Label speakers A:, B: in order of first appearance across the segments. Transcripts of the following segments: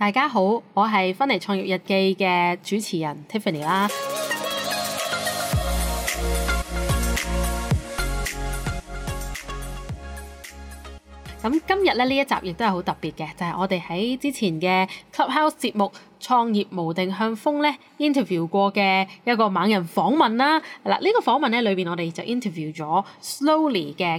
A: 大家好，我係芬尼創業日記嘅主持人 Tiffany 啦。咁今日咧呢一集亦都係好特別嘅，就係我哋喺之前嘅 Clubhouse 節目創業無定向瘋咧 interview 過嘅一個猛人訪問啦。嗱，呢個訪問咧裏邊我哋就 interview 咗 Slowly 嘅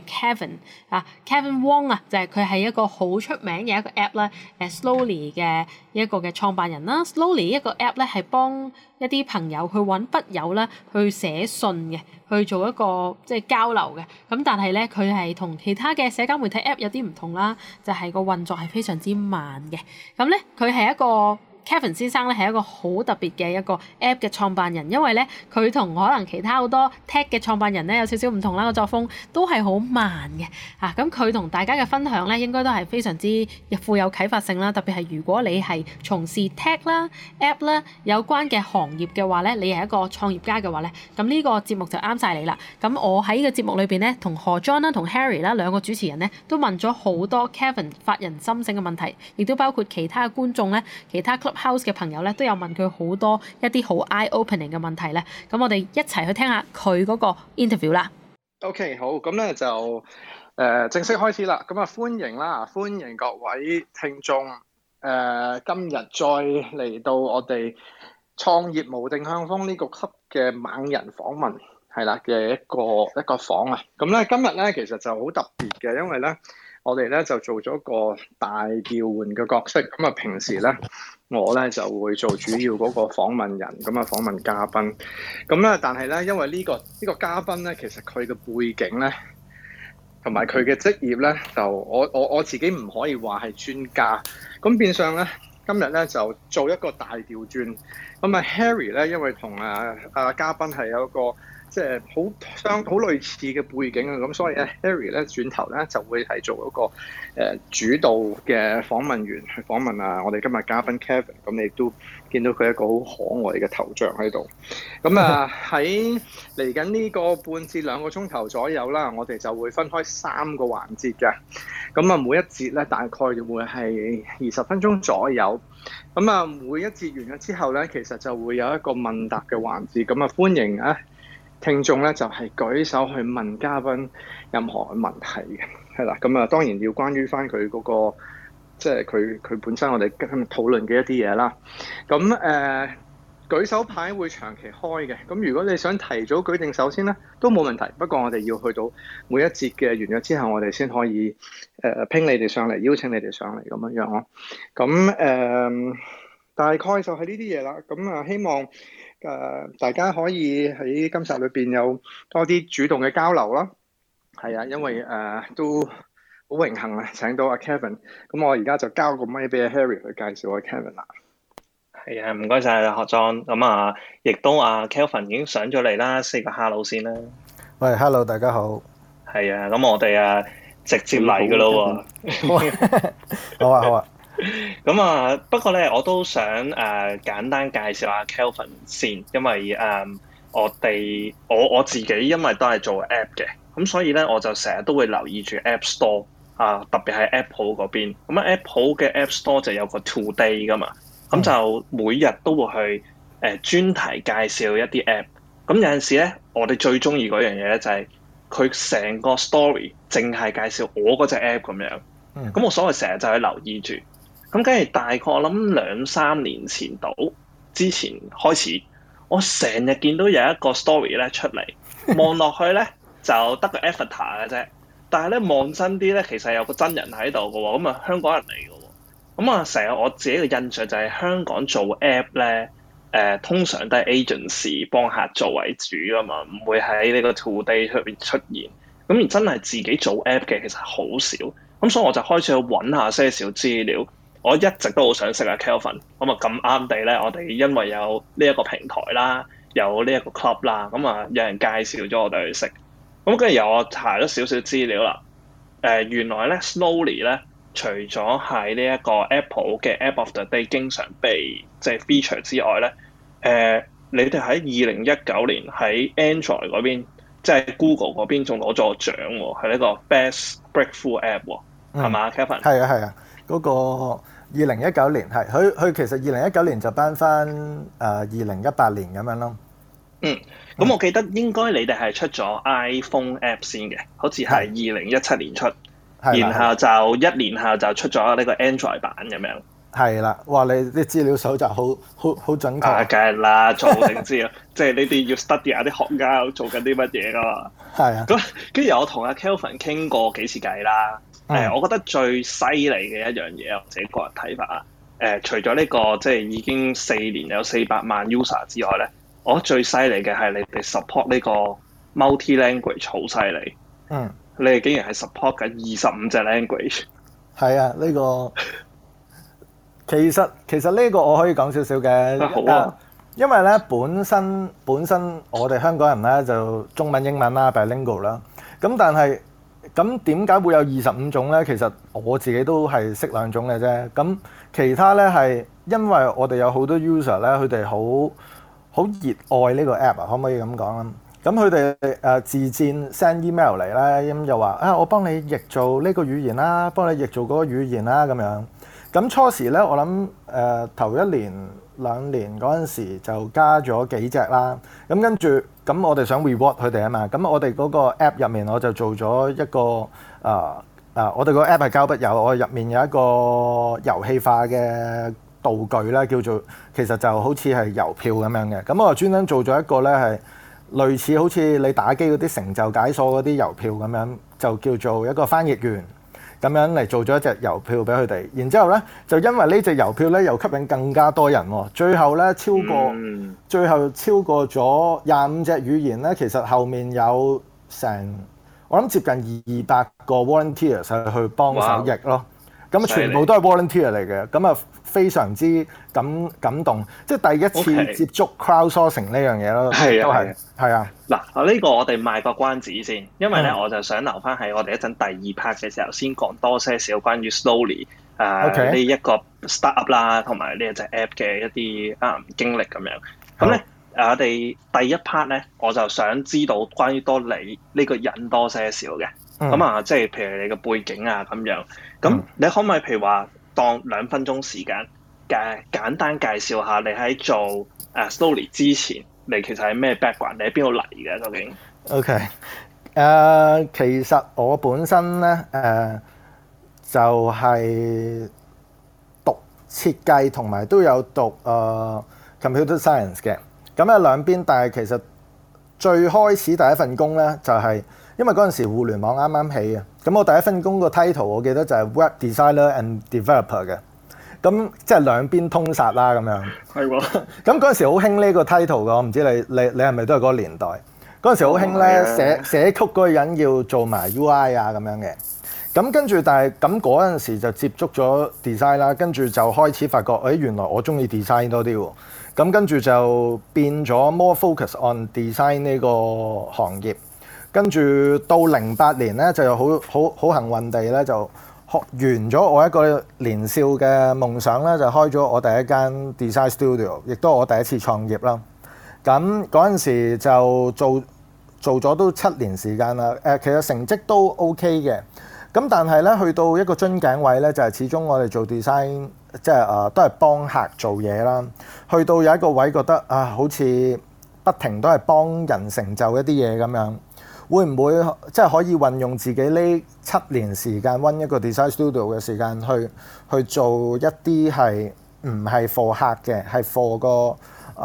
A: Kevin Wong 啊，就係佢係一個好出名嘅一個 app 啦，Slowly 嘅一個嘅創辦人啦。Slowly 一個 app 咧係幫一啲朋友去揾筆友啦，去寫信嘅，去做一個即係交流嘅。咁但係咧佢係同其他嘅社交媒體 app 有啲唔同啦，就係個運作係非常之慢嘅。咁咧佢係一個Kevin 先生咧係一個好特別嘅一個 app 嘅創辦人，因為咧佢同可能其他好多 tech 嘅創辦人咧有少少唔同啦，個作風都係好慢嘅嚇。咁佢同大家嘅分享咧應該都係非常之富有啟發性啦，特別係如果你係從事 tech 啦、app 啦有關嘅行業嘅話咧，你係一個創業家嘅話咧，咁呢個節目就啱晒你啦。咁我喺呢個節目裏邊咧，同何 John 啦、同 Harry 啦兩個主持人咧都問咗好多 Kevin 發人深省嘅問題，亦都包括其他嘅觀眾咧、其他 Clubhouse 嘅朋友咧都有問佢好多一啲好 eye-opening 嘅問題咧，咁我哋一齊去聽下佢嗰個 interview 啦。
B: OK， 好，咁咧就正式開始啦。咁啊歡迎各位聽眾。今日再嚟到我哋創業無定向瘋呢個級嘅猛人訪問係啦嘅一個訪啊。咁咧今日咧其實就好特別嘅，因為咧我哋咧就做咗個大調換嘅角色。咁啊平時咧我咧就會做主要嗰個訪問人，咁啊訪問嘉賓。咁咧但係咧因為呢個嘉賓咧其實佢嘅背景咧同埋佢嘅職業咧就我自己唔可以話係專家。咁變相咧今日咧就做一個大調轉。咁啊 Harry 咧因為同嘉賓係有一個即係好類似嘅背景啊，咁所以咧 Harry 咧轉頭咧就會係做一個主導嘅訪問員去訪問我哋今日嘉賓 Kevin。咁你亦都見到佢一個好可愛嘅頭像喺度。咁喺嚟緊呢個半至2個鐘頭左右啦，我哋就會分開3個環節嘅。咁啊每一節咧大概會係20分鐘左右。咁啊每一節完咗之後咧，其實就會有一個問答嘅環節。咁啊歡迎聽眾咧就係舉手去問嘉賓任何問題嘅，係啦。咁啊當然要關於翻佢嗰個即係佢本身我哋今日討論嘅一啲嘢啦。咁舉手牌會長期開嘅。咁如果你想提早舉定手先咧，都冇問題。不過我哋要去到每一節嘅完咗之後，我哋先可以拼你哋上嚟，邀請你哋上嚟咁樣咯。咁大概就係呢啲嘢啦。咁希望大家可以喺今集裏邊有多啲主動嘅交流啦。係啊，因為都好榮幸請到阿 Kevin。咁我而家就交個咪俾阿 Harry 去介紹阿 Kevin 啦。
C: 係啊，唔該晒何莊。咁亦都Kevin 已經上咗嚟啦，say 個 hello 先啦。
D: 喂 ，hello， 大家好。
C: 係啊，咁我哋直接嚟噶咯喎。
D: 好啊。
C: 咁不過咧，我都想簡單介紹下 Kevin 先，因為我自己因為都係做 app 嘅，咁所以咧我就成日都會留意住 App Store 特別係 Apple 嗰邊。咁Apple 嘅 App Store 就有個 Today 噶嘛，咁就每日都會去專題介紹一啲 app。咁有陣時咧，我哋最中意嗰樣嘢咧就係佢成個 story 淨係介紹我嗰隻 app 咁樣。咁我所謂成日就去留意住。咁跟住大概我諗2-3年前之前開始，我成日見到有一個 story 咧出嚟，望落去咧就得個 avatar 嘅啫。但係咧望真啲咧，其實有個真人喺度嘅喎。咁香港人嚟嘅喎。咁成日我自己嘅印象就係香港做 app 咧，通常都係 agency 幫客做為主啊嘛，唔會喺呢個 Today 出邊出現。咁而真係自己做 app 嘅其實好少。咁所以我就開始去揾下些少資料。我一直都好想識Kevin。咁咁啱地咧，我哋因為有呢一個平台啦，有呢一個 club 啦，咁有人介紹咗我哋去識。咁跟住我查咗少少資料啦。原來咧 Slowly 咧，除咗喺呢一個 Apple 嘅 App of the Day 經常被feature 之外咧，你哋喺2019年喺 Android 嗰邊，即係 Google 嗰邊仲攞咗個獎喎，係呢個 Best Breakthrough App 喎，係嘛 Kevin？
D: 係啊，嗰個 2019年係佢其實2019年就頒翻2018年咁樣咯。
C: 咁我記得應該你哋係出咗 iPhone app 先嘅，好似係2017年出，然後就1年後就出咗呢個 Android 版咁樣。
D: 係啦，哇！你啲資料搜集好準確。
C: 梗係啦，做定知啊，即係呢啲要 study 下啲學家做緊啲乜嘢噶嘛。
D: 係啊。
C: 咁跟住我同阿 Kelvin 傾過幾次偈啦。我覺得最犀利嘅一樣嘢，我自己個人睇法啊。除咗呢個即係已經4年有400萬 user 之外咧，我覺得最犀利嘅係你哋 support 呢個 multi language 好犀利。你哋竟然係 support 緊25隻 language。
D: 係啊，呢個。其實呢個我可以講少少嘅，
C: 好啊，
D: 因為咧本身我哋香港人咧就中文英文啦 bilingual 啦，咁但係咁點解會有25種咧？其實我自己都係識2種嘅啫，咁其他咧係因為我哋有好多 user 咧，佢哋好熱愛呢個 app 啊，可唔可以咁講啊？咁佢哋自薦 send email 嚟咧，咁又話我幫你譯做呢個語言啦，幫你譯做嗰個語言啦咁樣。咁初時咧，我諗頭1年2年嗰陣時就加咗幾隻啦。咁跟住咁我哋想 reward 佢哋啊嘛。咁我哋嗰個 app 入面我就做咗一個我哋個 app 係交筆友，我入面有一個遊戲化嘅道具啦，叫做其實就好似係郵票咁樣嘅。咁我就專登做咗一個咧係類似好似你打機嗰啲成就解鎖嗰啲郵票咁樣，就叫做一個翻譯員。咁樣嚟做咗一隻郵票俾佢哋，然之後咧就因為呢隻郵票咧又吸引更加多人喎，最後咧超過咗25隻語言咧，其實後面有成我諗接近200個 volunteers 去幫手譯咯，咁全部都係 volunteer 嚟嘅，咁啊非常之感動，即係第一次接觸 crowdsourcing 呢樣嘢咯，係啊。
C: 嗱，呢個我哋賣個關子先，因為咧我就想留翻喺我哋一陣第2 part 嘅時候先講多些少關於 Slowly 呢一個 startup 啦，同埋呢一隻 app 嘅一啲經歷咁樣。咁咧我哋第一 part 咧，我就想知道關於多你呢個人多些少嘅。咁即係譬如你嘅背景啊咁樣。咁你可唔可以譬如話當2分鐘時間簡單介紹下你喺做Slowly 之前？你其實係咩 background？你喺邊度嚟嘅究竟
D: ？OK，其實我本身咧就係讀設計同埋都有讀computer science 嘅。咁啊兩邊，但係其實最開始第一份工咧就係因為嗰陣時互聯網啱啱起啊。咁我第一份工個 title 我記得就係 web designer and developer 嘅。咁即係兩邊通殺啦咁樣。係喎。咁嗰陣時好興呢個 title 㗎，我唔知你係咪都係嗰個年代。嗰陣時好興咧寫曲嗰個人要做埋 UI 啊咁樣嘅。咁跟住但係咁嗰陣時就接觸咗 design 啦，跟住就開始發覺原來我中意 design 多啲喎。咁跟住就變咗 more focus on design 呢個行業。跟住到08年咧就有好幸運地咧就完咗我一個年少嘅夢想咧，就開咗我第一間 design studio， 亦都係我第一次創業啦。咁嗰陣時就做咗都7年時間啦。其實成績都 OK 嘅。咁但係咧去到一個樽頸位咧，就係始終我哋做 design 即係都係幫客做嘢啦。去到有一個位覺得好似不停都係幫人成就一啲嘢咁樣。會唔會即係可以運用自己呢7年時間溫一個 design studio 嘅時間去做一啲係唔係 for 客嘅，係 for 個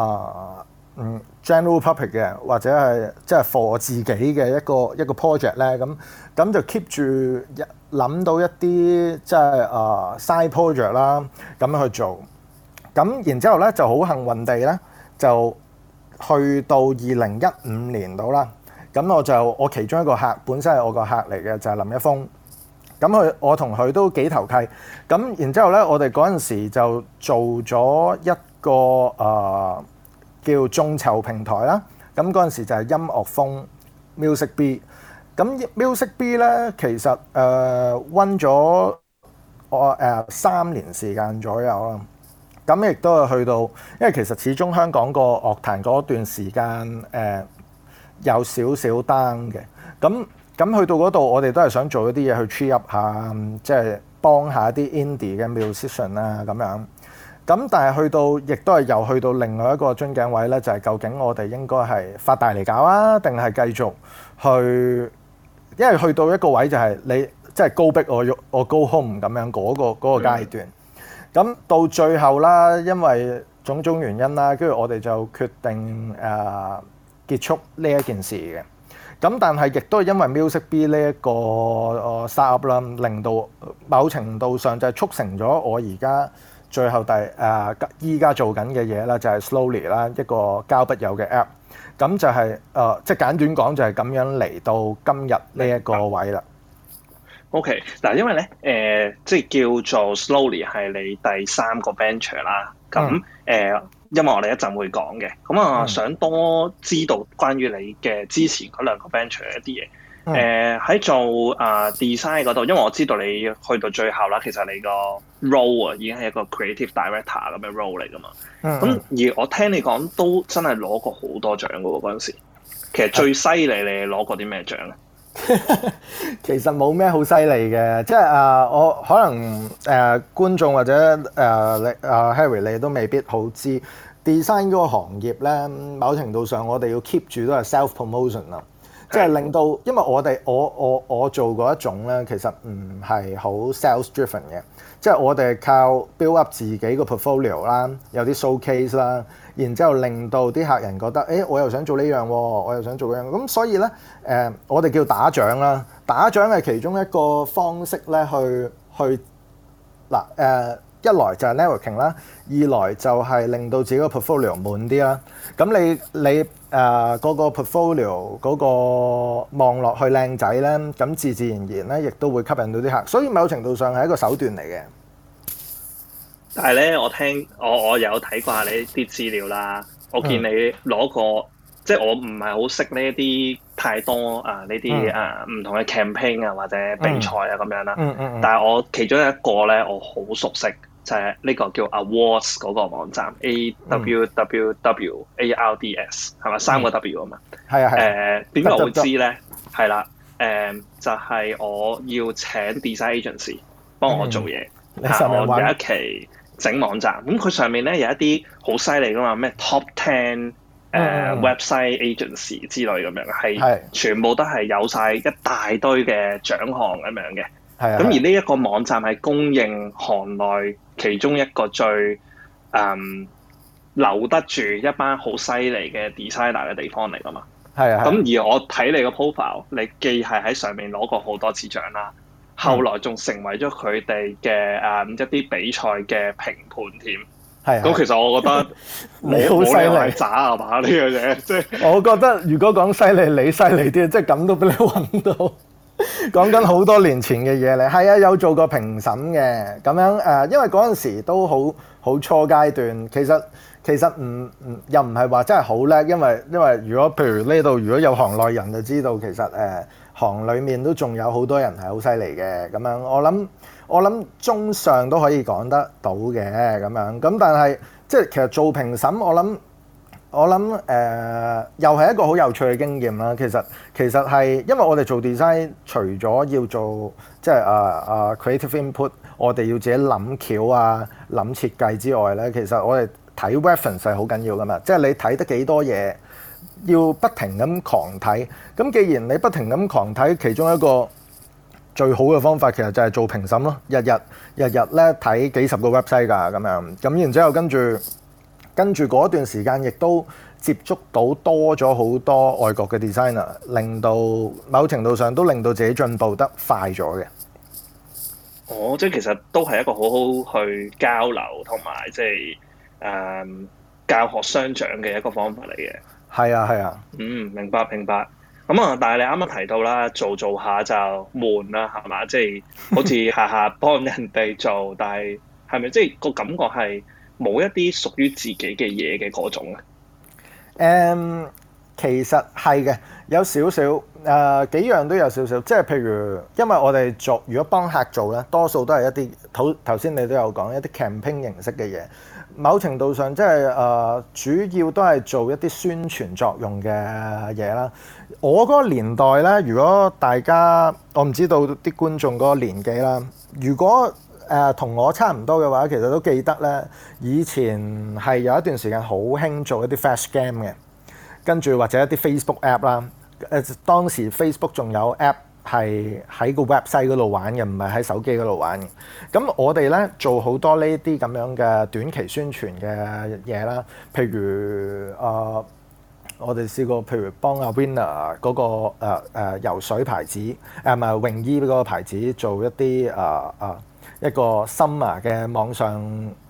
D: general public 嘅，或者係即係 for 我自己嘅一個 project 咧？咁就 keep 住諗到一啲即係side project 啦，咁樣去做。咁然之後咧就好幸運地咧，就去到2015年到啦。咁我其中一個客本身係我個客嚟嘅，就係林一峰。咁我同佢都幾投契。咁然之後咧，我哋嗰陣時就做咗一個叫眾籌平台啦。咁嗰陣時就係音樂風 Music B。咁 Music B 咧，其實溫咗我3年時間左右啦。咁亦都係去到，因為其實始終香港個樂壇嗰段時間有少少 down 嘅，咁去到嗰度，我哋都係想做一啲嘢去 cheer up 下，即係幫下啲 indie 嘅 musician 啦咁樣。咁但係亦都係又去到另外一個樽頸位咧，就係究竟我哋應該係發大嚟搞啊，定係繼續去？因為去到一個位就係你即係高逼我 go home 咁樣嗰個階段。咁到最後啦，因為種種原因啦，跟住我哋就決定結束呢一件事嘅。咁但係亦都係因為 Music B 呢一個startup 啦，令到某程度上就係促成咗我而家最後依家做緊嘅嘢啦，就係 Slowly 啦，一個交筆友嘅 app。咁就係即係簡短講就係咁樣嚟到今日呢一個位啦。
C: OK， 嗱，因為咧即係叫做 Slowly 係你第3個 venture 啦。咁因為我哋一陣會講嘅，咁啊想多知道關於你嘅之前嗰2個 venture 嘅一啲嘢。喺做design 嗰度，因為我知道你去到最後啦，其實你個 role 已經係一個 creative director 咁嘅 role 嚟噶嘛。咁而我聽你講都真係攞過好多獎噶喎嗰陣時。其實最犀利你攞過啲咩獎咧？
D: 其實冇咩好犀利嘅，即係我可能觀眾或者Harry 你都未必好知 design 嗰個行業咧，某程度上我哋要 keep 住都係 self promotion 啦。即係令到，因為我做嗰一種咧，其實唔係好 sales driven 嘅，即係我哋靠 build up 自己個 portfolio 啦，有啲 showcase 啦，然之後令到啲客人覺得，我又想做呢樣喎，我又想做嗰樣，咁所以咧，我哋叫打獎啦，打獎係其中一個方式咧，去嗱一來就係 networking 啦，二來就係令到自己個 portfolio 滿啲啦。咁你嗰個 portfolio 嗰個望落去靚仔咧，咁自然咧，亦都會吸引到啲客。所以某程度上係一個手段嚟嘅。
C: 但係咧，我有睇過下你啲資料啦。我見你攞過，即係我唔係好識呢一啲太多呢啲唔同嘅 campaign 啊或者比賽啊咁樣啦。但係我其中一個咧，我好熟悉。就係呢個叫 Awards 嗰個網站 AWWARDS 係咪3個 W 啊嘛？係啊係。點解我會知咧？係啦，就係我要請 design agency 幫我做嘢。我有一期整網站，咁佢上面咧有一啲好犀利噶嘛，咩 Top 10website agency 之類咁樣，係全部都係有晒一大堆嘅獎項咁樣嘅。咁而呢一個網站係公認行內其中一個最留得住一班好犀利嘅 designer 嘅地方嚟㗎嘛。咁而我睇你個 profile， 你既係喺上面攞過好多次獎啦，後來仲成為咗佢哋嘅一啲比賽嘅評判添。咁其實我覺得
D: 你好犀利，
C: 渣啊嘛呢樣嘢。即係
D: 我覺得如果講犀利，你犀利啲，即係咁都俾你揾到。講緊好多年前嘅嘢嚟，係啊，有做過評審嘅咁樣因為嗰陣時都好初階段，其實又唔係話真係好叻，因為如果譬如呢度如果有行內人就知道，其實行裡面都仲有好多人係好犀利嘅咁樣。我諗中上都可以講得到嘅咁樣，咁但係即係其實做評審，我諗又係一個好有趣嘅經驗啦。其實係因為我哋做 design， 除咗要做即係creative input， 我哋要自己諗橋啊、諗設計之外咧，其實我哋睇 reference 係好緊要噶嘛。即係你睇得幾多嘢，要不停咁狂睇。咁既然你不停咁狂睇，其中一個最好嘅方法其實就係做評審咯。日日咧睇幾十個 website 㗎咁樣，咁然之後跟住嗰段時間，亦都接觸到多咗好多外國嘅 designer， 令到某程度上都令到自己進步得快咗嘅。
C: 即係其實都係一個好好去交流同埋即係教學相長嘅一個方法嚟嘅。係
D: 啊。
C: 明白。咁啊，但係你啱啱提到啦，做下就悶啦，係嘛？即係好似下下幫人哋做，但係咪即係個感覺係冇一啲屬於自己嘅嘢嘅嗰種咧？
D: 其實係嘅，有少少。 幾樣都有少少，即係譬如，因為我哋做如果幫客做咧，多數都係一啲頭先你都有講一啲 campaign 形式嘅嘢，某程度上即係主要都係做一啲宣傳作用嘅嘢啦。我嗰個年代咧，如果大家我唔知道啲觀眾嗰個年紀啦，如果同我差唔多嘅話，其實都記得咧，以前係有一段時間好興做一啲 flash game 嘅，跟住或者一啲 Facebook app 啦。當時 Facebook 仲有 app 係喺個 website 嗰度玩嘅，唔係喺手機嗰度玩嘅。咁我哋咧做好多呢啲咁樣嘅短期宣傳嘅嘢啦，譬如我哋試過，譬如幫阿 Winner 嗰個游水牌子，唔係泳衣嗰個牌子做一啲一個 summer 嘅網上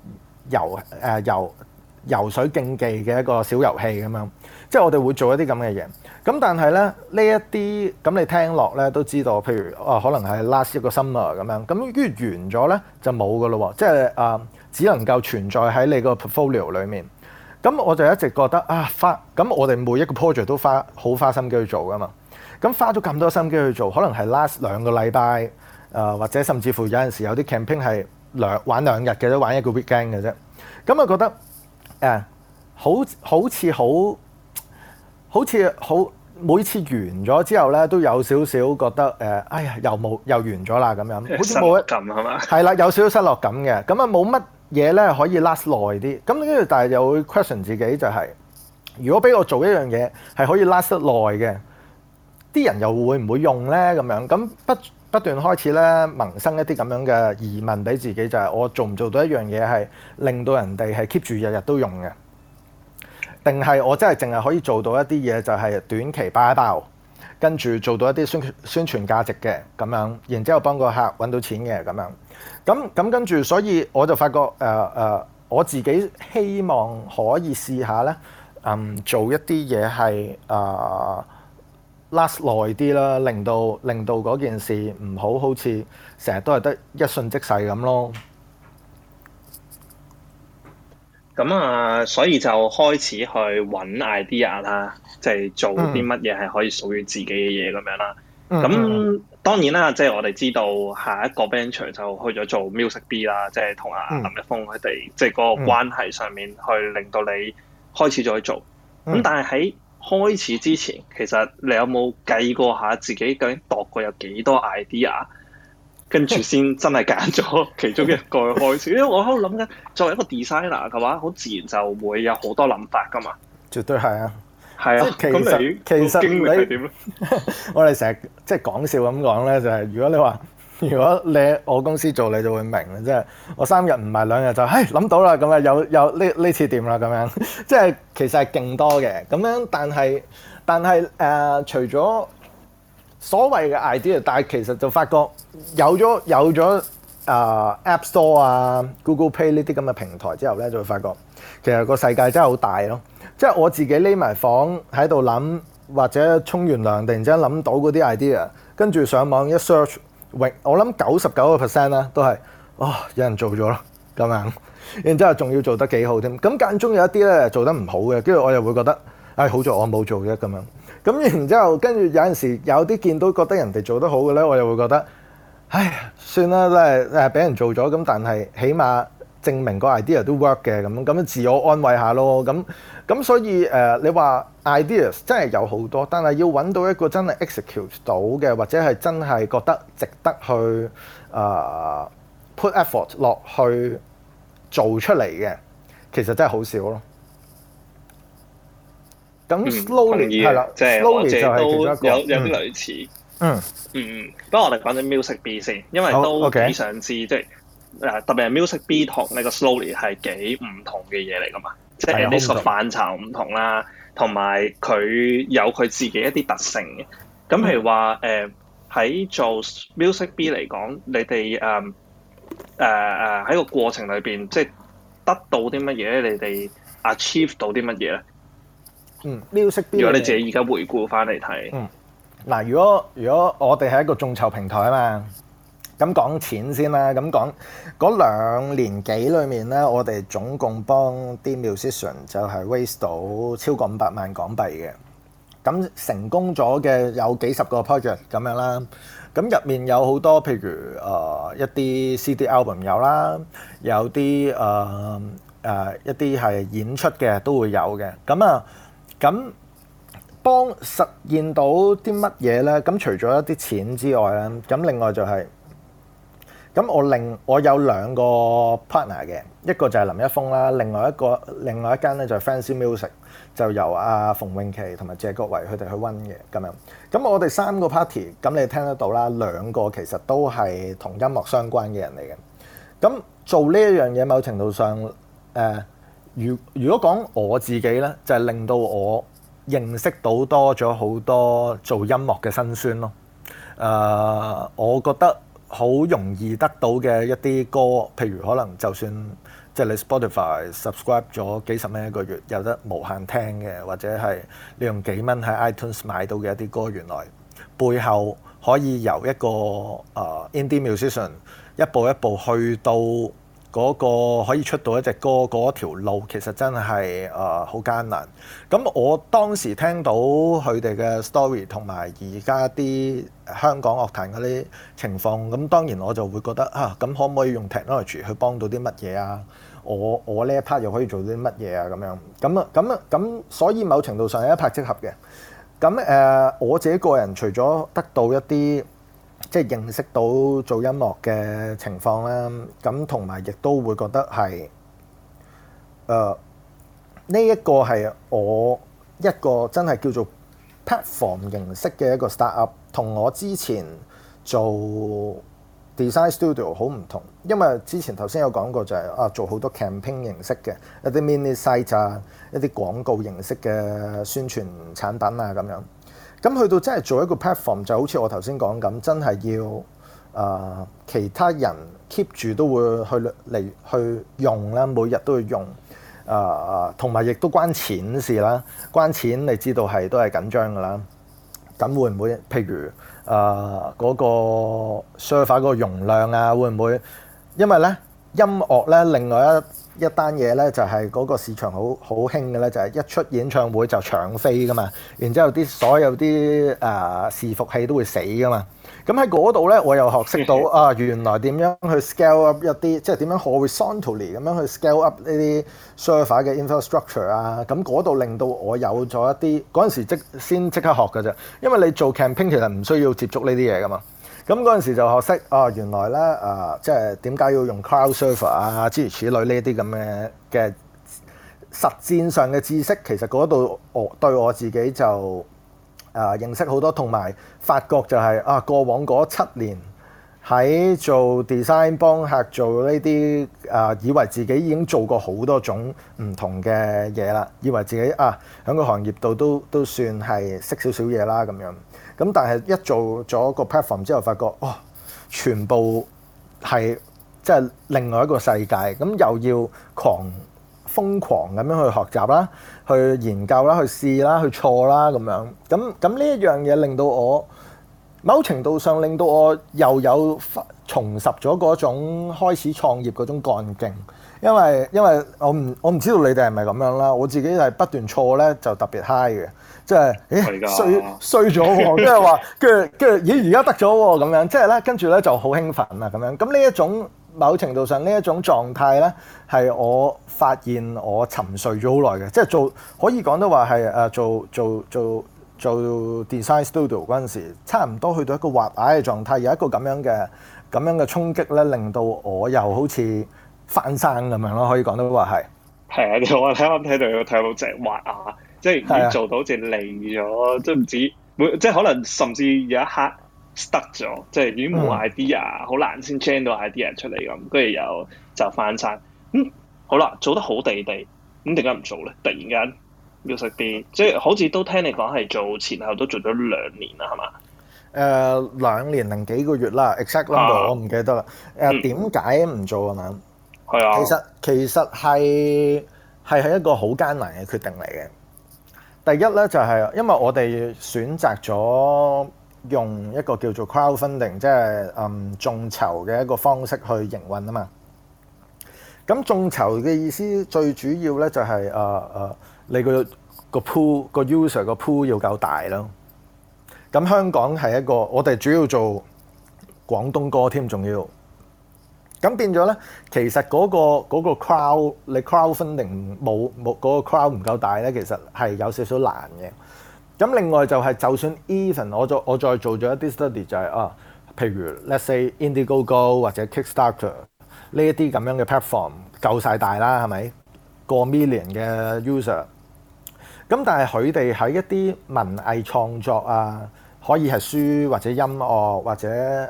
D: 游水競技嘅一個小遊戲咁樣，即係我哋會做一啲咁嘅嘢。咁但係咧呢一啲咁你聽落咧都知道，譬如可能係 last 一個 summer 咁樣，咁跟住完咗咧就冇噶咯喎，即係只能夠存在喺你個 portfolio 裡面。咁我就一直覺得咁我哋每一個 project 都好花心機去做噶嘛。咁花咗咁多心機去做，可能係 last 2個禮拜，或者甚至乎有陣時有啲 campaign 係玩2日嘅啫，玩一個 weekend 嘅啫。咁啊覺得好似每次完咗之後咧，都有少少覺得哎呀又完咗啦咁樣，好似冇
C: 咁係嘛？
D: 係啦，有少少失落感嘅。咁啊冇乜嘢咧可以 last 耐啲。咁跟住但係又會 question 自己就係，如果俾我做一樣嘢係可以 last 得耐嘅，啲人又會唔會用咧？咁樣咁不斷開始咧萌生一啲咁樣嘅疑問俾自己，就係我做唔做到一樣嘢係令到人哋係 keep 住日日都用嘅？定係我真係淨係可以做到一啲嘢，就係短期包一包，跟住做到一啲宣傳價值嘅咁樣，然之後幫個客揾到錢嘅咁樣。咁跟住，所以我就發覺我自己希望可以試下咧，做一啲嘢係last 耐啲啦，令到嗰件事唔好似成日都係得一瞬即逝咁咯。
C: 咁所以就開始去揾 idea 啦，即係做啲乜嘢係可以屬於自己嘅嘢咁樣啦。咁當然啦，即係我哋知道下一個 venture 就去咗做 Music B 啦，即係同阿林一峰佢哋即係嗰個關係上面去令到你開始咗去做。咁但係喺開始之前，其實你有冇計過下自己究竟度過有幾多 idea？跟住先真係揀咗其中一個去開始，因為我喺度諗緊，作為一個 designer 嘅話，好自然就會有好多諗法噶嘛。
D: 絕對係啊，
C: 係啊。其實經歷係點咧？
D: 我哋成日即係講笑咁講咧，就係如果你喺我公司做，你就會明啦。即係我3日唔係2日就諗到啦，咁啊有呢次掂啦咁樣。即係其實係勁多嘅咁樣，但係除咗所謂嘅 idea， 但係其實就發覺有咗App Store 啊、Google Play 呢啲咁嘅平台之後咧，就會發覺其實個世界真係好大咯。即係我自己匿埋房喺度諗，或者沖完涼突然之間諗到嗰啲 idea，跟住上網一 search，我諗99% 啦都係有人做咗咯咁樣，然之後仲要做得幾好添。咁間中有一啲咧做得唔好嘅，跟住我又會覺得好在我冇做嘅咁樣。咁然之後，跟住有陣時有啲見到覺得人哋做得好嘅咧，我又會覺得，算啦，都係俾人做咗咁，但係起碼證明個 idea 都 work 嘅咁自我安慰下咯。咁所以你話 ideas 真係有好多，但係要揾到一個真係 execute 到嘅，或者係真係覺得值得去put effort 落去做出嚟嘅，其實真係好少咯。咁 slowly 係啦，
C: 即係
D: slowly 就係其中一個
C: 有啲類似。不過我哋講緊 Music B 先，因為都幾想知，即係特別係 Music B 同呢個 slowly 係幾唔同嘅嘢嚟噶嘛？即係呢個範疇唔同啦，同埋佢有佢自己一啲特性嘅。咁譬如話喺做 Music B 嚟講，你哋喺個過程裏邊，即係得到啲乜嘢咧？你哋 achieve 到啲乜嘢咧
D: ？Music B
C: 如果你自己而家回顧翻嚟睇，
D: 嗱，如果我哋係一個眾籌平台啊嘛，咁講錢先啦，咁講嗰2年幾裏面咧，我哋總共幫啲 musician 就係 raise 到超過500萬港幣嘅， 咁成功咗嘅有幾十個 project 咁樣啦。咁入面有好多譬如一啲 CD album 有啦，有啲一啲係演出嘅都會有嘅。咁幫實現到啲乜嘢咧？咁除咗一啲錢之外咧，咁另外就係、咁我有兩個 partner 嘅，一個就係林一峰啦，另外一間咧就係 Fancy Music， 就由阿馮詠琪同埋謝國維佢哋去 run 嘅咁樣。咁我哋三個 party， 咁你聽得到啦，兩個其實都係同音樂相關嘅人嚟嘅。咁做呢一樣嘢，某程度上如果講我自己咧，就係令到我認識到多咗好多做音樂嘅辛酸咯。我覺得好容易得到嘅一啲歌，譬如可能就算即係你 Spotify subscribe 咗幾十蚊一個月，有得無限聽嘅，或者係你用幾蚊喺 iTunes 買到嘅一啲歌，原來背後可以由一個indie musician 一步一步去到嗰個可以出到一隻歌嗰條路，其實真係好艱難。咁我當時聽到佢哋嘅 story 同埋而家啲香港樂壇嗰啲情況，咁當然我就會覺得咁可唔可以用 technology 去幫到啲乜嘢啊？我呢一 part 又可以做啲乜嘢啊？咁所以某程度上係一拍即合嘅。咁我自己個人除咗得到一啲即係認識到做音樂嘅情況啦，咁同埋亦都會覺得係呢一個係我一個真係叫做 platform 形式嘅一個 startup， 同我之前做 design studio 好唔同，因為之前頭先有講過就係做好多 campaign 形式嘅一啲 mini site 啊，一啲廣告形式嘅宣傳產品啊咁樣。咁去到真係做一個 platform， 就好似我頭先講咁，真係要其他人 keep 住都會去用啦，每日都會用同埋亦都關錢事啦，關錢你知道都係緊張㗎啦。咁會唔會譬如嗰個 server 嗰個容量啊，會唔會因為咧音樂咧另外一單嘢咧就係嗰個市場好興嘅咧，就係一出演唱會就搶飛噶嘛，然之後所有啲伺服器都會死噶嘛。咁喺嗰度咧，我又學識到原來點樣去 scale up 一啲，即係點樣 horizontally 咁樣去 scale up 呢啲 server 嘅 infrastructure 啊。咁嗰度令到我有咗一啲嗰陣時先即刻學㗎啫，因為你做 campaign 其實唔需要接觸呢啲嘢噶嘛。咁嗰陣時就學識原來咧即係點解要用 cloud server 啊，諸如此類呢啲咁嘅實戰上嘅知識，其實嗰度對我自己就認識好多，同埋發覺就係過往嗰7年喺做 design 幫客做呢啲以為自己已經做過好多種唔同嘅嘢啦，以為自己喺個行業度都算係識少少嘢啦咁樣。咁但係一做咗個 platform 之後，發覺全部係即係另外一個世界，咁又要瘋狂咁樣去學習啦，去研究啦，去試啦，去錯啦咁樣。咁呢一樣嘢令到我某程度上令到我又有重拾咗嗰種開始創業嗰種幹勁，因為我唔知道你哋係咪咁樣啦，我自己係不斷錯咧就特別 high 嘅。即係衰咗喎，跟住話跟住而家得咗喎咁樣，即係咧跟住咧就好興奮啦咁樣。咁呢一種某程度上呢一種狀態咧，係我發現我沉睡咗好耐嘅，即係可以講得話係做 design studio 嗰陣時，差唔多去到一個滑崖嘅狀態，有一個咁樣嘅衝擊咧，令到我又好似翻生咁樣咯，可以講得話係。
C: 係啊，我啱啱睇到隻滑崖。即係要做到好似離咗，即係唔止即係可能甚至有一刻 stuck 咗，即係已經冇 idea，好難先 generate 到 idea 出嚟咁，跟住又就翻山。好啦，做得好地地，咁點解唔做咧？突然間要識啲，即係好似都聽你講係做前後都做咗2年啦，係嘛
D: ？2年零幾個月啦 ，exact number 我唔記得啦。點解唔做啊？嘛，
C: 係啊，
D: 其實係一個好艱難嘅決定嚟嘅。第一咧就係因為我哋選擇咗用一個叫做 crowdfunding， 即係眾籌嘅一個方式去營運啊嘛。咁眾籌嘅意思最主要咧就係你個個 pool 個 user 個 pool 要夠大咯。咁香港係一個我哋主要做廣東歌添，仲要咁變咗咧。其實嗰個 crowd 你 crowdfunding 冇嗰個 crowd 唔夠大咧，其實係有少少難嘅。咁另外就係就算 even 我再做咗一啲 study 就係譬如 let's say Indiegogo 或者 Kickstarter 呢一啲咁樣嘅 platform 夠晒大啦，係咪過 million 嘅 user？ 咁但係佢哋喺一啲文藝創作啊，可以係書或者音樂或者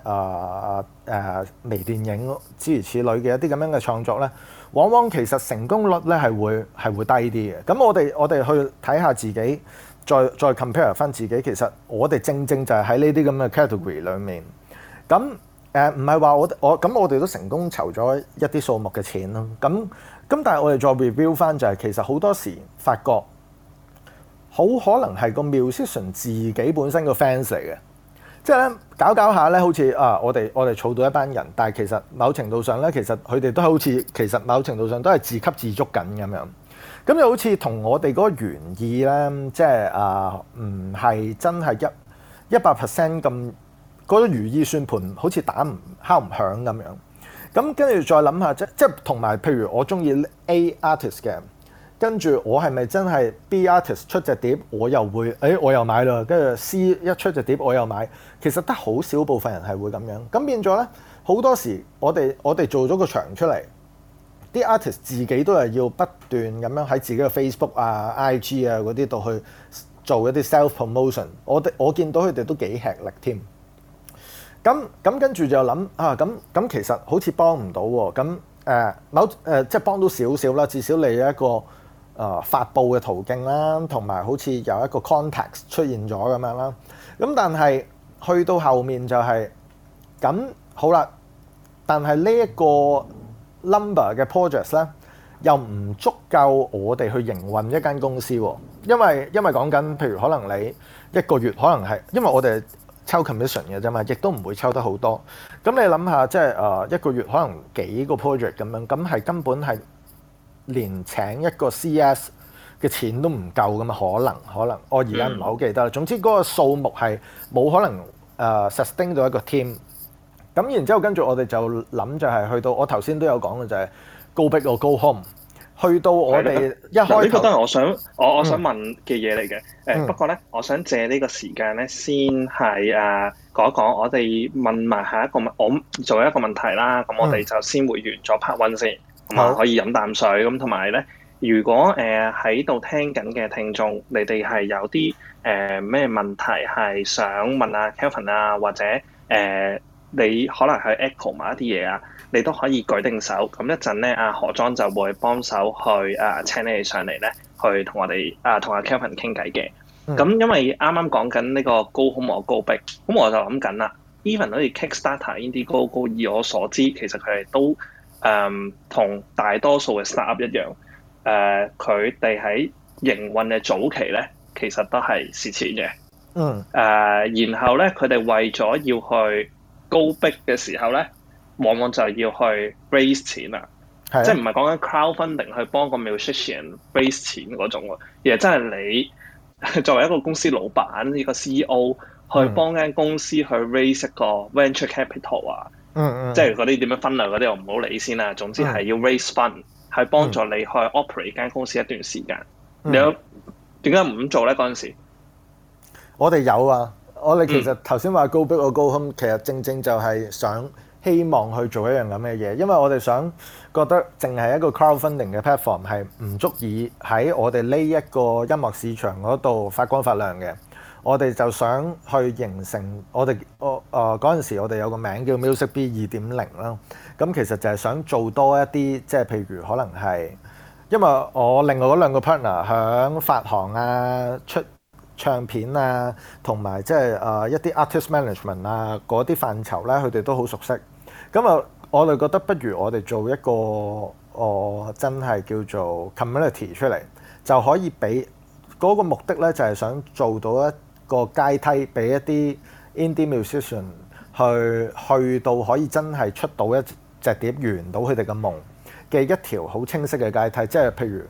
D: 微電影諸如此類嘅一啲咁樣嘅創作咧，往往其實成功率咧係會低啲嘅。咁我哋去睇下自己，再 compare 翻自己，其實我哋正就係喺呢啲咁嘅 category 裏面。咁唔係話我哋都成功籌咗一啲數目嘅錢咯。咁但係我哋再 review 翻就係其實好多時發覺。好可能係個 musician 自己本身個 fans 嚟嘅，即係咧搞下咧，好似我哋儲到一班人，但係其實某程度上咧，其實佢哋都好似其實某程度上都係自給自足緊咁樣，咁就好似同我哋嗰個原意咧，即係唔係真係100% 咁嗰個如意算盤，好似敲唔響咁樣。咁跟住再諗下，即係同埋譬如我中意 A artist 嘅。跟住我係咪真係 B artist 出隻碟，我又會我又買啦。跟住 C 一出隻碟我又買，其實得好少部分人係會咁樣。咁變咗咧，好多時我哋做咗個場出嚟，啲 artist 自己都係要不斷咁樣喺自己嘅 Facebook 啊、IG 啊嗰啲度去做一啲 self promotion。我見到佢哋都幾吃力添。咁跟住就諗咁其實好似幫唔到喎。咁即係幫到少少啦，至少你有一個。發布嘅途徑啦，同埋好似有一個 context 出現咗咁樣啦。咁但係去到後面就係咁好啦。但係呢一個 number 嘅 projects 咧，又唔足夠我哋去營運一間公司喎。因為講緊，譬如可能你一個月可能係，因為我哋抽 commission 嘅啫嘛，亦都唔會抽得好多。咁你諗下，即係一個月可能幾個 project 咁樣，咁係根本係。連請一個 CS 嘅錢都唔夠咁啊，可能我而家唔係好記得啦。總之嗰個數目係冇可能sustain 到一個 team。咁然之後跟住我哋就諗就係去到我頭先都有講嘅就係 go big or go home。去到我哋一開頭，呢個
C: 都係我想問嘅嘢嚟嘅。不過咧，我想借呢個時間咧，先係講一講我哋問埋下一個我做一個問題啦。咁我哋就先回完咗 part one 先。咁啊，可以飲啖水咁，同埋咧，如果喺度聽緊嘅聽眾，你哋係有啲咩問題係想問啊 Kelvin 啊，或者你可能去 echo 埋一啲嘢啊，你都可以舉定手。咁一陣咧，阿何莊就會幫手去請你哋上嚟咧，去同我哋同阿 Kelvin 傾偈嘅。咁因為啱啱講緊呢個 go home or go big，咁我就諗緊啦。Even 好似 Kickstarter、Indiegogo，以我所知，其實佢哋都同大多數嘅 startup 一樣，佢哋喺營運嘅早期咧，其實都係蝕錢嘅。然後咧，佢哋為咗要去go big嘅時候咧，往往就要去 raise 錢啦。即係唔係講緊 crowdfunding 去幫個 musician raise 錢嗰種喎，而係真係你作為一個公司老闆，呢個 CEO 去幫間公司去 raise 一個 venture capital 啊。即係嗰啲點樣分類嗰啲我唔好理先啦。總之係要 raise fund，係幫助你去 operate 間公司一段時間。你有點解唔咁做咧？嗰陣時
D: 我哋有啊。我哋其實頭先話 go big or go home，其實正就係希望去做一樣咁嘅嘢，因為我哋想覺得淨係一個 crowdfunding 嘅 platform 係唔足以喺我哋呢一個音樂市場嗰度發光發亮嘅。我哋就想去形成我哋嗰陣時，我哋有個名叫 Music B 2.0 啦。咁其實就係想做多一啲，即係譬如可能係，因為我另外嗰兩個 partner 響發行啊、出唱片啊，同埋即係一啲 artist management 啊嗰啲範疇咧，佢哋都好熟悉。咁啊，我哋覺得不如我哋做一個真係叫做 community 出嚟，就可以俾嗰個目的咧，就係想做到一個階梯俾一啲 indie musician 去到可以真係出到一隻碟，圓到佢哋嘅夢嘅一條好清晰嘅階梯。即係譬如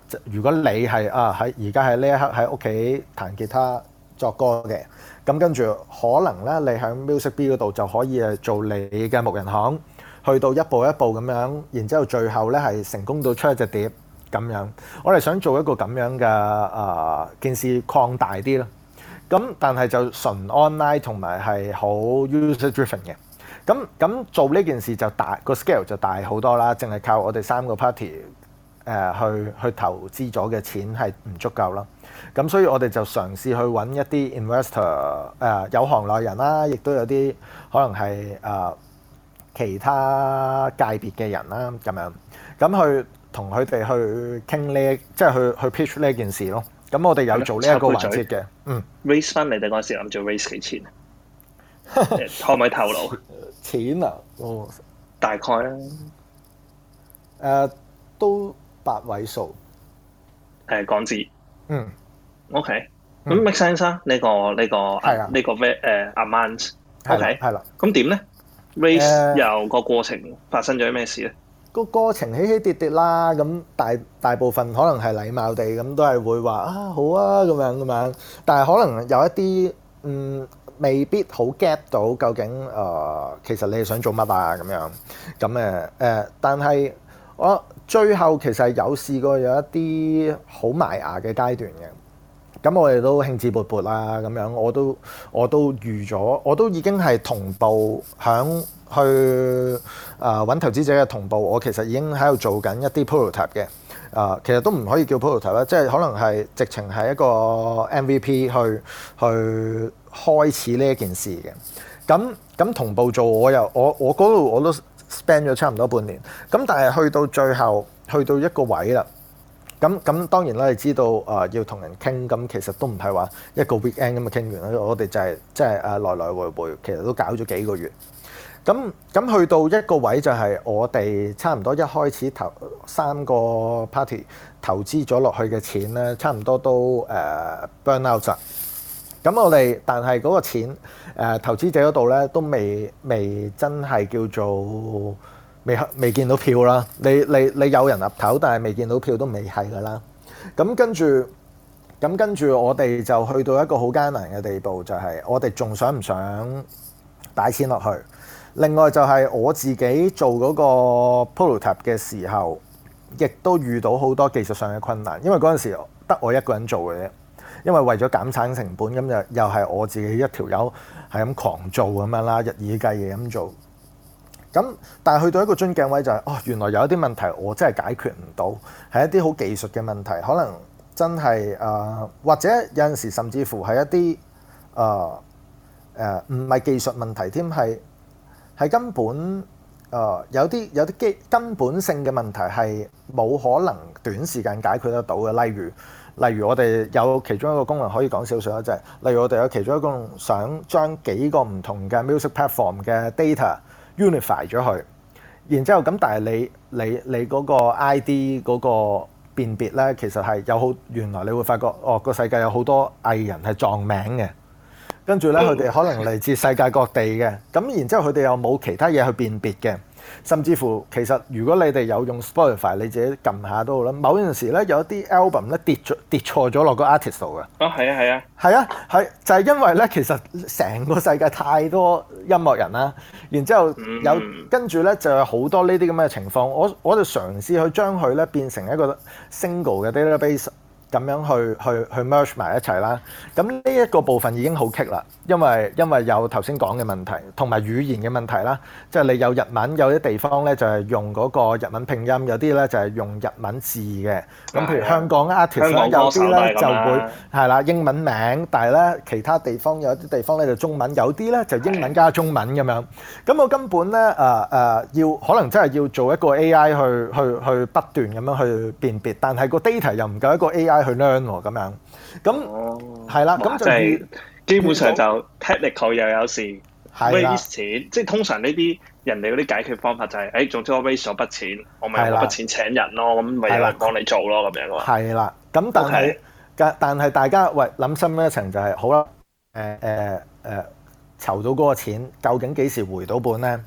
D: 如果你係喺而家喺呢一刻喺屋企彈吉他作歌嘅，咁跟住可能咧你喺 Music Bee 嗰度就可以做你嘅木人行，去到一步一步咁樣，然之後最後咧係成功到出一隻碟咁樣。我哋想做一個咁樣嘅件事擴大啲咯。咁但係就純 online 同埋係好 user driven 嘅。咁做呢件事就大個 scale 就大好多啦，淨係靠我哋3個 party 去投資咗嘅錢係唔足夠啦。咁所以我哋就嘗試去揾一啲 investor 有行內人啦，亦都有啲可能係其他界別嘅人啦咁樣，咁去同佢哋去傾呢，即係去 pitch 呢件事咯。咁我哋有做呢一個環節嘅
C: raise 翻你哋嗰陣時諗住 raise 幾錢啊？可唔可以透露？
D: 錢啊，
C: 大概啦，
D: 都8位數，
C: 港紙。OK， 咁 make sense 啊？呢個amount。OK，
D: 係啦。
C: 咁點咧？raise 由個過程發生咗咩事咧？
D: 個過程起起跌跌啦，咁大部分可能係禮貌地咁都係會話好啊咁樣，但係可能有一啲未必好 get 到究竟其實你係想做乜啊咁樣，但係我最後其實有試過有一啲好埋牙嘅階段嘅。咁我哋都興致勃勃啦，咁樣我都預咗，我都已經係同步響去揾投資者嘅同步，我其實已經喺度做緊一啲 prototype 嘅，其實都唔可以叫 prototype 啦，即係可能係直情係一個 MVP 去開始呢一件事嘅。咁同步做，我嗰度我都 spend 咗差唔多半年，咁但係去到最後去到一個位啦。咁當然啦，你知道要同人傾，咁其實都唔係話一個 weekend 咁就傾完啦。我哋就係即係來來回回，其實都搞咗幾個月。咁去到一個位就係我哋差唔多一開始3個 party 投資咗落去嘅錢咧，差唔多都burn out 啦。咁我哋但係嗰個錢投資者嗰度咧都未真係叫做。未見到票啦，你有人岌頭，但係未見到票都未係㗎啦。咁跟住我哋就去到一個好艱難嘅地步，就係我哋仲想唔想擺錢落去？另外就係我自己做嗰個 prototype 嘅時候，亦都遇到好多技術上嘅困難，因為嗰陣時得我一個人做嘅啫。因為為咗減產成本，咁又係我自己一條友係咁狂做咁樣啦，日以繼夜咁做。但係去到一個樽頸位就係原來有一啲問題我真係解決唔到，係一啲好技術嘅問題，可能真係或者有陣時甚至乎係一啲唔係技術問題添，係根本有啲根本性嘅問題係冇可能短時間解決得到嘅。例如我哋有其中一個功能可以講少少啦，就係例如我哋有其中一個功能想將幾個唔同嘅 music platform 嘅 data unify 咗佢，然之後咁，但係你嗰個 ID 嗰個辨別咧，其實係原來你會發覺個世界有好多藝人係撞名嘅，跟住咧佢哋可能嚟自世界各地嘅，咁然之後佢哋又冇其他嘢去辨別嘅，甚至乎其實如果你哋有用 Spotify， 你自己撳下都好啦。某陣時咧有一啲 album 咧跌錯咗落個 artist 度嘅。係啊，就係因為咧其實成個世界太多音樂人啦，然之後跟住咧就有好多呢啲咁嘅情況。我就嘗試去將佢咧變成一個 single 嘅 database。咁樣去 merge 埋一齊啦。咁呢一個部分已經好棘啦，因為有頭先講嘅問題，同埋語言嘅問題啦。即係你有日文，有啲地方咧就係用嗰個日文拼音，有啲咧就係用日文字嘅。咁譬如香港 artist 咧，有啲咧就會係啦英文名，但係咧其他地方有啲地方咧就中文，有啲咧就英文加中文咁樣。咁我根本咧要可能真係要做一個 AI 去不斷咁樣去辨別，但係個 data 又唔夠一個 AI。去 learn 喎咁樣，咁係啦，咁就係
C: 基本上就 technical 又有時 raise 錢，即係通常呢啲人哋嗰啲解決方法就係，總之我 raise 咗筆錢，我咪用嗰筆錢請人咯，咁咪有人幫你做咯咁樣咯。係啦，咁
D: 但係大家諗深一層就係好啦，籌到嗰個錢，究竟幾時回到本咧？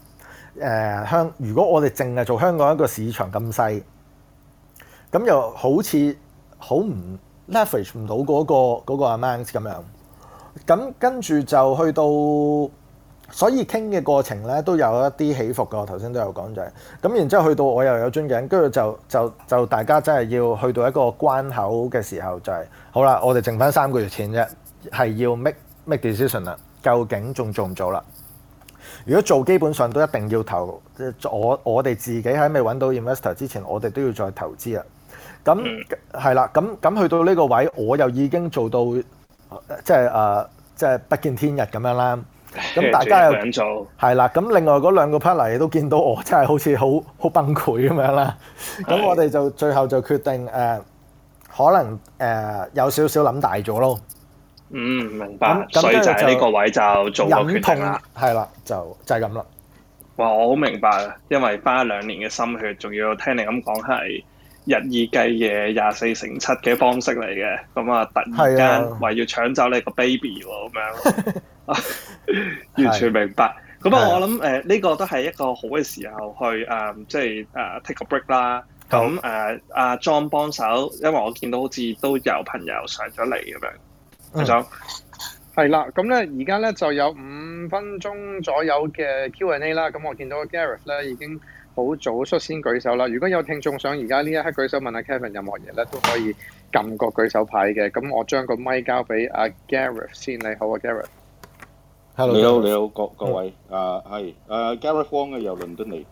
D: 如果我哋淨係做香港一個市場咁細，咁又好似好唔 leverage 唔到嗰個 amount 咁樣。咁跟住就去到，所以傾嘅過程咧都有一啲起伏嘅。我頭先都有講就係咁，然之後去到我又有樽頸，跟住就大家真係要去到一個關口嘅時候，就係好啦，我哋剩翻3個月錢啫，係要 make decision 啦，究竟仲做唔做啦？如果做，基本上都一定要投。我哋自己喺未揾到 investor 之前，我哋都要再投資啊。咁係啦，咁去到呢個位，我又已經做到即係不見天日咁樣啦。咁大家又係啦，咁另外嗰2個 partner 都見到我真係好似好崩潰咁樣啦。咁我哋就最後就決定可能有少少諗大咗咯。
C: 明白。所以就喺呢個位就做個決定啦。係啦，
D: 就係咁啦。
C: 哇，我好明白啊，因為花2年嘅心血，仲要聽你咁講係日以繼夜24/7嘅方式嚟嘅。咁啊，突然間話要搶走你個 baby 喎，咁樣。完全明白。咁我諗呢個都係一個好嘅時候去即係take a break 啦。咁阿 John 幫手，因為我見到好似都有朋友上咗嚟咁樣。阿 John
B: 係啦，咁咧而家咧就有5分鐘左右嘅 Q&A 啦。咁我見到 Gareth 咧已經好早率先舉手啦。如果有聽眾想而家呢一刻舉手問阿 Kevin 任何嘢咧，都可以撳個舉手牌嘅。咁我將個咪交俾阿 Gareth 先。你好啊 ，Gareth。
E: 你好，各位，係Gareth Wong 嘅由倫敦嚟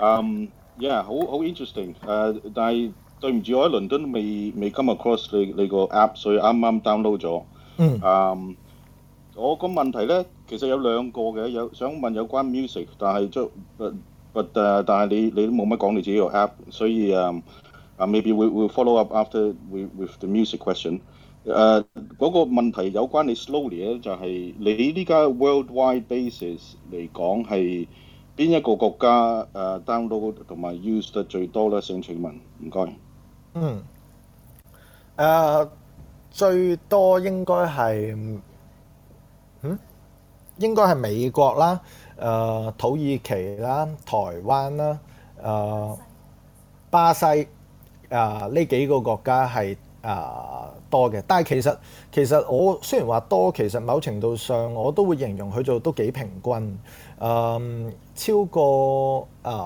E: ，yeah 好 interesting，但係對唔住我喺倫敦未 come across 你個 app， 所以啱 download 咗。我個問題咧其實有2個嘅，有想問有關 music， 但係但係你都冇乜講你自己個 app， 所以maybe we'll follow up after with the music question。嗰個問題有關你 slowly 咧，就係你呢家 worldwide basis 嚟講係邊一個國家download 同埋 use 得最多咧？想請問，唔該。
D: 最多應該係美國啦，土耳其啦，台灣啦，巴西呢幾個國家係多嘅，但係其實我雖然話多，其實某程度上我都會形容佢做都幾平均，超過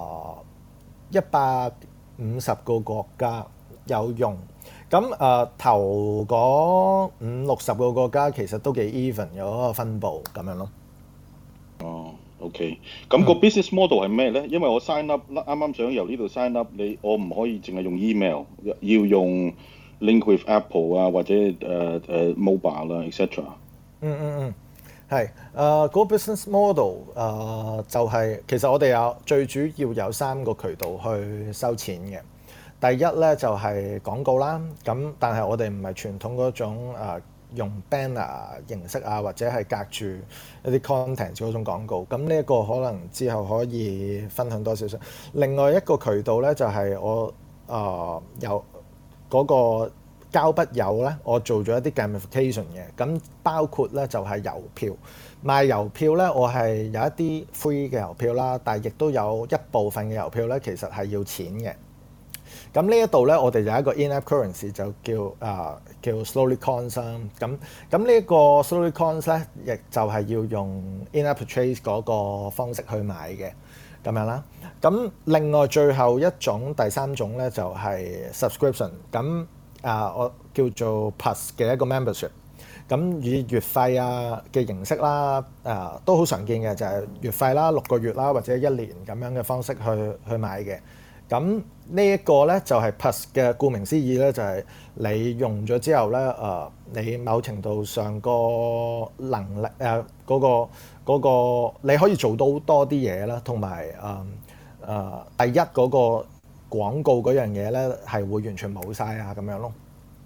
D: 150個國家有用，咁頭嗰50-60個國家其實都幾 even 有一個分佈咁樣咯。
E: OK， 咁個 business model 係咩咧？因為我 sign up 啱啱想由呢度 sign up， 我唔可以淨係用 email， 要用link with Apple 或者mobile 啦 ，etc。
D: 係嗰個 business model 就係其實我哋最主要有3個渠道去收錢嘅。第一咧就係廣告啦，咁但係我哋唔係傳統嗰種用 banner 形式或者係隔住一啲 content 嗰種廣告。咁呢一個可能之後可以分享多少少。另外一個渠道咧就係我有嗰個交筆友咧，我做咗一啲 gamification 嘅，咁包括咧就係郵票賣郵票咧，我係有一啲 free 嘅郵票啦，但係亦都有一部分嘅郵票咧，其實係要錢嘅。咁呢一度咧，我哋有一個 in-app currency 就叫 Slowly Coins 啦。咁呢一個 Slowly Coins 咧，亦就係要用 in-app purchase 嗰個方式去買嘅咁樣啦。咁另外最後第3種咧就係 subscription。咁我叫做 Plus 嘅一個 membership。咁以月費嘅形式啦，都好常見嘅，就係月費啦、6個月啦或者1年咁樣嘅方式去買嘅。咁呢一個咧就係 Plus 嘅，顧名思義咧就係你用咗之後咧，你某程度上個能力嗰個你可以做到多啲嘢啦，同埋第一嗰個廣告嗰樣嘢咧係會完全冇晒咁樣咯。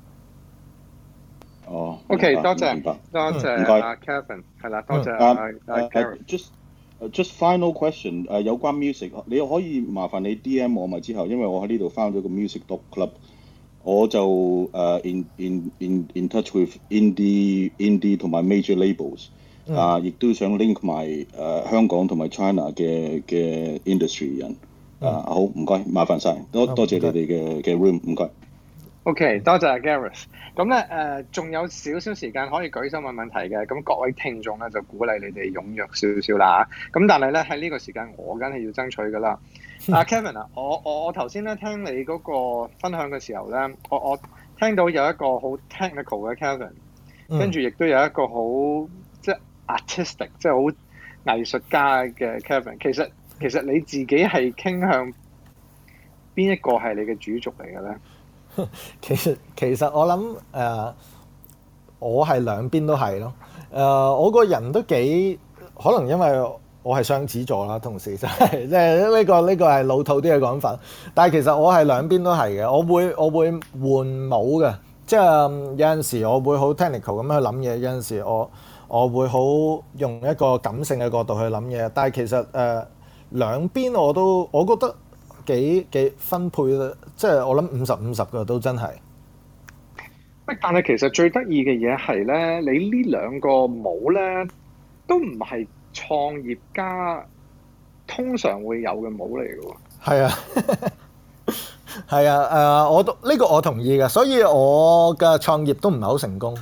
B: OK， 多謝阿 Kevin， 係啦，多謝阿
E: Just final question， 有關 music， 你可以麻煩你 DM 我咪之後，因為我喺呢度 found 咗個 music club， 我就in touch with indie 同埋 major labels， 亦都想 link 埋香港同埋 China 嘅 industry 人，好唔該，麻煩晒，多謝你哋嘅 room， 唔該。
B: OK， 多謝 Gareth。咁咧仲有少少時間可以舉手問問題嘅，咁各位聽眾咧就鼓勵你哋踴躍少少啦。咁但係咧喺呢個時間，我梗係要爭取㗎啦。Kevin 啊，我頭先咧聽你嗰個分享嘅時候咧，我聽到有一個好 technical 嘅 Kevin，跟住亦都有一個好即係 artistic， 即係好藝術家嘅 Kevin。其實你自己係傾向邊一個係你嘅主軸嚟嘅咧？
D: 其實我諗我係兩邊都係咯。我個人都幾可能因為我係雙子座啦，同時就係即係呢個係老土啲嘅講法。但係其實我係兩邊都係嘅。我會換帽嘅，即係有陣時我會好 technical 咁去諗嘢，有陣時我會好用一個感性嘅角度去諗嘢。但係其實兩邊我覺得幾分配啦，即係我諗50-50嘅都真係。
B: 但係其實最得意嘅嘢係咧，你呢兩個帽咧都唔係創業家通常會有嘅帽嚟嘅喎。係啊，
D: 係啊，我都呢個我同意嘅，所以我嘅創業都唔係好成功。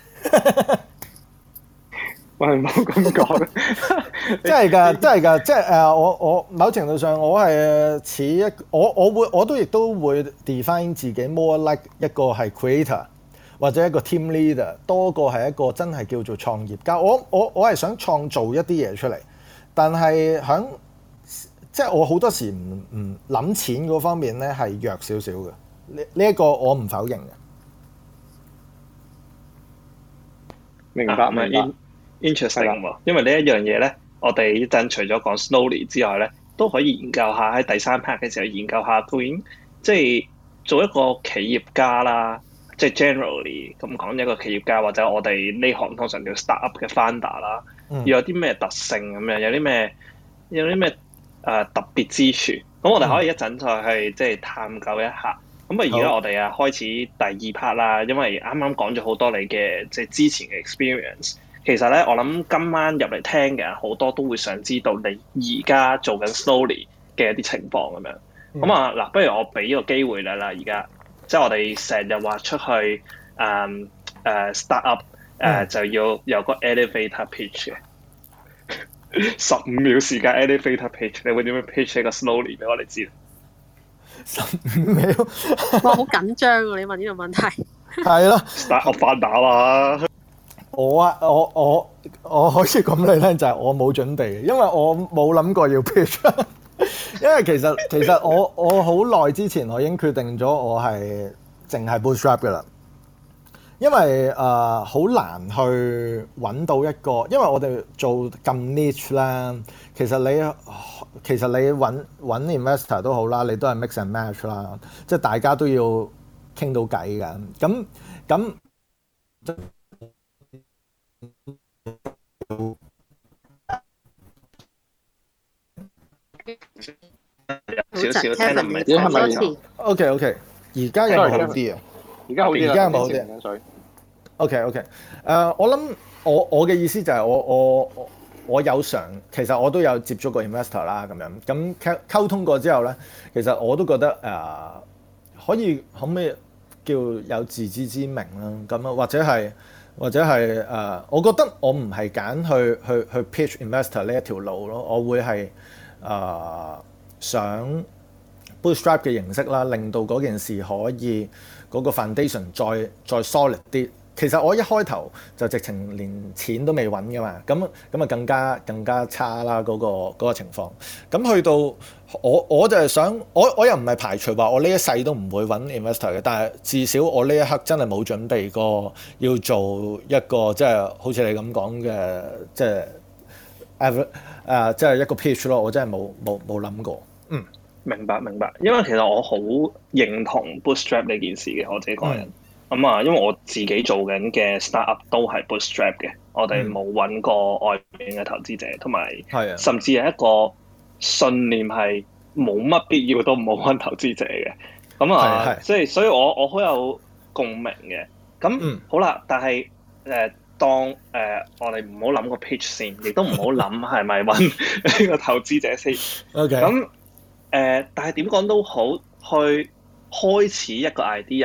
B: 喂，唔好咁講，
D: 真係㗎，即係我某程度上我係似一我都亦都會 define 自己 more like 一個係 creator 或者一個 team leader 多過係一個真係叫做創業家。我係想創造一啲嘢出嚟，但係即係我好多時唔諗錢嗰方面咧係弱少少嘅。呢一個我唔否認嘅。
B: 明白。
C: Interesting 喎，因為呢一樣嘢咧，我哋一陣除咗講 Slowly 之外咧，都可以研究下喺第三 part 嘅時候研究下究竟即係做一個企業家啦，即係 generally 咁講一個企業家或者我哋呢行通常叫 startup 嘅 founder 啦，要有啲咩特性咁樣，有啲咩特別之處，咁我哋可以一陣再去即係探究一下。咁啊，而家我哋開始第二 part 啦，因為啱啱講咗好多你嘅即係之前嘅 experience。其實咧，我諗今晚入嚟聽嘅人好多都會想知道你而家做緊 Slowly 嘅一啲情況咁樣。咁啊嗱，不如我俾個機會你啦，而家即係我哋成日話出去start up 就要有個 elevator pitch 嘅15秒時間 elevator pitch， 你會點樣 pitch 一個 Slowly 俾我哋知
D: ？15秒，
F: 哇，好緊張喎！你問呢個問題。
D: 係咯
C: ，start up 翻打啦。
D: 我可以講俾你聽，就係我冇準備嘅，因為我冇諗過要 pitch。因為其實我好耐之前我已經決定咗我係淨係 bootstrap 嘅啦。因為好難去揾到一個，因為我哋做咁 niche 啦，其實你揾 investor 都好啦，你都係 mix and match 啦，即係大家都要傾到偈㗎。咁
C: 少少聽得唔係，
B: 係咪
D: ？OK， 而家有冇好啲啊？
B: 而家好啲啦，
D: 而家有冇好啲？OK， 我諗我嘅意思就係我有其實我都有接觸過 investor 啦，咁溝通過之後咧，其實我都覺得可唔可以叫有自知之明啦，咁啊或者係我覺得我唔係揀去 pitch investor 呢一條路咯，我會係想 bootstrap 嘅形式啦，令到嗰件事可以嗰個 foundation 再 solid 啲。其實我一開頭就直情連錢都未揾㗎嘛，咁啊更加差啦嗰個情況。咁去到我就係想，我又唔係排除話我呢一世都唔會揾 investor 嘅，但係至少我呢一刻真係冇準備過要做一個即係好似你咁講嘅即係一個 pitch 咯，我真係冇諗過。
C: 明白，因為其實我好認同 bootstrap 呢件事嘅，我自己個人。因為我自己做緊嘅 startup 都係 bootstrap 嘅，我哋冇揾過外面嘅投資者，同埋甚至係一個信念係冇乜必要都唔好揾投資者嘅。所以我好有共鳴嘅。咁好啦，但係當我哋唔好諗個 pitch 先，亦都唔好諗係咪揾呢個投資者先。咁但係點講都好，去開始一個 idea。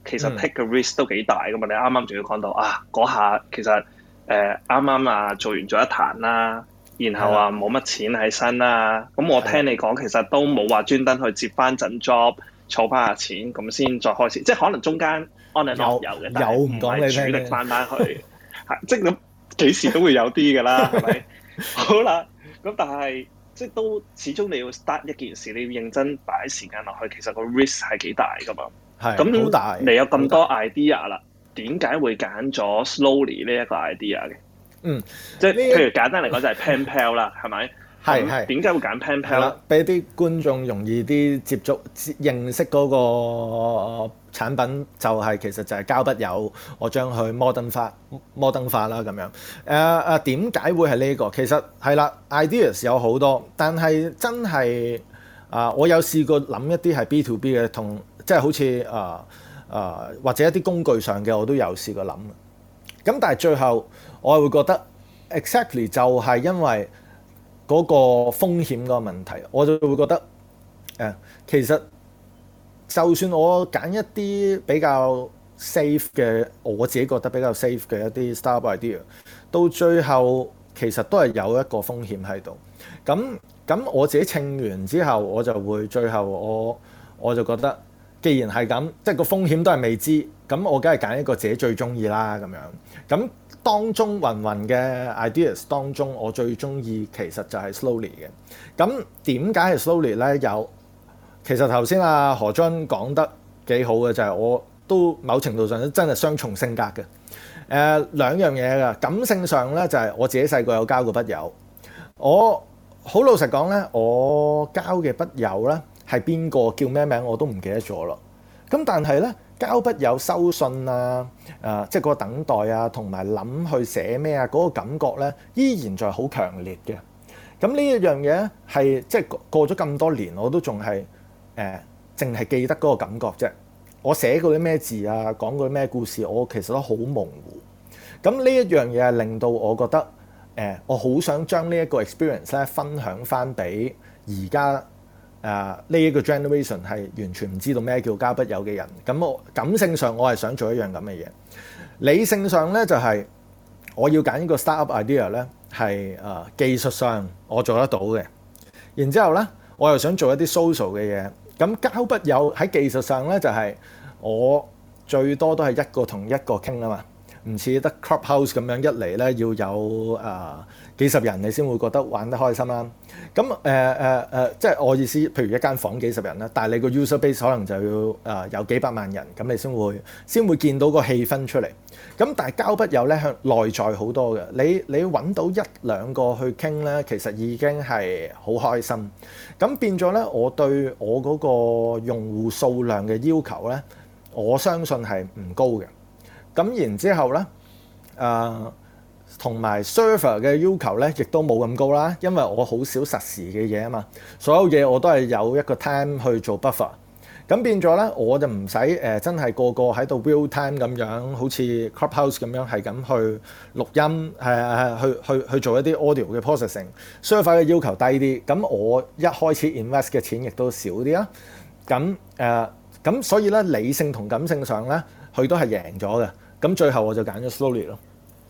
C: 其實 take 嘅 risk 都幾大噶嘛。你啱啱仲要講到嗰下其實啱啱做完咗一壇啦，然後冇乜錢喺身啦。咁我聽你講其實都冇話專登去接翻陣 job，儲翻下錢咁先再開始，即係可能中間 on and off 有嘅，但係唔係主力翻去，即係咁幾時都會有啲㗎啦，係咪？好啦，咁但係即係都始終你要 start 一件事，你要認真擺時間落去，其實個 risk 係幾大㗎嘛。係咁好大。你有咁多 idea 啦，點解會揀咗 Slowly 呢一個 idea 嘅？即係譬如簡單嚟講就係 Pen Pal 啦，係咪？係點解會揀 Pen Pal 咧？俾啲觀眾容易啲接觸認識嗰個產品，就係其實就係膠筆友，我將佢摩登化啦咁樣。點解會係呢個？其實係啦 ，ideas 有好多，但係真係我有試過諗一啲係 B to B 嘅，同即係好似或者一啲工具上嘅，我都有試過諗。咁但係最後我係會覺得 exactly 就係因為嗰個風險個問題，我就會覺得其實就算我揀一啲比較 safe 嘅，我自己覺得比較 safe 嘅一啲 startup idea， 到最後其實都係有一個風險喺度。咁我自己稱完之後，我就會最後我就覺得，既然係咁，即係個風險都係未知，咁我梗係揀一個自己最中意啦咁樣。咁當中芸芸嘅 ideas 當中，我最中意其實就係 Slowly 嘅。咁點解係 Slowly 咧？其實頭先何津講得幾好嘅，就係我都某程度上真係雙重性格嘅。兩樣嘢㗎，感性上咧就係我自己細個有交過筆友。我好老實講咧，我交嘅筆友咧係邊個叫咩名我都唔記得咗咯。咁但係咧，交筆友收信即係嗰個等待同埋諗去寫咩嗰個感覺咧，依然就係好強烈嘅。咁呢一樣嘢係即係過咗咁多年，我都仲係淨係記得嗰個感覺啫。我寫過啲咩字講過啲咩故事，我其實都好模糊。咁呢一樣嘢係令到我覺得我好想將呢一個 experience 咧分享翻俾而家呢一個 generation 係完全唔知道咩叫交筆友嘅人。咁我感性上我係想做一樣咁嘅嘢，理性上咧就係我要揀一個 startup idea 咧係技術上我做得到嘅，然之後咧我又想做一啲 social 嘅嘢。咁交筆友喺技術上咧就係我最多都係一個同一個傾啊嘛，唔似得 Clubhouse 咁樣一嚟咧要有幾十人你先會覺得玩得開心啦。咁即係我意思，譬如一間房幾十人啦，但係你個 user base 可能就要有幾百萬人，咁你先會見到個氣氛出嚟。咁但係交筆友咧向內在好多嘅，你揾到一兩個去傾咧，其實已經係好開心。咁變咗咧，我對我嗰個用戶數量嘅要求咧，我相信係唔高嘅。咁然之後咧，同埋 server 嘅要求咧，亦都冇咁高啦，因為我好少實時嘅嘢啊嘛，所有嘢我都係有一個 time 去做 buffer。咁變咗咧，我就唔使真係個個喺度 real time 咁樣，好似 Clubhouse 咁樣係咁去錄音，去做一啲 audio 嘅 processing。server 嘅要求低啲，咁我一開始 invest 嘅錢亦都少啲啦。咁所以咧，理性同感性上咧，佢都係贏咗嘅。咁最後我就揀咗 Slowly 咯。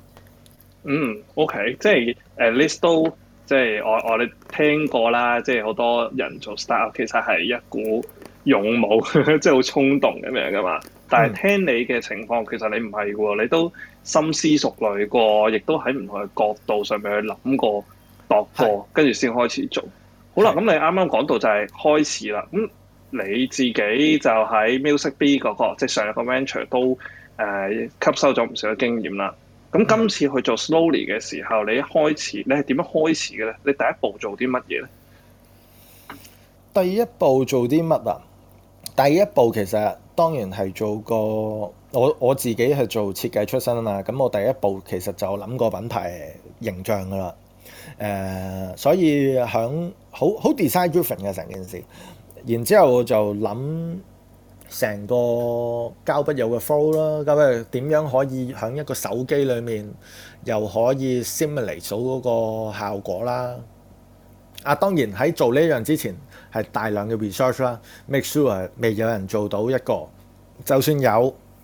C: OK， 即係 at least 都即係我哋聽過啦，即係好多人做 startup 其實係一股勇武，即係好衝動咁樣噶嘛。但係聽你嘅情況，其實你唔係喎，你都深思熟慮過，亦都喺唔同嘅角度上面去諗過、度過，跟住先開始做。好啦，咁你啱啱講到就係開始啦。咁你自己就喺 MusicB 嗰個，即係上一個 venture 都吸收咗唔少嘅經驗啦。咁今次去做 Slowly 嘅時候，你一開始你係點樣開始嘅咧？你第一步做啲乜嘢咧？
D: 第一步做啲乜啊？第一步其實當然係做個我自己係做設計出身啊嘛。咁我第一步其實就諗個品牌形象噶啦。所以響好 design driven 嘅成件事。然之後我就諗成個交筆友嘅 flow 啦，咁點樣可以喺一個手機裏面又可以 simulate 到嗰個效果啦。當然喺做呢樣之前係大量嘅 research 啦 ，make sure 未有人做到一個，就算有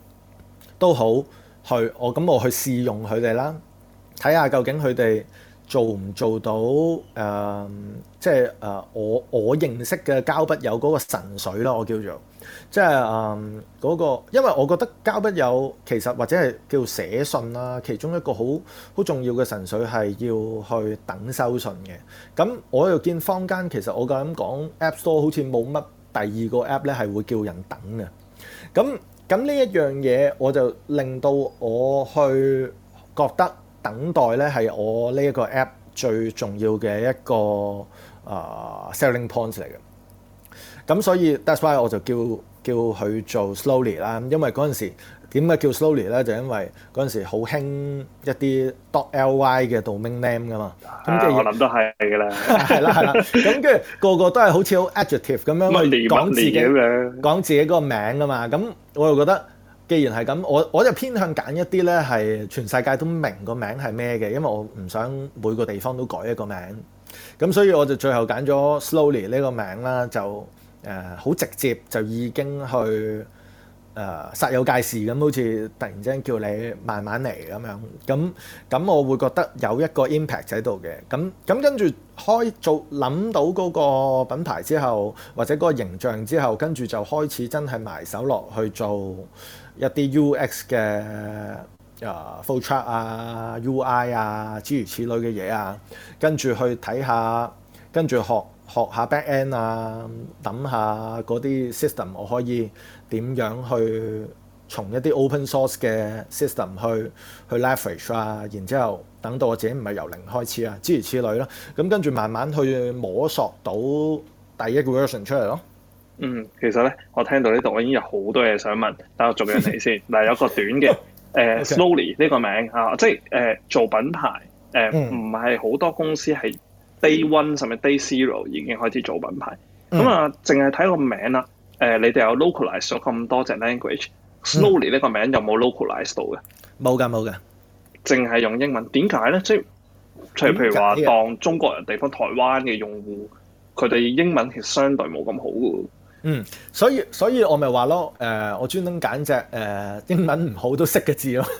D: 都好，我去試用佢哋啦，睇下究竟佢哋做唔做到即係我認識嘅膠筆友嗰個神水啦，我叫做即係嗰個，因為我覺得膠筆友其實或者係叫寫信啦，其中一個好重要嘅神水係要去等收信嘅。咁我又見坊間其實我夠膽講 App Store 好似冇乜第二個 App 咧係會叫人等嘅。咁呢一樣嘢我就令到我去覺得等待咧係我呢一個 App 最重要嘅一個selling point 嚟嘅。咁所以 that's why 我就叫佢做 Slowly 啦，因為嗰陣時點解叫 Slowly 咧？就因為嗰陣時好興一啲 .ly 嘅 domain name 噶嘛。咁
C: 我諗都係㗎啦。
D: 係啦。咁跟住個都係好似好 adjective 咁樣去講自己嗰個名啊嘛。咁我又覺得，既然係咁，我就偏向揀一啲咧係全世界都明個名係咩嘅，因為我唔想每個地方都改一個名。咁所以我就最後揀咗 Slowly 呢個名啦，就好直接就已經去煞有介事咁，好似突然之間叫你慢慢嚟咁樣。咁我會覺得有一個 impact 喺度嘅。咁跟住諗到嗰個品牌之後，或者嗰個形象之後，跟住就開始真係埋手落去做一啲 UX 嘅flow chart 啊、UI 啊諸如此類嘅嘢啊，跟住去睇下，跟住學下 back end 啊，諗下嗰啲 system 我可以點樣去從一啲 open source 嘅 system 去 leverage 啊，然之後等到我自己唔係由零開始啊，諸如此類咯。咁跟住慢慢去摸索到第一個 version 出嚟咯。
C: 其實咧，我聽到呢度我已經有好多嘢想問，等我逐樣嚟先。嗱，有個短嘅Slowly 呢個名啊，即係做品牌唔係好多公司係Day One 甚至 Day Zero 已經開始做品牌。咁啊，淨係睇個名啦。你哋有 localize 咗咁多隻 language，Slowly 呢個名有冇 localize 到嘅？
D: 冇㗎。淨
C: 係用英文，點解咧？即係譬如話當中國人地方台灣嘅用戶，佢哋英文其實相對冇咁好嘅。
D: 所以我咪話咯，我專登揀隻英文唔好都識嘅字咯。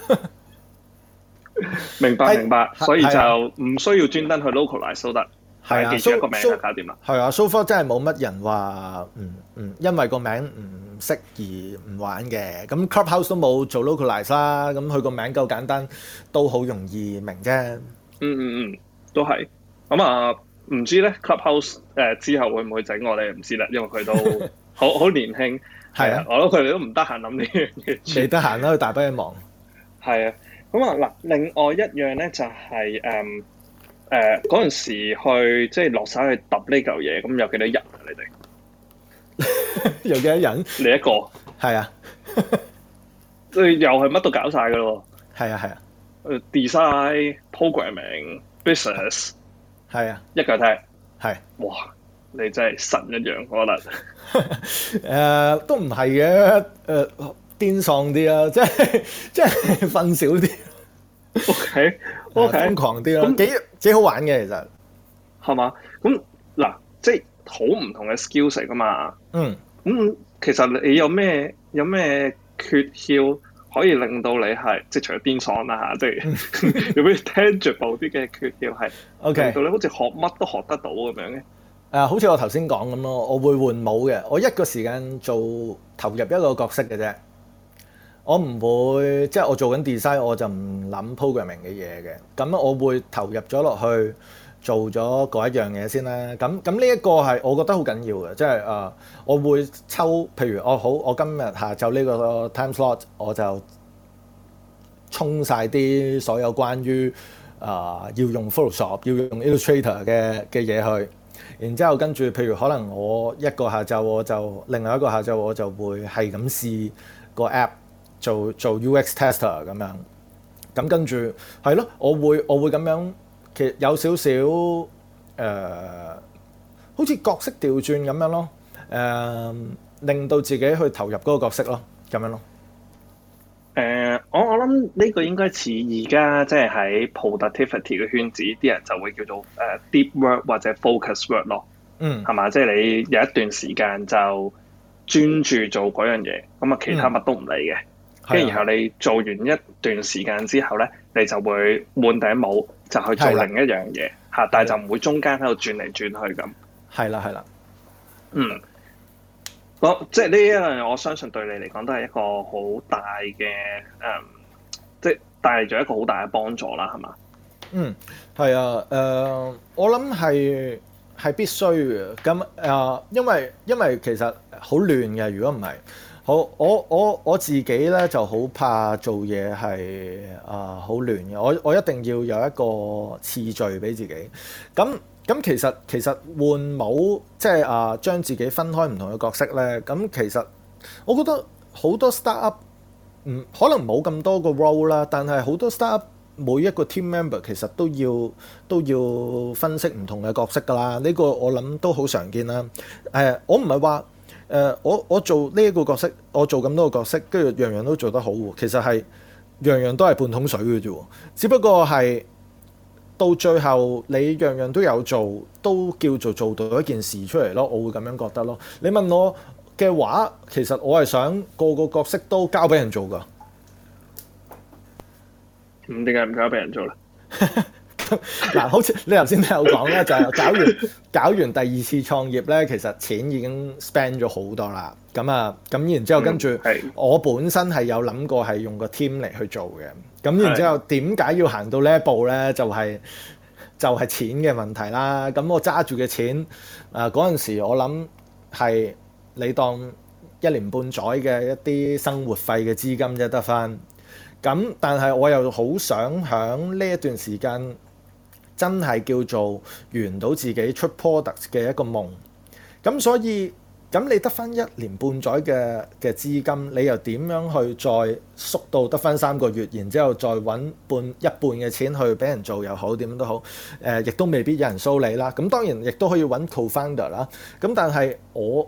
C: 明白，所以就唔需要專登去 localize 都得。係記住一個名就搞掂啦。
D: 係啊，so far 真係冇乜人話因為個名唔識而唔玩嘅。咁 Clubhouse 都冇做 localize 啦，咁佢個名夠簡單，都好容易明啫。
C: 都係。咁啊，唔知咧 Clubhouse 之後會唔會整我哋唔知啦，因為佢都好年輕。係啊，我諗佢哋都唔得閒諗呢樣嘢。
D: 你得閒啦，佢大把嘢忙。係啊。
C: 咁啊嗱，另外一樣咧就係嗰陣時去即係落手去揼呢嚿嘢，咁有幾多人啊？你哋
D: 有幾多人？
C: 你一個
D: 係啊，
C: 即係又係乜都搞晒㗎咯。
D: 係啊。
C: design、programming、business
D: 係啊，
C: 一腳踢
D: 係。哇！
C: 你真係神一樣，我覺得。
D: 都唔係嘅，癲喪啲啊，即係瞓少啲。
C: OK，
D: 瘋狂啲咯，幾好玩嘅其實。
C: 係嘛？咁嗱，即係好唔同嘅 skills 嚟噶嘛。咁其實你有咩訣竅可以令到你係即係除咗癲喪啦嚇，即係有咩 tangible 啲嘅訣竅係令到你好似學乜都學得到咁樣嘅？
D: 好似我頭先講咁咯，我會換帽嘅，我一個時間投入一個角色嘅啫。我唔會即係我做緊 design，我就唔諗 programming 嘅嘢嘅。咁我會投入咗落去做咗嗰一樣嘢先啦。咁呢一個係我覺得好緊要嘅，即係我會抽，譬如我今日下晝呢個 time slot，我就沖晒啲所有關於要用 Photoshop 要用 Illustrator 嘅嘢去，然之後跟住譬如可能我一個下晝另外一個下晝我就會係咁試個 app。做 UX tester 咁樣，咁跟住係咯，我會咁樣，其實有少少好似角色調轉咁樣咯，令到自己去投入嗰個角色咯，咁樣咯。
C: 我諗呢個應該似而家即係喺 productivity 嘅圈子，啲人就會叫做deep work 或者 focus work 咯，係嘛？即係你有一段時間就專注做嗰樣嘢，咁啊其他乜都唔理嘅。 跟住然後你做完一段時間之後咧，你就會換頂帽就去做另一樣嘢嚇，但係就唔會中間喺度轉嚟轉去咁。係啦。即係呢一樣，我相信對你嚟講都係一個好大嘅即係帶嚟咗一個好大嘅幫助啦，係嘛？
D: 係啊，我諗係必須嘅。咁因為其實好亂嘅，如果唔係，我自己咧就好怕做嘢係好亂嘅。我一定要有一個次序俾自己。咁其實換帽即係將自己分開唔同嘅角色咧。咁其實我覺得好多 startup 可能冇咁多個 role 啦，但係好多 startup 每一個 team member 其實都要分析唔同嘅角色㗎啦。呢個我諗都好常見啦。我唔係話我做呢一個角色，我做咁多個角色，跟住樣樣都做得好喎。其實係樣樣都係半桶水嘅啫。只不過係到最後你樣樣都有做，都叫做到一件事出嚟咯。我會咁樣覺得咯。你問我嘅話，其實我係想個個角色都交俾人做㗎。
C: 點解唔交俾人做咧？
D: 嗱，好似你頭先都有講咧，就係搞完第二次創業咧，其實錢已經 spend 咗好多啦。咁然之後跟住我本身係有諗過係用個 team 嚟去做嘅。咁然之後點解要行到呢一步咧？就係錢嘅問題啦。咁我揸住嘅錢嗰陣時，我諗係你當1年半載嘅一啲生活費嘅資金啫得返。咁但係我又好想喺呢一段時間真係叫做圓到自己出 product 嘅一個夢。咁所以咁你得返1年半載嘅資金，你又點樣去再縮到得返3個月，然之後再揾一半嘅錢去俾人做又好，點樣都好，亦都未必有人蘇你啦。咁當然亦都可以揾 co-founder 啦。咁但係我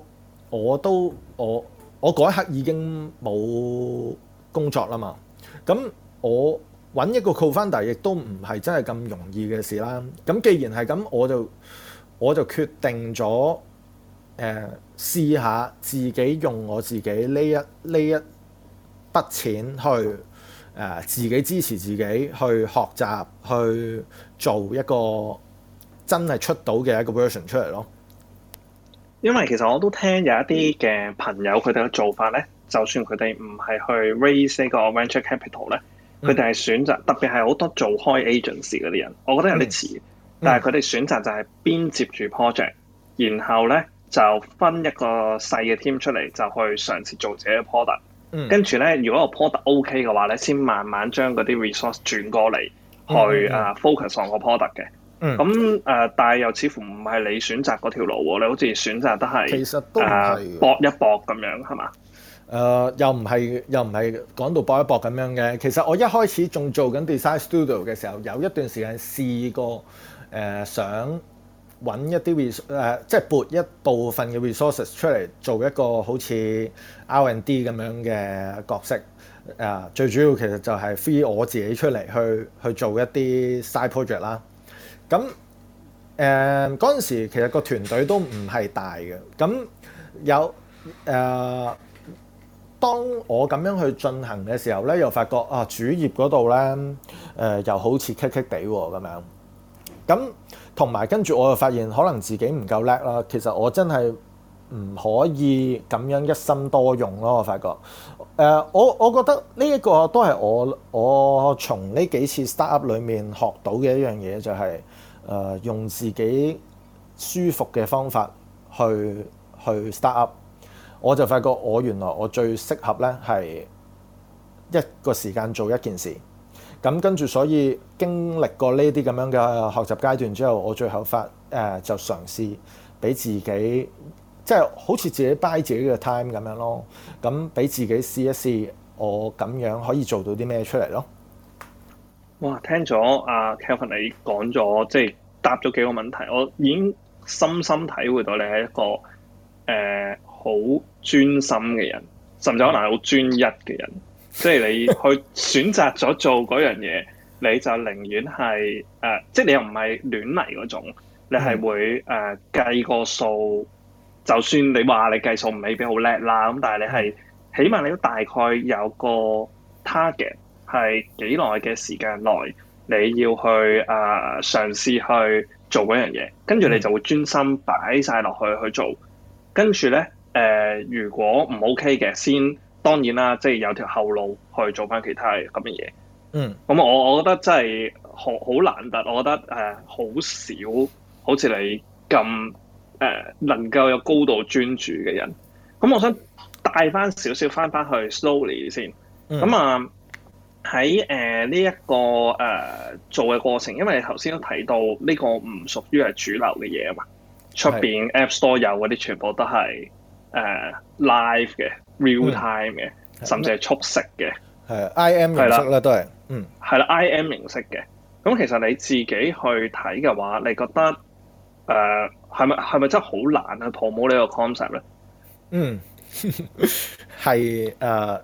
D: 嗰一刻已經冇工作啦嘛。咁我揾一個 co-founder 亦都唔係真係咁容易嘅事啦。咁既然係咁，我就決定咗試下自己用我自己呢一筆錢去自己支持自己去學習，去做一個真係出到嘅一個 version 出嚟咯。
C: 因為其實我都聽有一啲嘅朋友佢哋嘅做法咧。就算佢哋唔係去 raise 呢個 venture capital 咧，佢哋係選擇，特別係好多做開 agency 嗰啲人，我覺得有啲遲，但係佢哋選擇就係邊接住 project，然後咧就分一個細嘅 team 出嚟，就去嘗試做自己嘅 product。跟住咧，如果個 product OK 嘅話咧，先慢慢將嗰啲 resource 轉過嚟去focus on 個 product 嘅。咁但係又似乎唔係你選擇嗰條路喎，你好似選擇得係
D: 其實都
C: 搏一搏咁樣係嘛？
D: 又唔係講到搏一搏咁樣嘅。其實我一開始仲做緊 design studio 嘅時候，有一段時間試過想揾一啲即係撥一部分嘅 resources 出嚟做一個好似 R&D 咁樣嘅角色。最主要其實就係 free 我自己出嚟去做一啲 side project 啦。咁嗰陣時其實個團隊都唔係大嘅。咁有當我咁樣去進行嘅時候咧，又發覺主業嗰度咧又好似棘棘地喎咁樣。咁同埋跟住我又發現可能自己唔夠叻啦。其實我真係唔可以咁樣一心多用咯。我發覺我覺得呢一個都係我從呢幾次 startup 裡面學到嘅一樣嘢，就係用自己舒服嘅方法去 startup。我就發覺原來我最適合咧係一個時間做一件事。咁跟住所以經歷過呢啲咁樣嘅學習階段之後，我最後就嘗試俾自己即係好似自己 buy 自己嘅 time 咁樣咯。咁俾自己試一試我咁樣可以做到啲咩出嚟咯。
C: 哇！聽咗阿 Kelvin 你講咗，即係答咗幾個問題，我已經深深體會到你係一個好專心嘅人，甚至可能係好專一嘅人。即係你去選擇咗做嗰樣嘢，你就寧願係即係你又唔係亂嚟嗰種，你係會計個數。就算你話你計數未必好叻啦，咁但係你係起碼你都大概有個 target 係幾耐嘅時間內你要去嘗試去做嗰樣嘢，跟住你就會專心擺晒落去做。跟住咧如果唔 OK 嘅，先當然啦，即係有條後路去做翻其他咁嘅嘢。咁我覺得真係好難得，我覺得好少好似你咁能夠有高度專注嘅人。咁我想帶翻少少翻去 slowly 先。咁喺呢一個做嘅過程，因為你頭先都提到呢個唔屬於係主流嘅嘢啊嘛，出邊 App Store 有嗰啲全部都係live 嘅 real time 嘅，甚至係速食嘅，
D: 係 IM 形式啦，都係
C: 係啦 IM 形式嘅。咁其實你自己去睇嘅話，你覺得係咪真係好難去 promote 呢個 concept 咧？
D: 係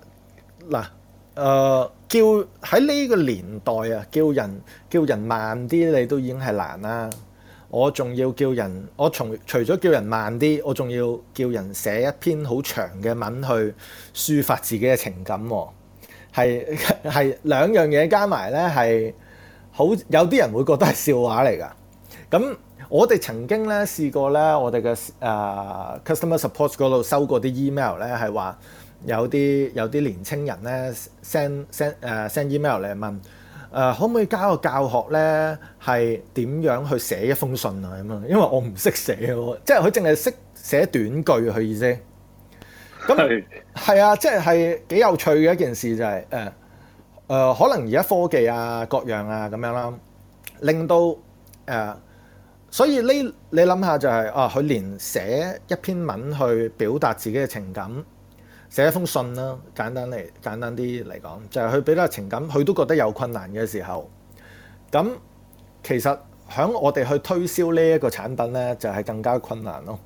D: 叫喺呢個年代啊，叫人慢啲，你都已經係難啦。我仲要叫人，除咗叫人慢啲，我仲要叫人寫一篇好長嘅文去抒發自己嘅情感喎。係兩樣嘢加埋咧，係好有啲人會覺得係笑話嚟㗎。咁我哋曾經咧試過咧，我哋嘅customer support 嗰度收過啲 email 咧，係話有啲年青人咧 send email 嚟問可唔可以加個教學咧，係點樣去寫一封信啊咁啊？因為我唔識寫喎，即係佢淨係識寫短句佢意思。咁係啊，即係幾有趣嘅一件事就係可能而家科技啊各樣啊咁樣啦，令到所以你諗下就係佢連寫一篇文去表達自己嘅情感，寫一封信啦，簡單啲嚟講，就係佢表達情感，佢都覺得有困難嘅時候，咁其實響我哋去推銷呢一個產品咧，就係更加困難咯。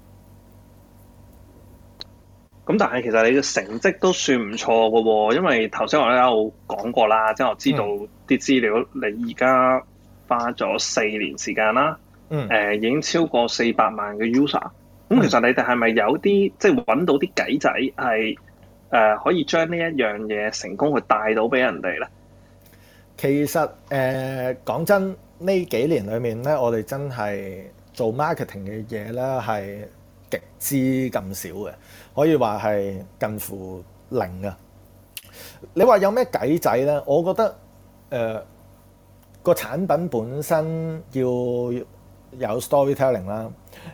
C: 咁但係其實你嘅成績都算唔錯嘅喎，因為頭先我都有講過啦，即係我知道啲資料，你而家花咗4年時間啦，已經超過400萬嘅 user。咁其實你哋係咪有啲即係揾到啲計仔係可以將呢一樣嘢成功去帶到俾人哋咧？其實
D: 講真，呢幾年裏面咧，我哋真係做 marketing 嘅嘢咧係極之咁少嘅，可以話係近乎零嘅。你話有咩計仔咧？我覺得個產品本身要有 storytelling 啦。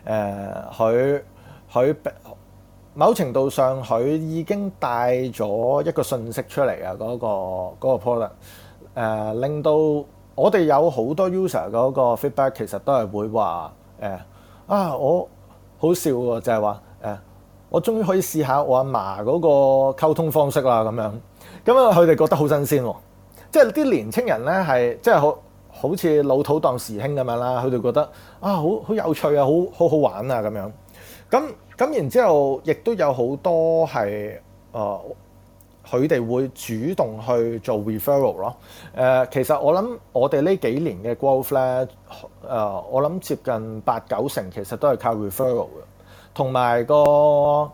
D: 佢某程度上佢已經帶咗一個信息出嚟啊！嗰個 product 令到我哋有好多 user 嗰個 feedback 其實都係會話我好笑喎，就係話我終於可以試下我阿嫲嗰個溝通方式啦咁樣。咁啊，佢哋覺得好新鮮喎，即係啲年青人咧係即係好似老土當時興咁樣啦，佢哋覺得好有趣啊，好好玩啊咁樣。咁然之後，亦都有好多係佢哋會主動去做 referral 咯。其實我諗我哋呢幾年嘅 growth 咧，我諗接近8-9成其實都係靠 referral 嘅，同埋個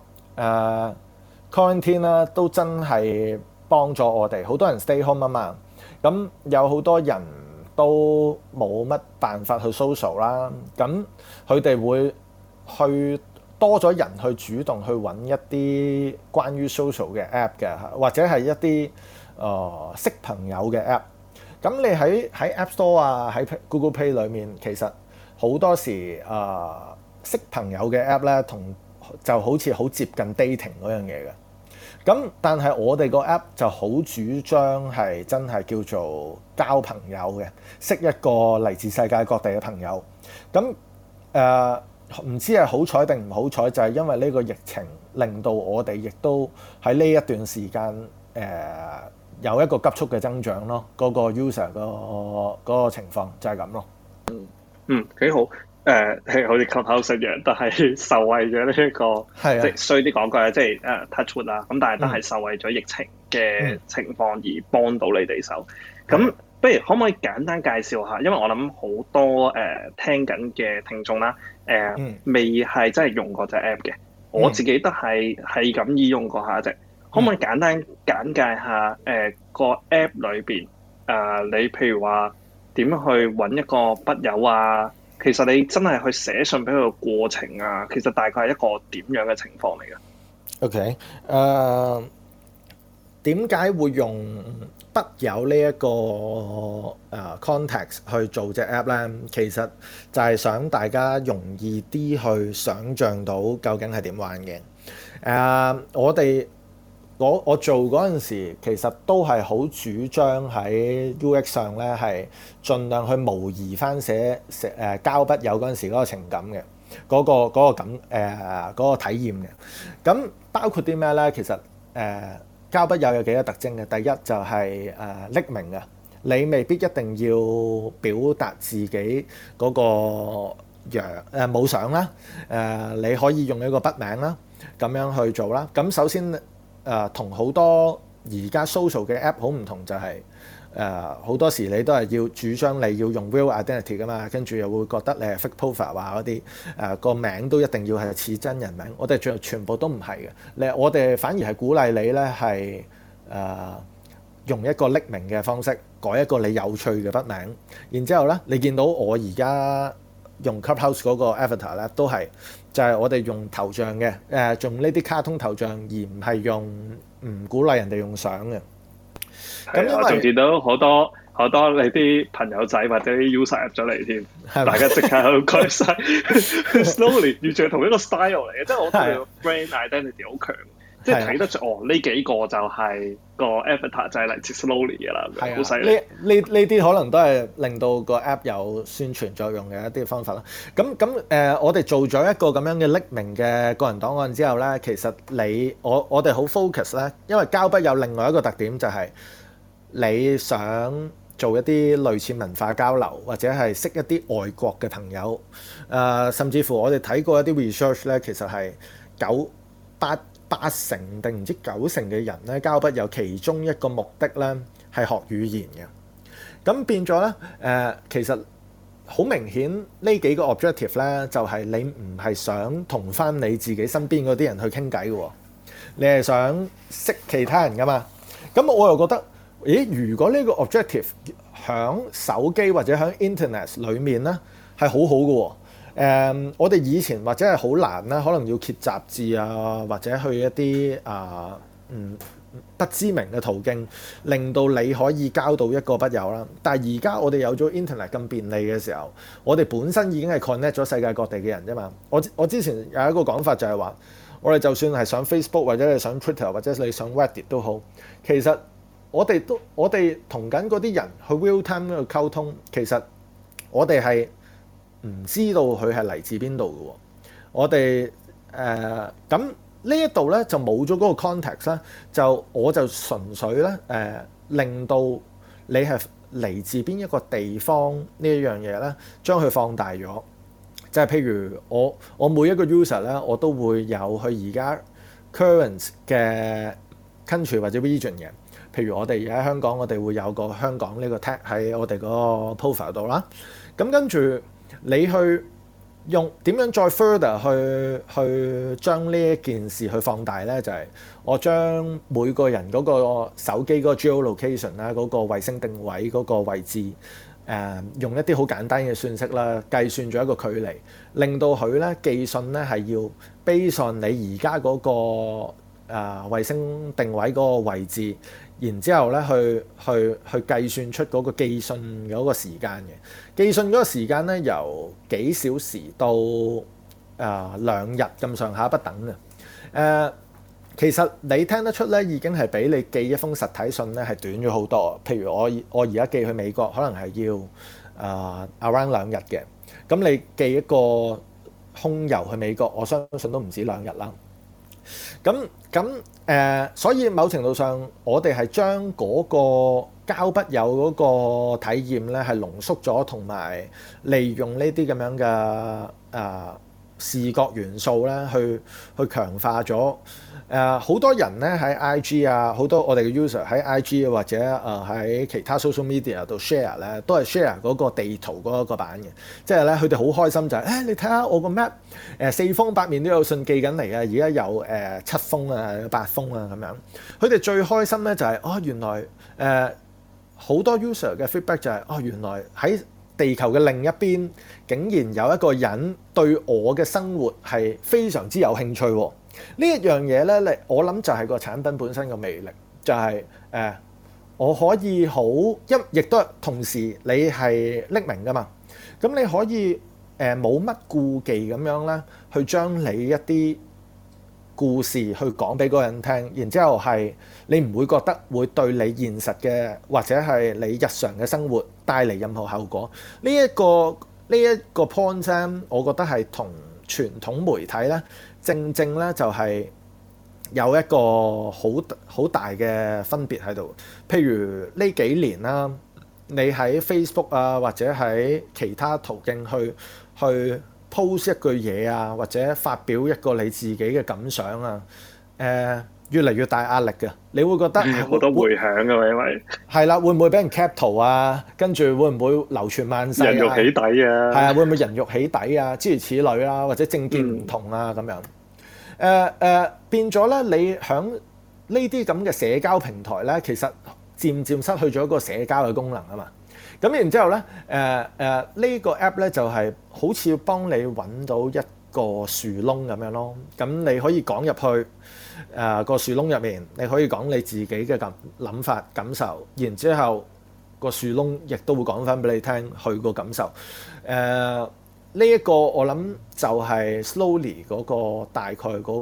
D: quarantine 啦，都真係幫咗我哋。好多人 stay home 啊嘛，咁有好多人都冇乜辦法去 social 啦，咁佢哋會去多咗人去主動去揾一啲關於 social 嘅 app 嘅，或者係一啲識朋友嘅 app。咁你喺 App Store 啊，喺 Google Play 裏面，其實好多時識朋友嘅 app 咧，就好似好接近 dating 嗰樣嘢嘅。咁但係我哋個 app 就好主張係真係叫做交朋友嘅，識一個嚟自世界各地嘅朋友。咁唔知係好彩定唔好彩，就係因為呢個疫情令到我哋亦都喺呢一段時間有一個急速嘅增長咯。嗰個 user 嗰個情況就係咁咯。
C: 幾好。係好似 Clubhouse 一樣，但係受惠咗呢一個，即係衰啲講句啊，即係touch wood 啦。咁但係都係受惠咗疫情嘅情況而幫到你哋手。咁不如可唔可以簡單介紹下？因為我諗好多聽緊嘅聽眾啦，未係真係用過隻 app 嘅。我自己都係咁意用過下隻。可可唔可以簡單簡介下個 app 裏邊你譬如話點樣去揾一個筆友啊？其實你真係去寫信俾佢嘅過程啊，其實大概係一個點樣嘅情況嚟嘅
D: ？OK，點解會用筆友呢一個context 去做隻 app 咧？其實就係想大家容易啲去想像到究竟係點玩嘅。我做嗰陣時，其實都係好主張喺 UX 上咧，係盡量去模擬翻寫交筆友嗰陣時嗰個情感嘅嗰個體驗嘅。咁包括啲咩咧？其實交筆友有幾個特徵嘅。第一就係匿名嘅，你未必一定要表達自己嗰個冇相啦。你可以用一個筆名啦，咁樣去做啦。咁首先同好多而家 social 嘅 app 好唔同，就係好多時你都係要主張你要用 real identity 噶嘛，跟住又會覺得你係 fake profile 啊嗰啲個名都一定要係似真人名。我哋全部都唔係嘅，我哋反而係鼓勵你咧係用一個匿名嘅方式改一個你有趣嘅筆名，然之後咧你見到我而家用 Clubhouse 嗰個 avatar 咧都係就係我哋用頭像嘅用呢啲卡通頭像，而唔係用唔鼓勵人哋用相嘅。咁因為
C: 我仲見到好多你啲朋友仔或者啲 user 入咗嚟添，大家即刻喺度改晒 slowly 完全係同一個 style 嚟嘅，即係我覺得 brand identity 好強。即係睇得出呢幾個就係個 avatar 就係嚟自 Slowly 嘅啦，好犀利。
D: 呢啲可能都係令到個 app 有宣傳作用嘅一啲方法啦。咁我哋做咗一個咁樣嘅匿名嘅個人檔案之後咧，其實我哋好 focus 咧，因為交筆有另外一個特點就係你想做一啲類似文化交流，或者係識一啲外國嘅朋友。甚至乎我哋睇過一啲 research 咧，其實係八成定唔知9成嘅人咧交筆友其中一個目的咧係學語言嘅。咁變咗咧其實好明顯呢幾個 objective 咧就係你唔係想同翻你自己身邊嗰啲人去傾偈嘅喎，你係想識其他人噶嘛。咁我又覺得如果呢個 objective 響手機或者響 internet 裡面咧係好好嘅喎。我哋以前或者係好難啦，可能要揭雜誌啊，或者去一啲不知名嘅途徑，令到你可以交到一個筆友啦。但係而家我哋有咗 internet 咁便利嘅時候，我哋本身已經係 connect 咗世界各地嘅人啫嘛。我之前有一個講法就係話，我哋就算係上 Facebook 或者你上 Twitter 或者你上 Reddit 都好，其實我哋同緊嗰啲人去 real time 去溝通，其實我哋係唔知道佢係嚟自邊度嘅喎。我哋咁呢一度咧就冇咗嗰個 context 啦，我就純粹咧令到你係嚟自邊一個地方呢一樣嘢咧，將佢放大咗。就係譬如我每一個 user 咧，我都會有佢而家 current 嘅 country 或者 region 嘅。譬如我哋而家香港，我哋會有個香港呢個 tag 喺我哋嗰個 profile 度啦。咁跟住你去用點樣再 further 去將呢一件事去放大咧？就係我將每個人嗰個手機嗰個 geolocation 啦，嗰個衛星定位嗰個位置，用一啲好簡單嘅算式啦，計算咗一個距離，令到佢咧寄信咧係要 base on你而家嗰個衛星定位嗰個位置，然之後咧去計算出嗰個寄信嗰個時間嘅。寄信嗰個時間咧由幾小時到2日咁上下不等嘅。其實你聽得出咧，已經係比你寄一封實體信咧係短咗好多。譬如我而家寄去美國，可能係要around 2日嘅。咁你寄一個空郵去美國，我相信都唔止2日啦。所以某程度上，我哋係將嗰個交筆友嗰個體驗咧係濃縮咗，同埋利用呢啲咁樣嘅視覺元素咧，去強化咗。好多人咧喺 IG 啊，好多我哋嘅 user 喺 IG 或者喺其他 social media 度 share 咧，都係 share 嗰個地圖嗰一個版嘅。即係咧，佢哋好開心就係、你睇下我個 map，四方八面都有信寄緊嚟啊！而家有7封啊、8封啊咁樣。佢哋最開心咧就係、原來好多 user 嘅 feedback 就係、原來喺地球嘅另一邊，竟然有一個人對我嘅生活係非常之有興趣喎。呢一樣嘢咧，我諗就係個產品本身嘅魅力，就係、我可以好亦都同時你係匿名噶嘛，咁你可以冇乜顧忌咁樣咧，去將你一啲故事去講俾嗰個人聽，然之後係你唔會覺得會對你現實嘅或者係你日常嘅生活帶嚟任何後果。呢一個 point 咧，我覺得係同傳統媒體咧，正咧就係有一個好大嘅分別喺度。譬如呢幾年啦，你喺 Facebook 啊或者喺其他途徑去 post 一句嘢啊，或者發表一個你自己嘅感想啊，越嚟越大壓力嘅。你會覺得
C: 好多迴響嘅，因為
D: 係啦，會唔會俾人 cap 圖啊？跟住會唔會流傳萬世啊？
C: 人肉起底啊？
D: 係啊，會唔會人肉起底啊？諸如此類啦，或者政見唔同啊咁樣。變咗咧，你響呢啲咁嘅社交平台咧，其實漸漸失去咗一個社交嘅功能啊嘛。咁然之後咧，呢個 app 咧就係好似幫你揾到一個樹窿咁樣咯。咁你可以講入去個樹窿入面，你可以講你自己嘅諗法感受，然之後個樹窿亦都會講翻俾你聽佢個感受。呢一個我諗就係 Slowly 嗰個大概嗰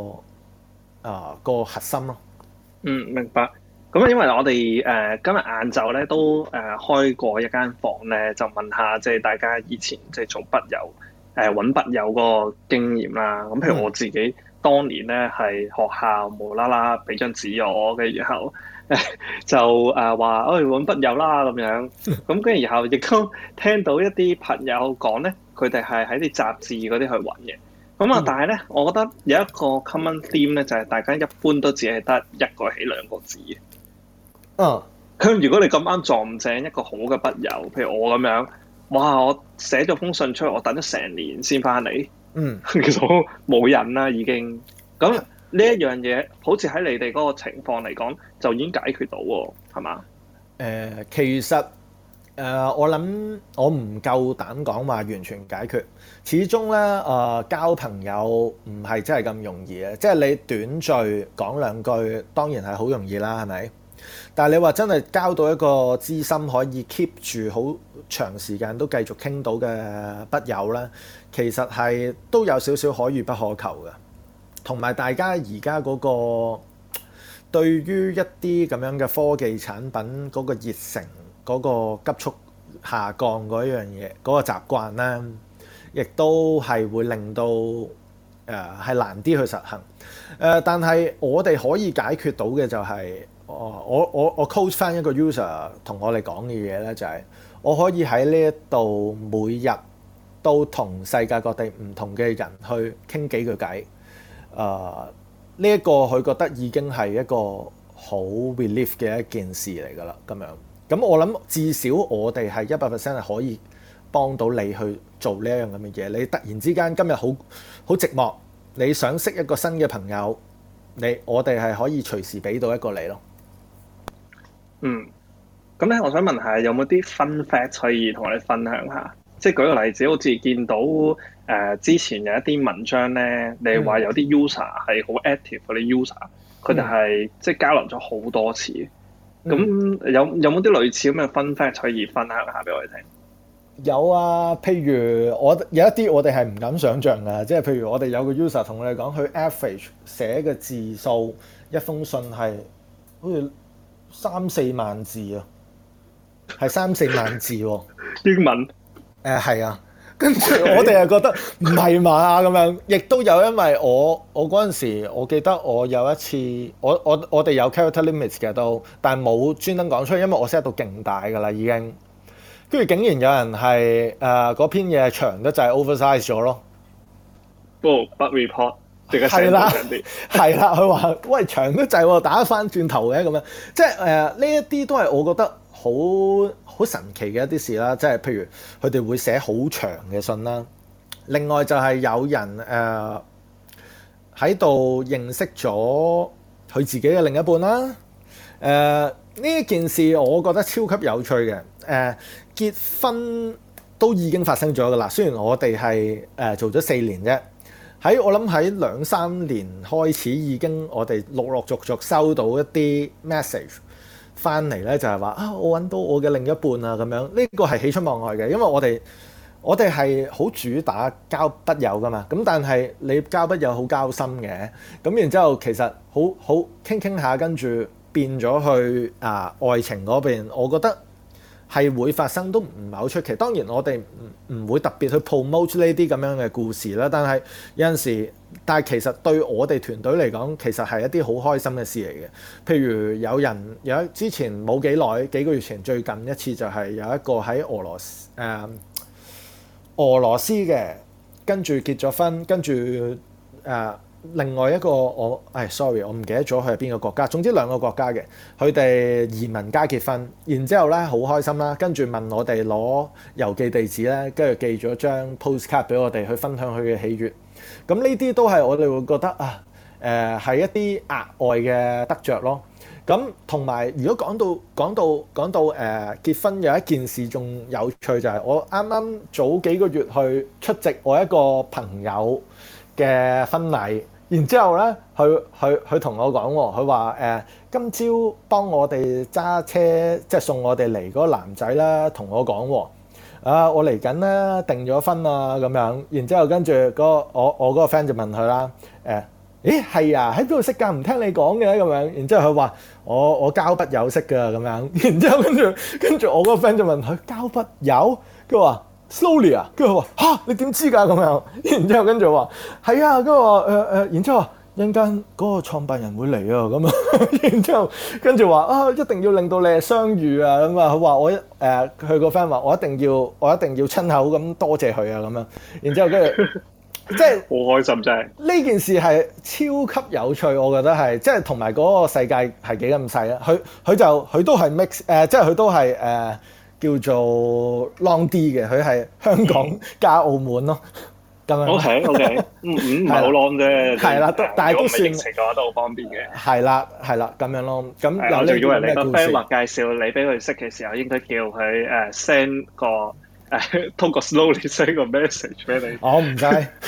D: 個核心咯。
C: 明白。咁因為我哋今日晏晝咧都開過一間房咧，就問下即係大家以前即係做筆友揾筆友嗰個經驗啦。咁譬如我自己當年咧係學校無啦啦俾張紙我嘅，然後就話揾筆友啦咁樣。咁跟住然後亦都聽到一啲朋友講咧，佢哋係喺啲雜誌嗰啲去揾嘅。咁但係咧，我覺得有一個 common theme 咧，就係大家一般都只係得一個起兩個字嘅。咁如果你咁啱撞正一個好嘅筆友，譬如我咁樣，哇！我寫咗封信出去，我等咗成年先翻嚟，其實我冇癮啦已經。咁呢一樣嘢，好似喺你哋嗰個情況嚟講，就已經解決到喎，係嘛？
D: 其實我諗我唔夠膽講話完全解決，始終咧交朋友唔係真係咁容易嘅，即係你短句講兩句，當然係好容易啦，係咪？但係你話真係交到一個知心可以 keep 住好長時間都繼續傾到嘅筆友咧，其實係都有少少可遇不可求嘅。同埋大家而家嗰個對於一啲咁樣嘅科技產品嗰個熱誠嗰個急速下降嗰樣嘢嗰個習慣咧，亦都係會令到係難啲去實行。但係我哋可以解決到嘅就係我 coach 翻一個 user 同我哋講嘅嘢咧，就係我可以喺呢一度每日都同世界各地唔同嘅人去傾幾句偈。呢一個佢覺得已經係一個好 relief 嘅一件事嚟㗎啦，咁樣。咁我諗至少我哋係100% 係可以幫到你去做呢一樣咁嘅嘢。你突然之間今日好寂寞，你想識一個新嘅朋友，我哋係可以隨時俾到一個你咯。
C: 咁咧，我想問下有冇啲 fun fact 可以同我哋分享下？即係舉個例子，好似見到之前有一啲文章咧，你話有啲 user 係好 active 嗰啲 user，佢哋係即係交流咗好多次。咁有冇啲類似咁嘅 fun fact 可以分享下俾我哋聽？
D: 有啊，譬如有一啲我哋係唔敢想像㗎，即係譬如我哋有個 user 同我哋講，佢 average 寫嘅字數一封信係好似3-4萬字啊，係3-4萬字喎。
C: 英文
D: 係啊，跟住我哋係覺得唔係嘛咁樣，亦都有因為我嗰陣時，我記得我有一次，我哋有 character limits 嘅都，但係冇專登講出嚟，因為我 set 到勁大㗎啦已經。跟住竟然有人係嗰篇嘢長得就係 oversize 咗咯。
C: but report。
D: 係啦，係啦，佢話喂長得滯喎，打翻轉頭嘅咁樣，即係呢一啲都係我覺得好神奇嘅一啲事啦。即係譬如佢哋會寫好長嘅信啦。另外就係有人喺度認識咗佢自己嘅另一半啦。呢一件事我覺得超級有趣嘅。結婚都已經發生咗㗎啦，雖然我哋係做咗4年啫。我諗喺2-3年開始已經我哋陸續收到一啲 message 翻嚟咧，就係話我揾到我嘅另一半啊咁樣。呢個係喜出望外嘅，因為我哋係好主打交筆友噶嘛。咁但係你交筆友好交心嘅，咁然之後其實好傾下，跟住變咗去愛情嗰邊，我覺得係會發生都唔係好出奇。當然我哋唔會特別去 promote 呢啲咁樣嘅故事啦。但係有陣時，但係其實對我哋團隊嚟講，其實係一啲好開心嘅事嚟嘅。譬如有之前冇幾耐，幾個月前最近一次就係有一個喺俄羅斯嘅，跟住結咗婚，跟住另外一個sorry， 我唔記得咗佢係邊個國家。總之2個國家嘅，佢哋移民加結婚，然之後咧好開心啦。跟住問我哋攞郵寄地址咧，跟住寄咗張 postcard 俾我哋去分享佢嘅喜悅。咁呢啲都係我哋會覺得係一啲額外嘅得着咯。咁同埋如果講到結婚有一件事仲有趣，就係我啱啱早幾個月去出席我一個朋友嘅婚禮。然之後咧，佢同我講喎，佢話今朝幫我哋揸車，即係送我哋嚟嗰個男仔啦，同我講喎，我嚟緊咧訂咗婚啊咁樣。然之後跟住我嗰個 friend 就問佢啦，咦係啊，喺邊度識㗎？唔聽你講嘅咁樣。然之後佢話我交筆友識㗎咁樣。然之後跟住我嗰個 friend 就問佢交筆友，佢話Slowly 啊，跟住佢話嚇你點知㗎咁樣？然之後跟住話係啊，跟住話然之後一陣間嗰個創辦人會嚟啊咁啊。然之後跟住話一定要令到你係相遇啊咁啊。佢話佢個 friend 話我一定要親口咁多謝佢啊咁樣。然之後跟住即係
C: 好開心真係
D: 呢件事係超級有趣，我覺得係即係同埋嗰個世界係幾咁細啊。佢都係 mix 即係佢都係叫做 long 啲嘅，佢係香港加澳門咯，咁樣。
C: OK， 唔係好 long 啫。
D: 係啦，但係都算。
C: 疫情嘅話都好方便嘅。
D: 係啦，咁樣咯。咁
C: 我仲以為你個 friend 話介紹你俾佢識嘅時候，應該叫佢send 個通過 Slowly send 個 message 俾你。
D: 我唔使。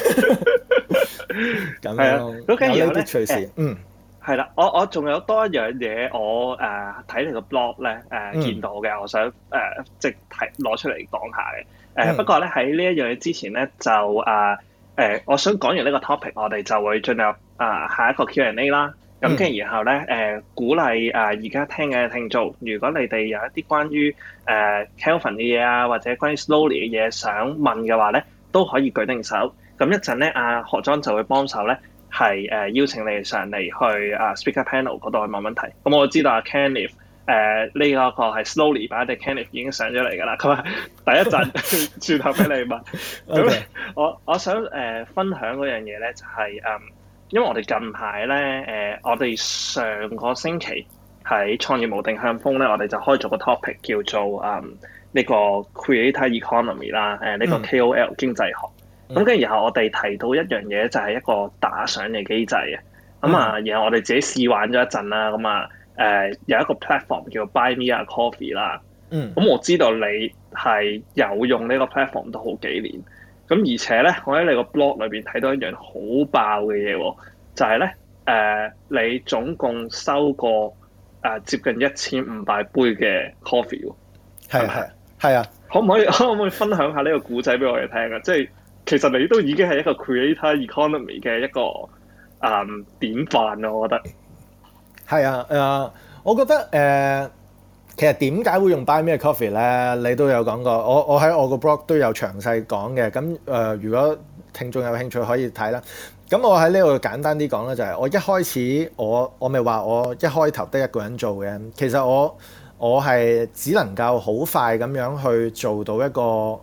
D: 咁樣咯。
C: 咁然後咧，
D: 隨時
C: 係啦，我仲有多一樣嘢，我睇你個 blog 咧見到嘅，我想即係攞出嚟講下嘅。不過咧喺呢一樣嘢之前咧，就我想講完呢個 topic，我哋就會進入下一個 Q&A 啦。咁跟住然後咧鼓勵而家聽嘅聽眾，如果你哋有一啲關於Kelvin 嘅嘢啊，或者關於 Slowly 嘅嘢想問嘅話咧，都可以舉定手。咁一陣咧，何莊就會幫手咧。係邀請你哋上嚟去speaker panel 嗰度去問問題。咁我知道Kenneth 呢一個係 Slowly 版嘅 Kenneth 已經上咗嚟㗎啦。佢話第一陣轉頭俾你問。咁我想分享嗰樣嘢咧，就係因為我哋近排咧我哋上個星期喺創業無定向瘋咧，我哋就開咗個 topic 叫做呢個 Creator Economy 啦，呢個 KOL 經濟學。咁跟住然後我哋提到一樣嘢，就係一個打賞嘅機制嘅。然後我哋自己試玩咗一陣啦。有一個 platform 叫 Buy Me a Coffee 啦。咁我知道你係有用呢個 platform 都好幾年。咁而且咧，我喺你個 blog 裏邊睇到一樣好爆嘅嘢喎，就係咧你總共收過接近1500杯嘅 coffee 喎。係啊。可唔可以分享下呢個故仔俾我哋聽啊？即係。其實你都已經係一個 creator economy 嘅一個典範咯，我覺得。係啊，我覺得其實點解會用 Buy Me a Coffee 咧？你都有講過，我喺我個 blog 都有詳細講嘅。咁如果聽眾有興趣可以睇啦。咁我喺呢度簡單啲講咧，就係我一開始我咪話我一開頭得一個人做嘅。其實我係只能夠好快咁樣去做到一個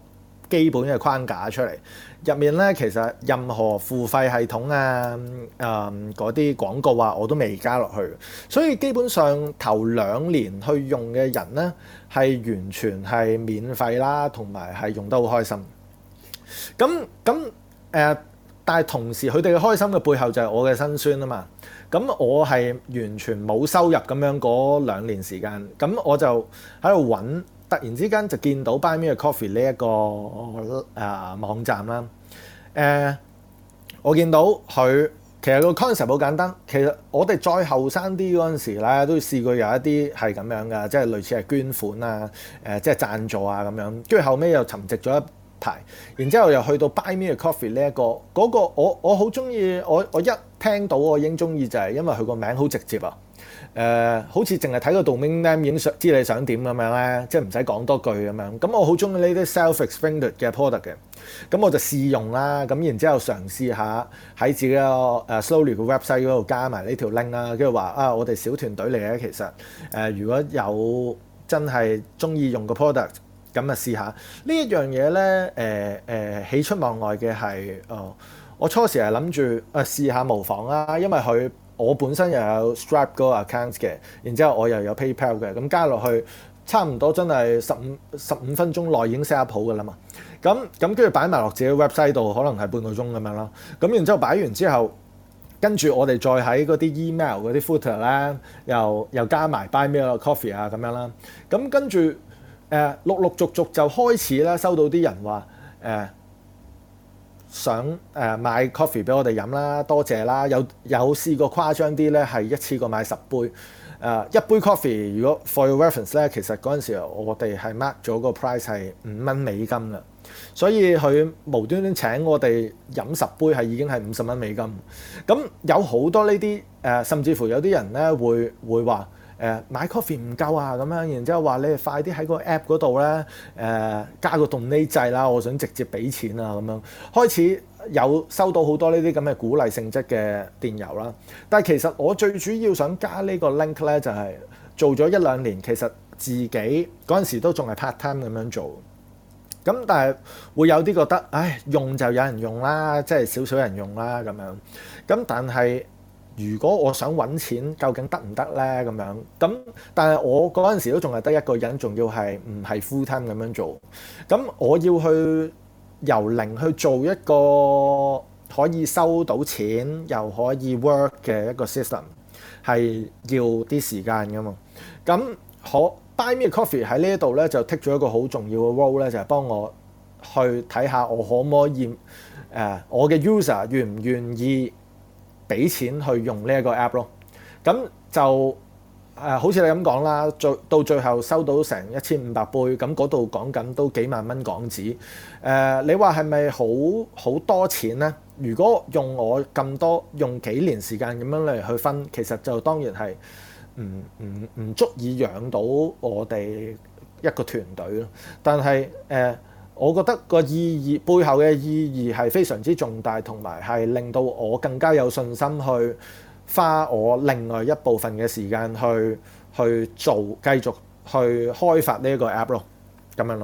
D: 基本嘅框架出嚟。入面咧其實任何付費系統啊、嗰啲廣告啊，我都未加落去。所以基本上頭2年去用嘅人咧，係完全係免費啦，同埋係用得好開心。但係同時佢哋嘅開心嘅背後就係我嘅辛酸啊嘛。咁我係完全冇收入咁樣嗰2年時間，咁我就喺度揾。突然之間就見到 Buy Me a Coffee 呢一個網站啦。我見到佢其實個 concept 好簡單。其實我哋再後生啲嗰陣時咧，都試過有一啲係咁樣㗎，即係類似係捐款啊、即係贊助啊咁樣。跟住後尾又沉寂咗一排，然之後又去到 Buy Me a Coffee 呢一個嗰個我好中意。我一聽到我已經中意，就係因為佢個名好直接啊。好似淨係睇個 domain name 已經知你想點咁樣咧，即係唔使講多句咁樣。咁我好中意呢啲 self-explained 嘅 product 嘅，咁我就試用啦。咁然之後嘗試下喺自己個Slowly 嘅 website 嗰度加埋呢條 link 啦，跟住話我哋小團隊嚟嘅，其實如果有真係中意用個 product，咁啊試下呢一樣嘢咧。喜出望外嘅係我初時係諗住試下模仿啦，因為我本身又有 Stripe 嗰個 account 嘅，然之後我又有 PayPal 嘅，咁加落去差唔多真係15分鐘內已經 set up 好㗎啦嘛。咁跟住擺埋落自己 website 度，可能係半個鐘咁樣啦。咁然之後擺完之後，跟住我哋再喺嗰啲 email 嗰啲 footer 咧，又加埋 Buy Me a Coffee 啊咁樣啦。咁跟住陸陸續續就開始咧收到啲人話想買 coffee 俾我哋飲啦，多謝啦。有試過誇張啲咧，係一次過買10杯。一杯 coffee 如果 for your reference 咧，其實嗰陣時我哋係 mark 咗個 price 係5蚊美金啦。所以佢無端端請我哋飲10杯係已經係50蚊美金。咁有好多呢啲甚至乎有啲人咧會話買 coffee 唔夠啊咁樣，然之後話你哋快啲喺個 app 嗰度咧加個 donate 掣啦，我想直接俾錢啊咁樣。開始有收到好多呢啲咁嘅鼓勵性質嘅電郵啦。但係其實我最主要想加呢個 link 咧，就係做咗1-2年，其實自己嗰陣時都仲係 part time 咁樣做。咁但係會有啲覺得，用就有人用啦，即係少少人用啦咁樣。咁但係如果我想揾錢，究竟得唔得咧？咁樣咁，但係我嗰陣時都仲係得一個人，仲要係唔係 full time 咁樣做。咁我要去由零去做一個可以收到錢又可以 work 嘅一個 system， 係要啲時間㗎嘛。咁Buy Me a Coffee 喺呢一度咧就 take 咗一個好重要嘅 role 咧，就係幫我去睇下我可唔可以我嘅 user 願唔願意俾錢去用呢一個 app 咯。咁就好似你咁講啦，到最後收到成1500杯，咁嗰度講緊都幾萬蚊港紙。你話係咪好多錢咧？如果用我咁多用幾年時間咁樣嚟去分，其實就當然係唔足以養到我哋一個團隊咯。但係我覺得個意義背後嘅意義係非常之重大，同埋係令到我更加有信心去花我另外一部分嘅時間去做，繼續去開發呢一個 app 咯，咁樣咯。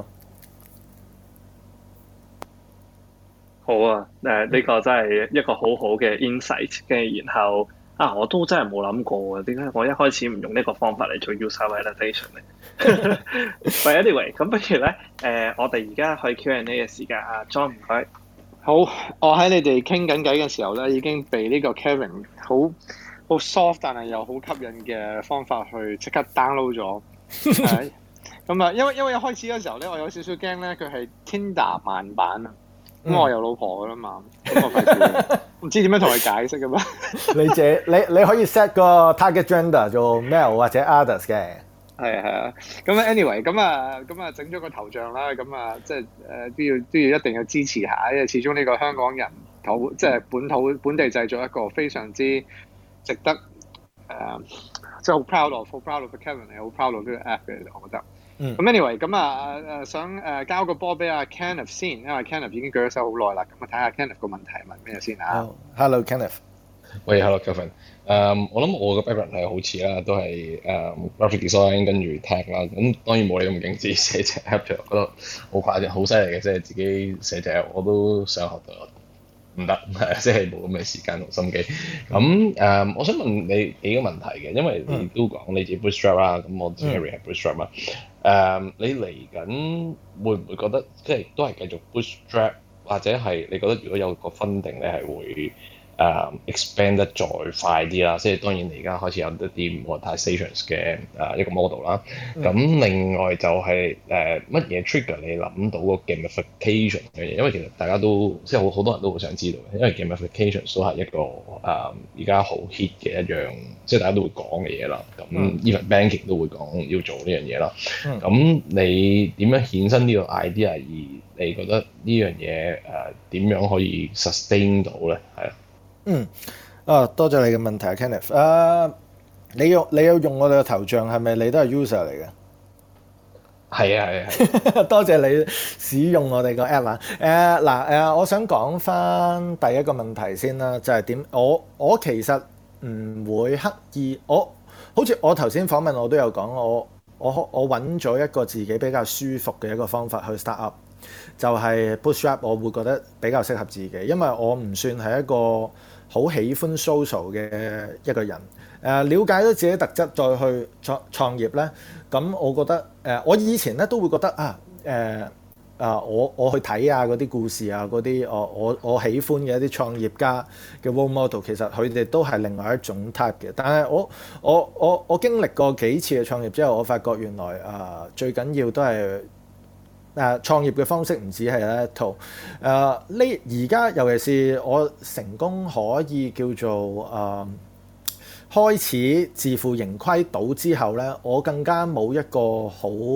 C: 好啊，呢個真係一個好好嘅 insight， 跟住然後我都真係冇諗過啊，點解我一開始唔用呢個方法嚟做 user validation 咧？But anyway， 咁不如咧，我哋而家去 Q&A 嘅時間啊 ，John 唔該。
B: 好，我喺你哋傾緊偈嘅時候咧，已經被呢個 Kevin 好 soft 但係又好吸引嘅方法去即刻 download 咗。咁啊，因為一開始嘅時候咧，我有少少驚咧，佢係 Tinder 慢版啊。咁我有老婆噶啦嘛，咁我費事唔知點樣同佢解釋噶嘛。
D: 你可以 set 個 target gender 做 male 或者 others 嘅。係
B: 啊，咁 anyway， 咁啊整咗個頭像啦，咁啊即係都要一定要支持下，因為始終呢個香港人即係本地製作一個非常之值得即係好 proud of Kevin 係好 proud of 呢個 app 嘅，我覺得。咁 anyway， 咁想交個波俾阿 Kenneth 先，因為 Kenneth 已經舉咗手好耐啦，咁睇下 Kenneth 個問題係問咩先啊？
D: Hello Kenneth。
G: 喂，hello Kevin。我諗我個 background 係好似啦，都係graphic design 跟住 tech 啦。咁當然冇你咁勁，自己寫隻 app 就覺得好誇張，好犀利嘅，即係自己寫隻 app 我都想學到，唔得，即係冇咁嘅時間同心機。咁我想問你幾個問題嘅，因為你都講你自己 bootstrap 啦，咁我知 Harry 係 bootstrap 啦。你嚟緊會唔會覺得即係都係繼續 bootstrap，或者係你覺得如果有個 funding 咧係會expand 得再快啲啦？即係當然你而家開始有一啲 monetizations 嘅一個 model 啦。咁另外就係乜嘢 trigger 你諗到個 gamification 嘅嘢？因為其實大家都即係好多人都好想知道嘅，因為 gamification 都係一個而家好 hit 嘅一樣，即係大家都會講嘅嘢啦。咁 even banking 都會講要做呢樣嘢啦。咁你點樣衍生呢個 idea？而你覺得呢樣嘢點樣可以 sustain 到咧？係啊。
D: 多謝你嘅問題 Kenneth。你有用我哋嘅頭像係咪你都係 user 嚟嘅？
G: 係啊。
D: 多謝你使用我哋個 app 啊。我想講翻第一個問題先啦，就係點？我其實唔會刻意，好似我頭先訪問我都有講，我揾咗一個自己比較舒服嘅一個方法去 start up，就係 bootstrap。我會覺得比較適合自己，因為我唔算係一個好喜歡 social 嘅一個人。了解咗自己特質再去創業咧，咁我覺得我以前咧都會覺得我去睇嗰啲故事啊，嗰啲我喜歡嘅一啲創業家嘅 role model， 其實佢哋都係另外一種 type 嘅。但係我經歷過幾次嘅創業之後，我發覺原來最緊要都係創業嘅方式唔止係一套。而家尤其是我成功可以叫做開始自負盈虧到之後咧，我更加冇一個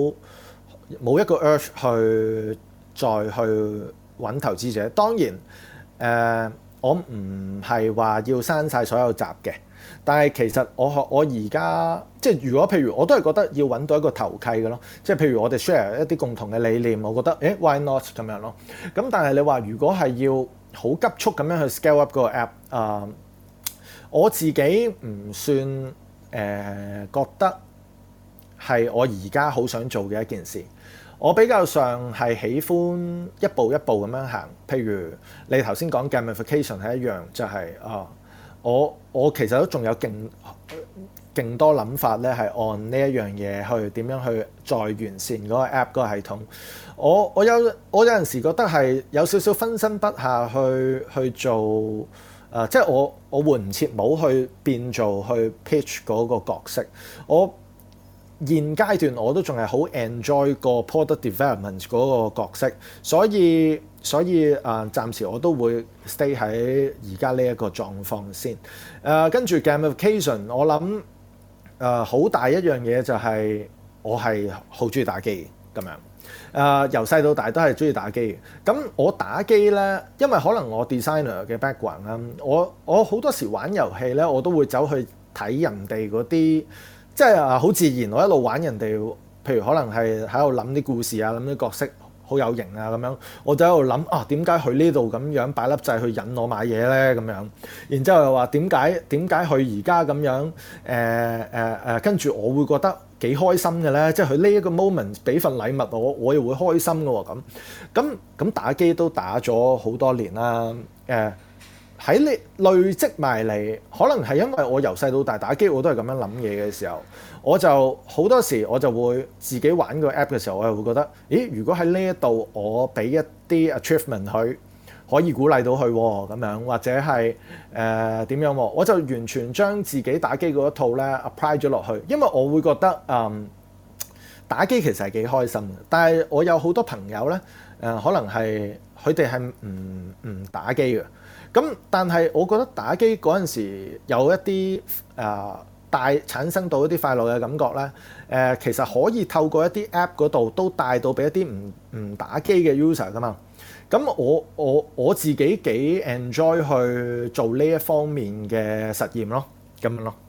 D: urge 去再去揾投資者。當然我唔係話要刪晒所有集嘅，但係其實我而家即係如果譬如我都係覺得要揾到一個投契嘅咯，即係譬如我哋 share 一啲共同嘅理念，我覺得why not 咁樣咯。咁但係你話如果係要好急速咁樣去 scale up 嗰個 app，我自己唔算覺得係我而家好想做嘅一件事。我比較上係喜歡一步一步咁樣行。譬如你頭先講 gamification 係一樣，就係我其實都仲有勁多諗法咧，係按呢一樣嘢去點樣去再完善嗰個 app 嗰個系統。我有陣時覺得係有少少分身不下去做。即係我換唔切帽去變做去 pitch 嗰個角色。我現階段我都仲係好 enjoy 個 product development 嗰個角色，所以暫時我都會 stay 喺而家呢一個狀況先。跟住 gamification， 我諗好大一樣嘢就係我係好中意打機咁樣。由細到大都係中意打機嘅。咁我打機咧，因為可能我 designer 嘅 background 啦，我好多時玩遊戲咧，我都會走去睇人哋嗰啲，即係好自然。我一路玩人哋，譬如可能係喺度諗啲故事啊，諗啲角色好有型啊咁樣，我就喺度諗點解佢呢度咁樣擺粒掣去引我買嘢咧咁樣。然之後又話點解佢而家咁樣跟住我會覺得幾開心嘅咧，即係佢呢一個 moment 俾份禮物我又會開心嘅喎。咁打機都打咗好多年啦。喺你累積埋嚟，可能係因為我由細到大打機我都係咁樣諗嘢嘅時候，我就好多時我就會自己玩個 app 嘅時候，我又會覺得，咦？如果喺呢一度我俾一啲 achievement 佢，可以鼓勵到佢咁樣，或者係點樣喎？我就完全將自己打機嗰一套咧 apply 咗落去，因為我會覺得打機其實係幾開心嘅。但係我有好多朋友咧，可能係佢哋係唔打機嘅。咁但係我覺得打機嗰陣時有一啲產生到一啲快樂嘅感覺咧，其實可以透過一啲 app 嗰度都帶到俾一啲唔打機嘅 user 噶嘛。咁我自己幾 enjoy 去做呢一方面嘅實驗咯，咁樣咯。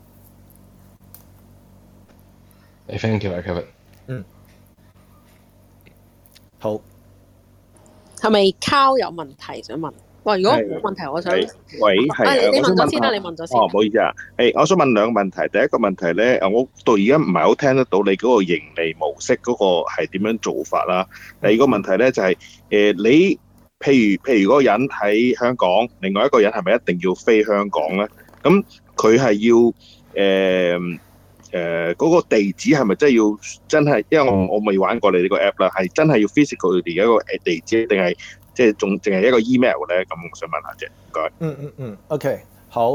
G: Thank you, Kevin。
D: 好。
F: 係咪 Carl 有問題想問？ 哇！如果冇問題，我想
E: 喂，係
F: 你問咗先啦，你問咗先。
E: 唔好意思啊。我想問兩個問題。第一個問題咧，我到而家唔係好聽得到你嗰個盈利模式嗰個係點樣做法啦。第二個問題咧就係你譬如嗰個人喺香港，另外一個人係咪一定要飛香港咧？咁佢係要嗰個地址係咪真係？因為我未玩過你呢個 app 啦，係真係要 physical 嘅一個地址，定係即係仲淨係一個 email 咧？咁我想問下啫，唔該。
D: OK， 好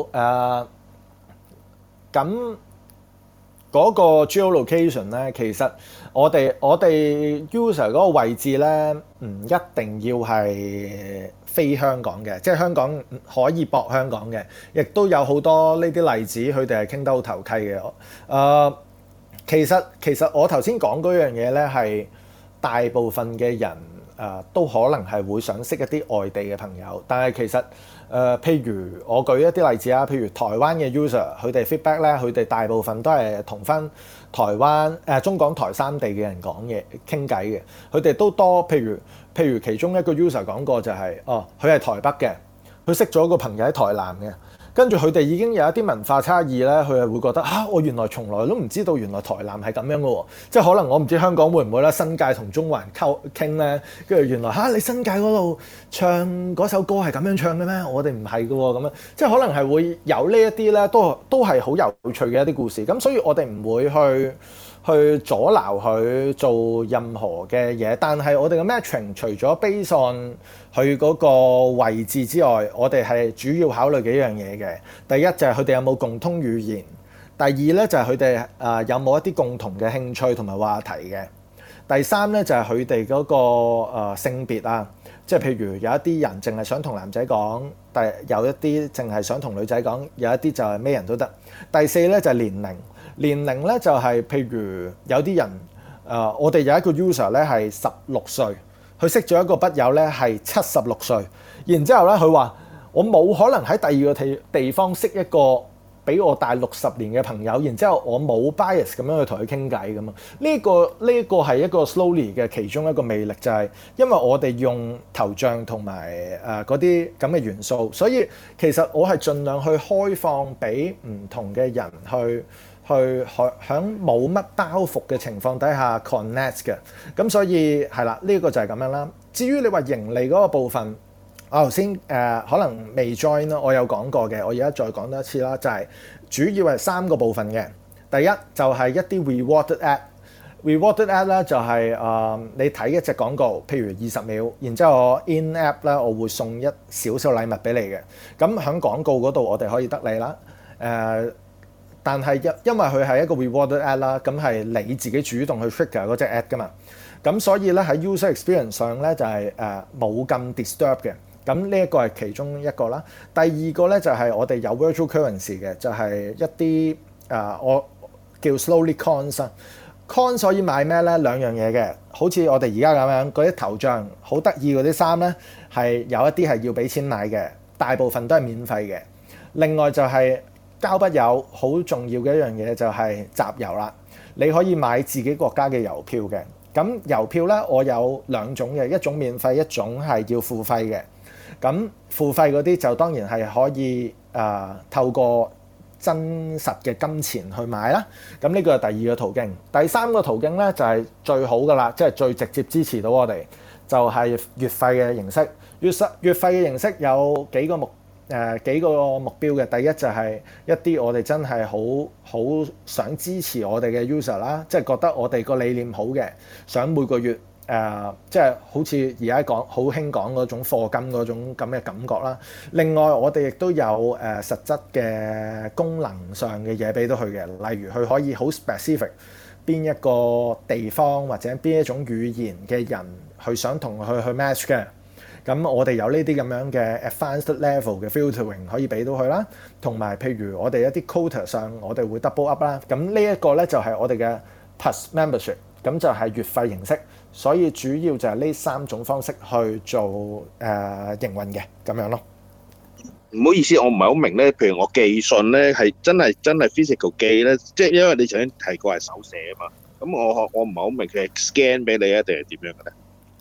D: 咁嗰個 geolocation 咧，其實我哋 user 嗰個位置咧，唔一定要係飛香港嘅，即係香港可以駁香港嘅，亦都有好多呢啲例子，佢哋係傾得好投契嘅。其實我頭先講嗰樣嘢咧，係大部分嘅人都可能係會想識一啲外地嘅朋友，但係其實譬如我舉一啲例子啊，譬如台灣嘅 user， 佢哋 feedback 咧，佢哋大部分都係同翻台灣中港台三地嘅人講嘢傾偈嘅，佢哋都多。譬如其中一個 user 講過就係佢係台北嘅，佢識咗個朋友喺台南嘅。跟住佢哋已經有一啲文化差異咧，佢係會覺得我原來從來都唔知道原來台南係咁樣嘅喎，即係可能我唔知香港會唔會咧，新界同中環傾咧，跟住原來你新界嗰度唱嗰首歌係咁樣唱嘅咩？我哋唔係嘅喎，咁樣即係可能係會有呢一啲咧，都係好有趣嘅一啲故事。咁所以我哋唔會去阻撓佢做任何嘅嘢，但係我哋嘅 matching 除咗 based on 佢嗰個位置之外，我哋係主要考慮幾樣嘢嘅。第一就係佢哋有冇共通語言，第二咧就係佢哋有冇一啲共同嘅興趣同埋話題嘅。第三咧就係佢哋嗰個性別啊，即係譬如有一啲人淨係想同男仔講，但有一啲淨係想同女仔講，有一啲就係咩人都得。第四咧就係年齡。年齡咧就係譬如有啲人我哋有一個 user 咧係16歲，佢識咗一個筆友咧係76歲，然之後咧佢話我冇可能喺第二個地方識一個比我大60年嘅朋友，然之後我冇 bias 咁樣去同佢傾偈咁啊。呢個係一個 Slowly 嘅其中一個魅力，就係因為我哋用頭像同埋嗰啲咁嘅元素，所以其實我係盡量去開放俾唔同嘅人去喺冇乜包袱嘅情況底下 connect 嘅，咁所以係啦，呢個就係咁樣啦。至於你話盈利嗰個部分，我頭先可能未 join 啦，我有講過嘅，我而家再講多一次啦，就係主要係3個部分嘅。第一就係一啲 rewarded ad，rewarded ad 咧就係你睇一隻廣告，譬如20秒，然之後我 in app 咧我會送一少少禮物俾你嘅。咁喺廣告嗰度我哋可以得你啦，但係因為佢係一個 rewarded ad 啦，咁係你自己主動去 trigger 嗰隻 ad 噶嘛，咁所以咧喺 user experience 上咧就係冇咁 disturb 嘅，咁呢一個係其中一個啦。第二個咧就係我哋有 virtual currency 嘅，就係一啲我叫 slowly coins 啊。coins 可以買咩咧？兩樣嘢嘅，好似我哋而家咁樣嗰啲頭像好得意嗰啲衫咧，係有一啲係要俾錢買嘅，大部分都係免費嘅。另外就係交筆友好重要嘅一樣嘢就係集郵啦，你可以買自己國家嘅郵票嘅。咁郵票咧，我有2種嘅，一種免費，一種係要付費嘅。咁付費嗰啲就當然係可以透過真實嘅金錢去買啦。咁呢個係第二個途徑。第三個途徑咧就係最好噶啦，即係最直接支持到我哋，就係月費嘅形式。月費嘅形式有幾個目標嘅。第一就係一啲我哋真係好想支持我哋嘅 user 啦，即係覺得我哋個理念好嘅，想每個月即係好似而家講好興講嗰種課金嗰種咁嘅感覺啦。另外我哋亦都有實質嘅功能上嘅嘢俾到佢嘅，例如佢可以好 specific 邊一個地方或者邊一種語言嘅人佢想同佢去 match 嘅。咁我哋有呢啲咁樣嘅 advanced level 嘅 filtering 可以俾到佢啦，同埋譬如我哋一啲 quota 上我哋會 double up 啦。咁呢一個咧就係我哋嘅 plus membership， 咁就係月費形式。所以主要就係呢3種方式去做營運嘅咁樣咯。
E: 唔好意思，我唔係好明咧。譬如我寄信咧係真係 physical 寄咧，即係因為你頭先提過係手寫啊嘛。咁我唔係好明佢係 scan 俾你啊定係點樣嘅咧？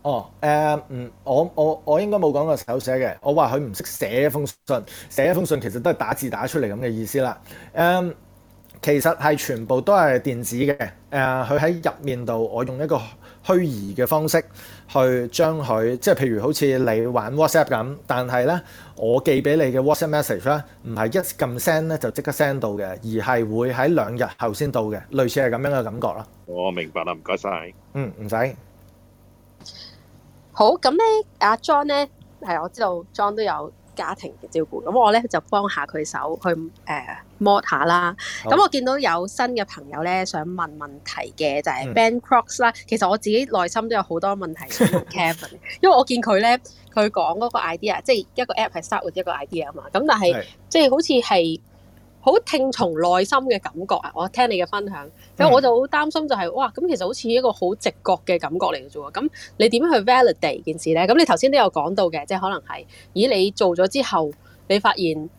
D: 我應該冇講過手寫嘅，我話佢唔識寫一封信，寫一封信其實都係打字打出嚟咁嘅意思啦。其實係全部都係電子嘅。佢喺入面度，我用一個虛擬嘅方式去將佢，即係譬如好似你玩 WhatsApp 咁，但係咧我寄俾你嘅 WhatsApp message 咧，唔係一撳 send 咧就即刻 send 到嘅，而係會喺2日後先到嘅，類似係咁樣嘅感覺啦。
E: 我明白啦，唔該晒。
D: 唔使。
F: 好，咁咧，阿 John 咧係我知道 John 都有家庭嘅照顧，咁我咧就幫下佢手去mod 下啦。咁我見到有新嘅朋友咧想問問題嘅就係 Ben Crocs 啦。其實我自己內心都有好多問題想問 Kevin， 因為我見佢咧佢講嗰個 idea， 即係一個 app 係 start with 一個 idea 啊嘛。咁但係即係好似係好聽從內心嘅感覺啊！我聽你嘅分享，咁我就好擔心就係哇，咁其實好似一個好直覺嘅感覺嚟嘅啫喎。咁你點樣去 validate 件事咧？咁你頭先都有講到嘅，即係可能係，咦你做咗之後，你發現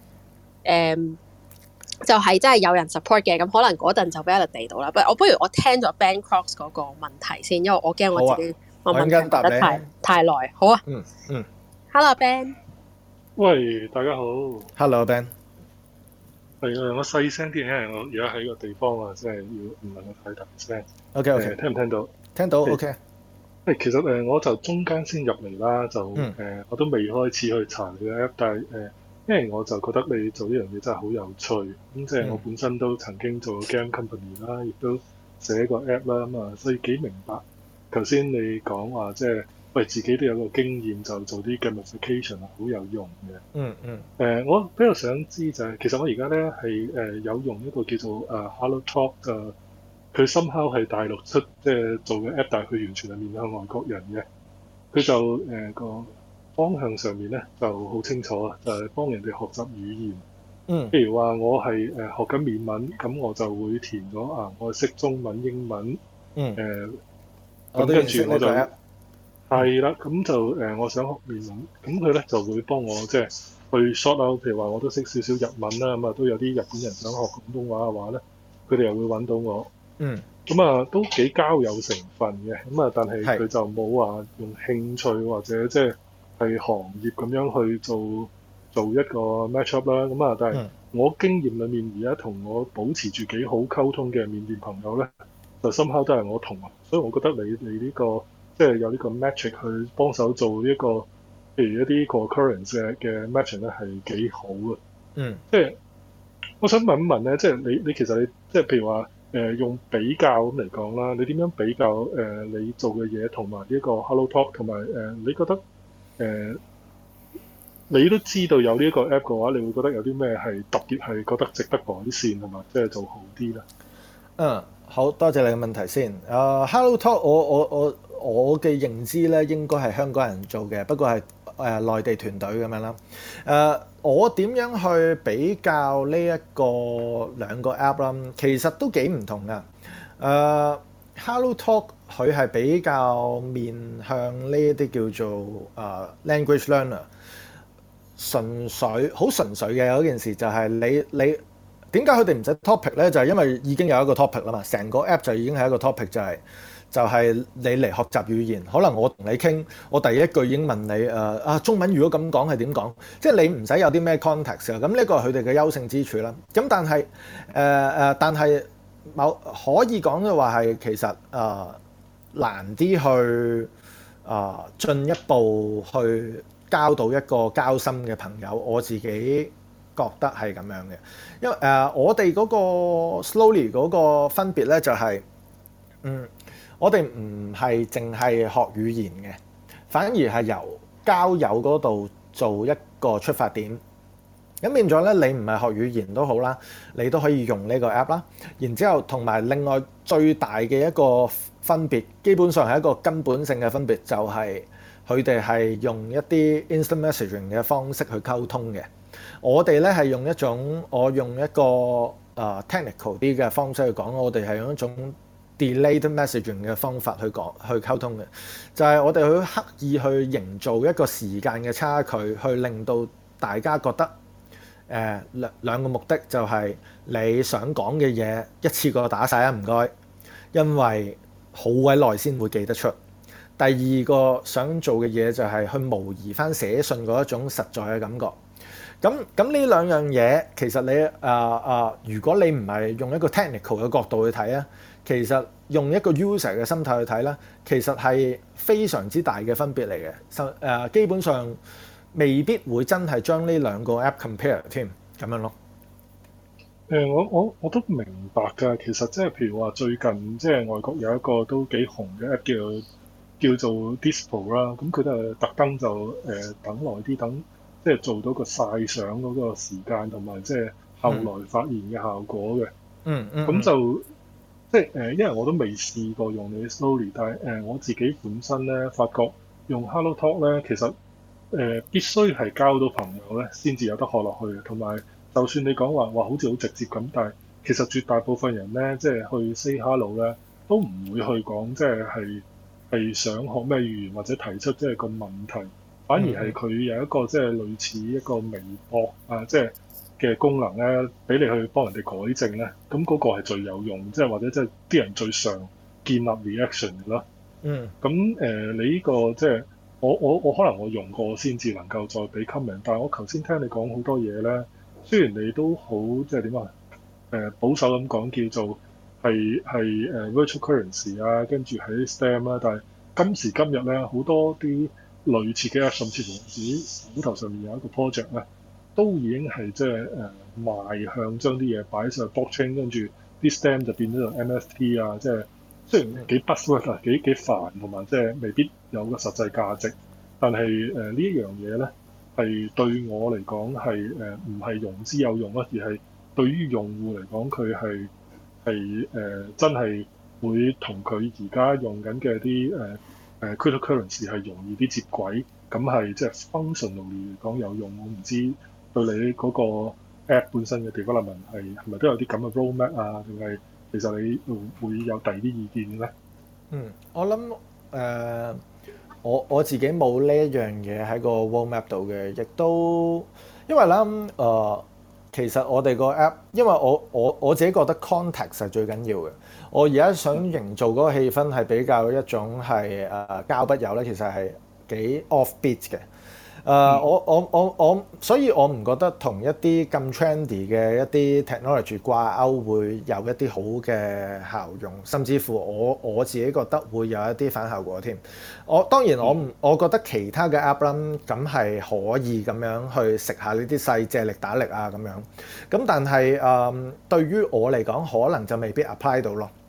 F: 就係真係有人 support 嘅，咁可能嗰陣就 validate 到啦。不如我聽咗 Ben Crocs 嗰個問題先，因為我驚我自己我問題問得太耐。好啊。Hello Ben。
H: 喂，大家好。
D: Hello Ben。
H: 係啊，我細聲啲，因為我而家喺個地方啊，即係要唔能夠太大聲。
D: OK，
H: 聽唔聽到？
D: 聽到 OK。
H: 其實我就中間先入嚟啦，就我都未開始去查你嘅 app， 但係因為我就覺得你做呢樣嘢真係好有趣，咁即係我本身都曾經做 game company 啦，亦都寫過 app 啦，咁啊，所以幾明白。頭先你講話即係。喂，自己都有個經驗，就做啲 gamification 係好有用嘅。我比較想知就係、其實我而家咧係有用一個叫做Hello Talk 佢 somehow 係大陸出即係做嘅 app， 但係佢完全係面向外國人嘅。佢就個方向上面咧就好清楚啊，就係、幫人哋學習語言。譬如話我係學緊緬文，咁我就會填咗我識中文、英文。咁跟住我就。係啦，咁就我想學緬文，咁佢咧就會幫我即係去 sort out，譬如話我都識少少日文啦，咁啊都有啲日本人想學廣東話嘅話咧，佢哋又會揾到我。咁啊都幾交友成分嘅，咁啊但係佢就冇話用興趣或者即係行業咁樣去做一個 match up 啦。咁啊但係我經驗裡面而家同我保持住幾好溝通嘅緬甸朋友咧，就深刻都係我同學，所以我覺得你呢個。即係有呢個 metric 去幫手做呢一個，譬如一啲 concurrence 嘅 matching 咧係幾好嘅。即係我想問一問咧，即係你其實你即係譬如話用比較咁嚟講啦，你點樣比較你做嘅嘢同埋呢個 Hello Talk 同埋你覺得你都知道有呢一個 app 嘅話，你會覺得有啲咩係特別係覺得值得改善同埋即係做好啲咧？
D: 好多謝你嘅問題先。Hello Talk 我嘅認知咧，應該係香港人做嘅，不過係內地團隊咁樣啦。我點樣去比較呢一個兩個 app 啦？其實都幾唔同噶。Hello Talk 佢係比較面向呢一啲叫做language learner， 好純粹嘅嗰件事就係你點解佢哋唔使 topic 咧？就係因為已經有一個 topic 啦嘛，成個 app 就已經係一個 topic，就係你嚟學習語言，可能我同你傾，我第一句已經問你中文如果咁講係點講，即係你唔使有啲咩 context 啊。咁呢個係佢哋嘅優勝之處啦。咁但係可以講嘅話係其實難啲去進一步去交到一個交心嘅朋友，我自己覺得係咁樣嘅。因為我哋嗰個 slowly 嗰個分別咧就係我哋唔係淨係學語言嘅，反而係由交友嗰度做一個出發點。咁變咗咧，你唔係學語言都好啦，你都可以用呢個 app 啦。然之後同埋另外最大嘅一個分別，基本上係一個根本性嘅分別，就係佢哋係用一啲 instant messaging 嘅方式去溝通嘅。我哋咧係用一個technical 啲嘅方式去講，我哋係用一種delayed messaging 嘅方法去溝通嘅，就係我哋去刻意去營造一個時間嘅差距，去令到大家覺得兩個目的就係你想講嘅嘢一次過打晒啊，唔該，因為好鬼耐先會記得出。 第二個想做嘅嘢就係去模擬翻寫信嗰一種實在嘅感覺。咁呢兩樣嘢其實你如果你唔係用一個 technical 嘅角度去睇啊，其實用一個 user 嘅心態去睇咧，其實係非常之大嘅分別嚟嘅。基本上未必會真係將呢兩個 app compare 添咁樣咯。
H: 我都明白㗎。其實即係譬如話最近即係外國有一個都幾紅嘅 app 叫做 Dispo 啦，咁佢都係特登就等耐啲，等即係做到個曬相嗰個時間同埋即係後來發現嘅效果嘅。咁就即係因為我都未試過用你 Slowly， 但係我自己本身咧發覺用 Hello Talk 咧，其實必須係交到朋友咧先至有得學落去嘅。同埋就算你講話好似好直接咁，但係其實絕大部分人咧即係去 say hello 咧都唔會去講即係想學咩語言或者提出即係個問題，反而係佢有一個即係類似一個微博即係嘅功能咧，俾你去幫人哋改正咧，咁嗰個係最有用，即係或者即係啲人最常建立 reaction 嘅啦。咁你呢個即係我可能我用過先至能夠再俾 comment， 但係我頭先聽你講好多嘢咧，雖然你都好即係點啊保守咁講叫做係virtual currency 啊，跟住喺 STEM 啦，但係今時今日咧好多啲類似嘅 app， 甚至乎自己手頭上面有一個 project 咧，都已經係即係邁向將啲嘢擺上 blockchain， 跟住啲 STEM 就變咗做 NFT 啊，即係雖然幾 buzzword 啊，幾煩，同埋即係未必有個實際價值，但係呢一樣嘢咧係對我嚟講係唔係用之有用啊，而係對於用戶嚟講佢係真係會同佢而家用緊嘅啲cryptocurrency 係容易啲接軌，咁係即係 functionally 嚟講有用。我唔知對你嗰個 app 本身嘅 development 係咪都有啲咁嘅 roadmap 啊，定係其實你會有第二啲意見咧？
D: 我諗我自己冇呢一樣嘢喺個 roadmap 度嘅，亦都因為咧其實我哋個 app， 因為我自己覺得 context 係最緊要嘅。我而家想營造嗰個氣氛係比較一種係交筆友咧，其實係幾 offbeat 嘅。所以我唔覺得同一啲咁 trendy 嘅一啲 technology 掛鈎會有一啲好嘅效用，甚至乎我自己覺得會有一啲反效果添。當然我覺得其他嘅 app 啦，咁係可以咁樣去食下呢啲勢借力打力啊咁樣。咁但係對於我嚟講，可能就未必 apply 到咯。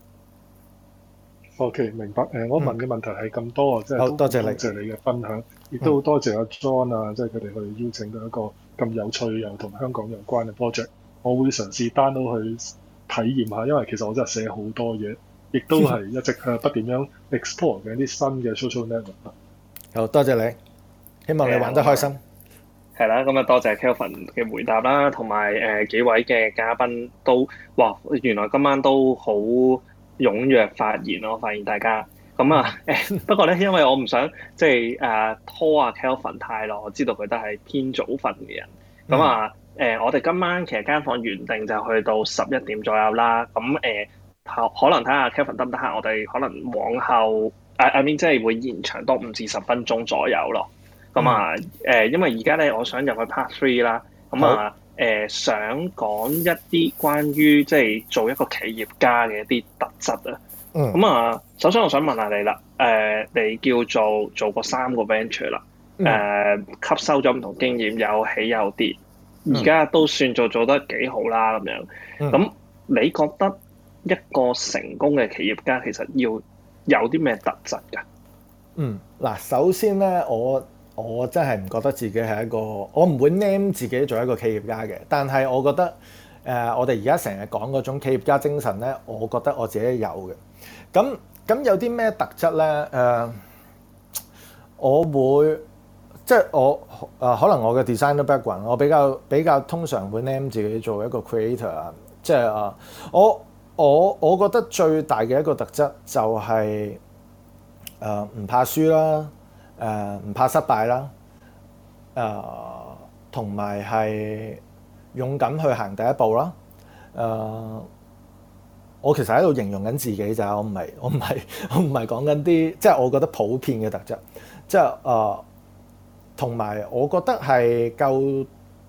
H: OK， 明白。我問嘅問題係咁多啊，即係
D: 好多謝你
H: 嘅分享，亦都好多謝阿 John 啊，即係佢哋去邀請到一個咁有趣又同香港有關嘅 project。我會嘗試 download 去體驗下，因為其實我真係寫好多嘢，亦都係一直不斷樣 explore 緊啲新嘅 social network。
D: 好多謝你，希望你玩得開心。
C: 係啦，咁啊多謝 Kelvin 嘅回答啦，同埋幾位嘅嘉賓都原來今晚都好踴躍發言咯，我發現大家咁不過咧，因為我唔想即係拖阿 Kelvin 太耐，我知道佢都係偏早瞓嘅人。咁我哋今晚其實間房原定就去到11點左右啦。咁可能睇下 Kelvin 得唔得閒，我哋可能往後I mean 即係會延長多5至10分鐘左右咯。咁因為而家咧，我想入去 Part 3啦。想講一啲關於即係做一個企業家嘅一啲特質啊。首先我想問下你啦，你叫做過3個 venture 啦，吸收咗唔同經驗，有起有跌，而家都算做得幾好啦咁樣。咁你覺得一個成功嘅企業家其實要有啲咩特質㗎？
D: 嗱，首先咧，我真係唔覺得自己係一個，我唔會 name 自己做一個企業家嘅。但係我覺得我哋而家成日講嗰種企業家精神咧，我覺得我自己有嘅。咁有啲咩特質咧？我會即係可能我嘅 designer background， 我比較通常會 name 自己做一個 creator 啊。即係我覺得最大嘅一個特質就係唔怕輸啦。唔怕失敗啦，同埋係勇敢去行第一步啦， 我其實喺度形容緊自己咋，我唔係講緊啲即係我覺得普遍嘅特質，即係同埋我覺得係夠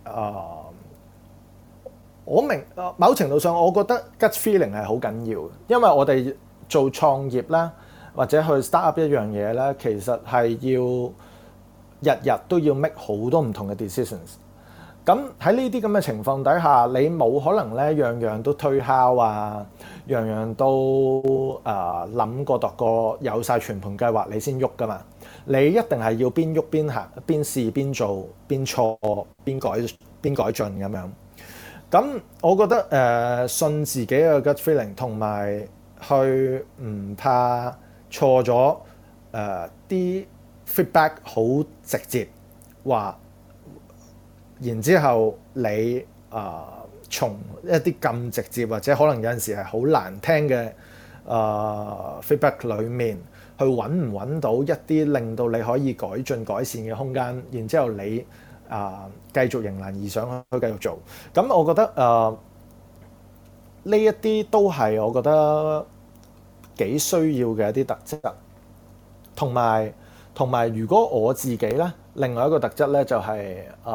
D: 我明某程度上，我覺得 gut feeling 係好緊要嘅，因為我哋做創業啦，或者去 start up 一樣嘢咧，其實係要日日都要 make 好多唔同嘅 decisions。咁喺呢啲咁嘅情況底下，你冇可能咧樣樣都推敲啊，樣樣都諗過度過有晒全盤計劃你先喐噶嘛。你一定係要邊喐邊行，邊試邊做，邊錯邊改進咁樣。咁我覺得信自己嘅 gut feeling 同埋去唔怕錯咗啲 feedback 好直接話。然之後你從一啲咁直接或者可能有陣時係好難聽嘅feedback 裡面去揾唔揾到一啲令到你可以改進改善嘅空間，然之後你繼續迎難而上去繼續做。咁我覺得呢一啲都係我覺得幾需要嘅一啲特質，同埋如果我自己咧，另外一個特質咧就係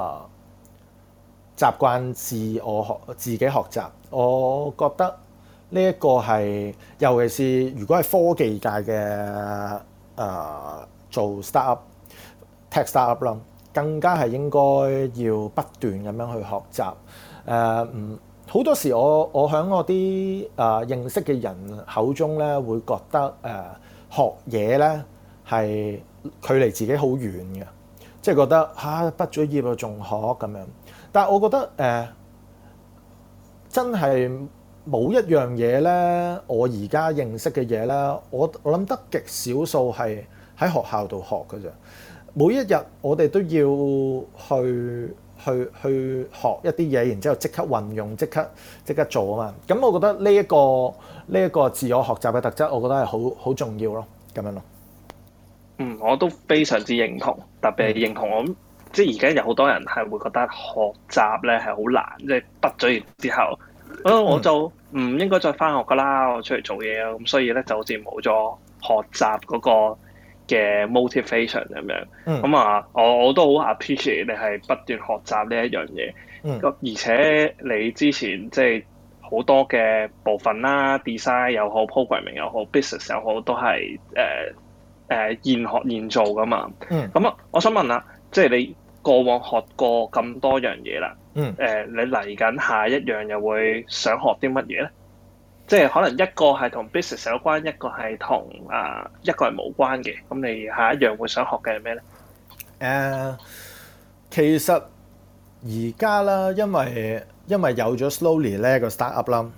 D: 習慣自己學習，我覺得呢一個係，尤其是如果係科技界嘅做 startup、tech startup 啦，更加係應該要不斷咁樣去學習。好多時我喺我啲認識嘅人口中咧，會覺得學嘢咧係距離自己好遠嘅，即係覺得畢咗業仲學咁樣。但係我覺得真係冇一樣嘢咧，我而家認識嘅嘢咧，我諗得極少數係喺學校度學嘅啫。每一日我哋都要去學一啲嘢，然之後即刻運用，即刻做啊嘛。咁我覺得呢一個自我學習嘅特質，我覺得係好重要咯，咁樣咯。
C: 我都非常之認同，特別係認同我。即係而家有好多人係會覺得學習咧係好難，即係畢咗業之後，我就唔應該再返學㗎啦，我出嚟做嘢啊，咁所以咧就好似冇咗學習嗰個嘅 motivation 咁樣。我都好 appreciate 你係不斷學習呢一樣嘢。而且你之前即係好多嘅部分啦 ，design 又好 ，programming 又好 ，business 又好，都係現學現做㗎嘛。我想問下，即係你過往學過咁多樣嘢啦，你嚟緊下一樣又會想學啲乜嘢咧？即係可能一個係同 business 有關，一個係同一個係無關嘅。咁你下一樣會想學嘅係咩咧？
D: 其實而家啦，因為有咗 Slowly 呢個 startup 啦，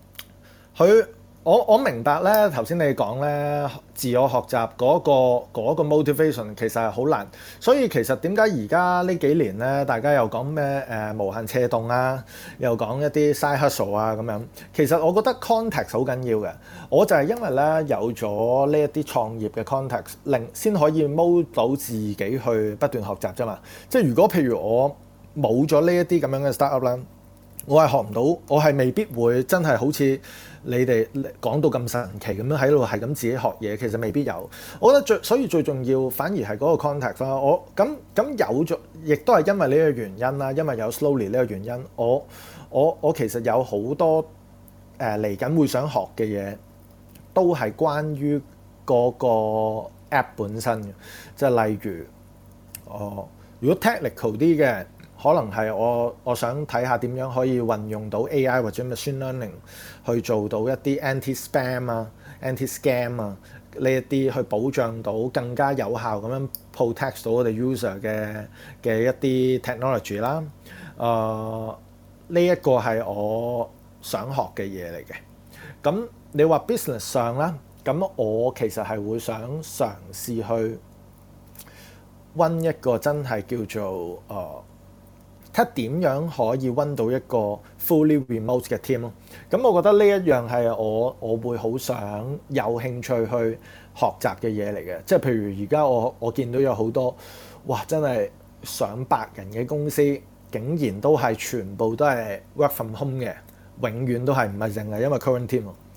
D: 我明白咧，頭先你講咧，自我學習嗰個 motivation 其實係好難，所以其實點解而家呢幾年咧，大家又講咩無限斜動啊，又講一啲 side hustle 啊咁樣，其實我覺得 context 好緊要嘅。我就係因為咧有咗呢一啲創業嘅 context，令先可以 mold 到自己去不斷學習啫嘛。即係如果譬如我冇咗呢一啲咁樣嘅 startup 啦，我係學唔到，我係未必會真係好似你哋講到咁神奇咁樣喺度係咁自己學嘢，其實未必有。我覺得所以最重要反而係嗰個 context 啦。我咁有咗，亦都係因為呢個原因啦，因為有 Slowly 呢個原因，我其實有好多嚟緊會想學嘅嘢，都係關於嗰個 app 本身嘅，即係例如如果 technical 啲嘅。可能係我想睇下點樣可以運用到 AI 或者 machine learning 去做到一啲 anti-spam 啊、anti-scam 啊呢一啲，去保障到更加有效咁樣 protect 到我哋 user 嘅一啲 technology 啦。呢一個係我想學嘅嘢嚟嘅。咁你話 business 上啦，咁我其實係會想嘗試去溫一個真係叫做睇點樣可以溫到一個 fully remote 嘅 team 咯。咁我覺得呢一樣係我會好想有興趣去學習嘅嘢嚟嘅。即係譬如而家我見到有好多真係上百人嘅公司，竟然都係全部都係 work from home 嘅，永遠都係唔係淨係因為 current team。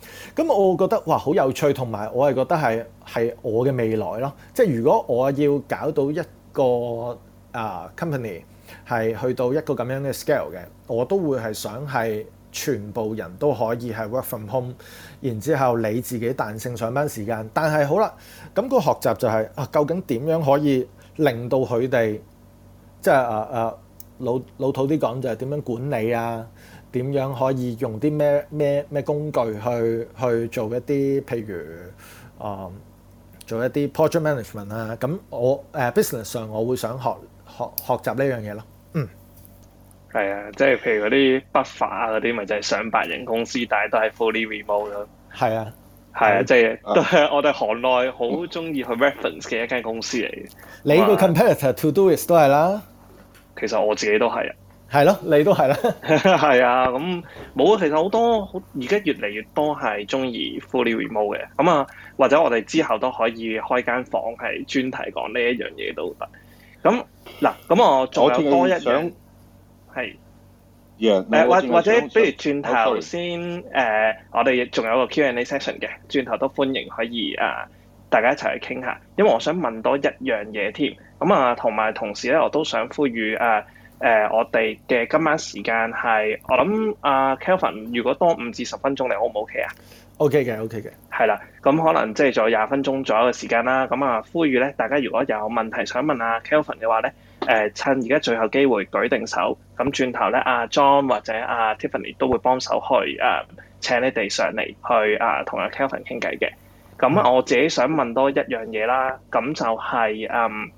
D: 咁我覺得哇好有趣，同埋我係覺得係我嘅未來咯。即係如果我要搞到一個company 係去到一個咁樣嘅 scale 嘅，我都會係想係全部人都可以係 work from home， 然之後你自己彈性上班時間。但係好啦，咁個學習就係究竟點樣可以令到佢哋即係老土啲講就係點樣管理啊？點樣可以用啲咩工具去做一啲譬如做一啲 project management 啊？咁我business 上我會想學習呢樣嘢咯。
C: 係啊，即係譬如嗰啲buffer啊嗰啲，咪就係上百人公司，但係都係 fully remote 咯。係啊，即係都係我哋行內好中意去 reference 嘅一間公司嚟嘅。
D: 你個 competitor Todoist 都係啦。
C: 其實我自己都係啊。
D: 係咯，你都係啦。
C: 係啊，咁冇啊。其實好多而家越嚟越多係中意 fully remote 嘅。咁啊，或者我哋之後都可以開間房係專題講呢一樣嘢都得。咁嗱，咁我仲有多一樣係。或者不如轉頭先我哋仲有個 Q&A session 嘅，轉頭都歡迎可以大家一齊去傾下。因為我想問多一樣嘢添。咁啊，同時咧，我都想呼籲我哋嘅今晚時間係，我諗Kelvin 如果多5至10分鐘，你 O 唔 OK 啊
D: ？OK 嘅，OK 嘅。
C: 係啦，咁可能即係仲有20分鐘左右嘅時間啦。咁啊，呼籲咧，大家如果有問題想問Kelvin 嘅話咧，趁而家最後機會舉定手，咁轉頭咧John 或者Tiffany 都會幫手去請你哋上嚟去同Kelvin 傾偈嘅。咁我自己想問多一樣嘢啦，咁就係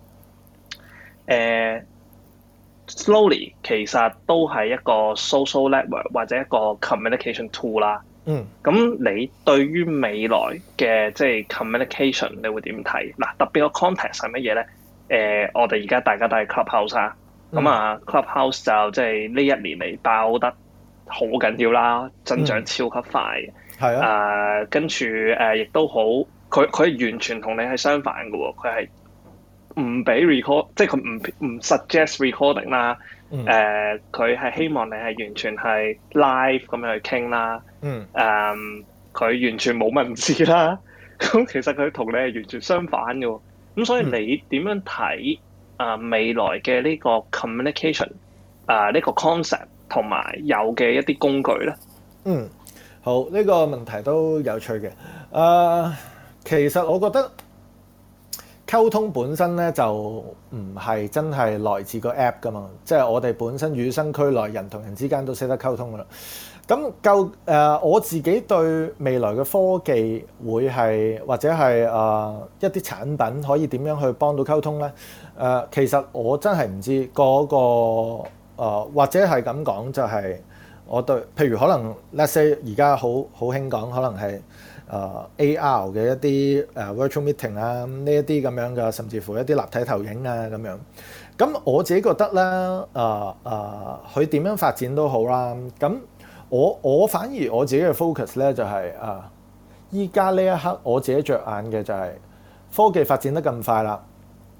C: Slowly 其實都係一個 social network 或者一個 communication tool 啦。咁你對於未來嘅即係 communication 你會點睇？嗱，特別個 context 係乜嘢咧？我哋而家大家都係 Clubhouse 啊。咁Clubhouse 就即係呢一年嚟爆得好緊要啦，增長超級快嘅。係啊。跟住亦都好，佢完全同你係相反嘅喎，佢係唔俾 record， 即係佢唔 suggest recording 啦。佢係希望你係完全係 live 咁樣去傾啦。佢完全冇文字啦。咁其實佢同你係完全相反嘅喎。咁所以你點樣睇未來嘅呢個 communication 呢個 concept 同埋有嘅一啲工具咧？
D: 好，呢個問題都有趣嘅。其實我覺得溝通本身咧就唔係真係來自個 app 噶嘛，即係我哋本身與生俱來，人同人之間都識得溝通噶啦。咁我自己對未來嘅科技會係或者係一啲產品可以點樣去幫到溝通咧？其實我真係唔知嗰個或者係咁講，就係我對譬如可能 let's say 而家好興講，可能係AR 嘅一啲virtual meeting 啊，呢一啲咁樣嘅，甚至乎一啲立體投影啊咁樣。咁我自己覺得咧，佢點樣發展都好啦。咁我反而我自己嘅 focus 咧就係依家呢一刻我自己着眼嘅就係科技發展得咁快啦，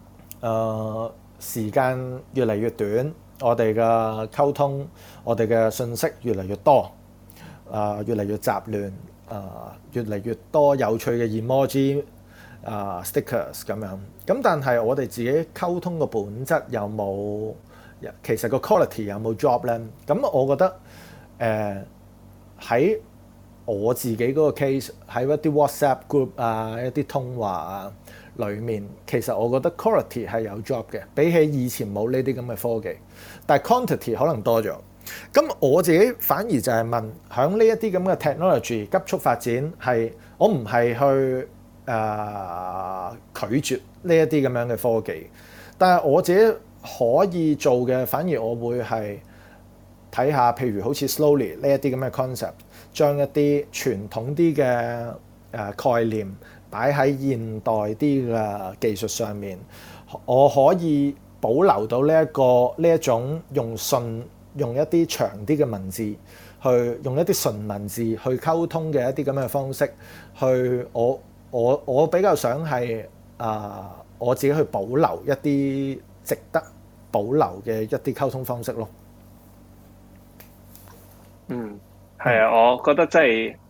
D: 時間越嚟越短，我哋嘅溝通，我哋嘅信息越嚟越多，越嚟越雜亂，越嚟越多有趣嘅 emoji stickers 咁樣。咁但係我哋自己溝通嘅本質有冇，其實個 quality 有冇 drop 咧？咁我覺得喺我自己嗰個 case， 喺一啲 WhatsApp group 一啲通話啊裏面，其實我覺得 quality 係有 drop 嘅，比起以前冇呢啲咁嘅科技，但係 quantity 可能多咗。咁我自己反而就係問，響呢一啲咁嘅 technology 急速發展，係我唔係去拒絕呢一啲咁樣嘅科技，但係我自己可以做嘅，反而我會係睇下，譬如好似 Slowly 呢一啲咁嘅 concept， 將一啲傳統啲嘅概念擺喺現代啲嘅技術上面，我可以保留到呢一種用一啲長啲嘅文字，去用一啲純文字去溝通嘅一啲咁嘅方式，去我比較想係我自己去保留一啲值得保留嘅一啲溝通方式咯。
C: 係啊，我覺得真係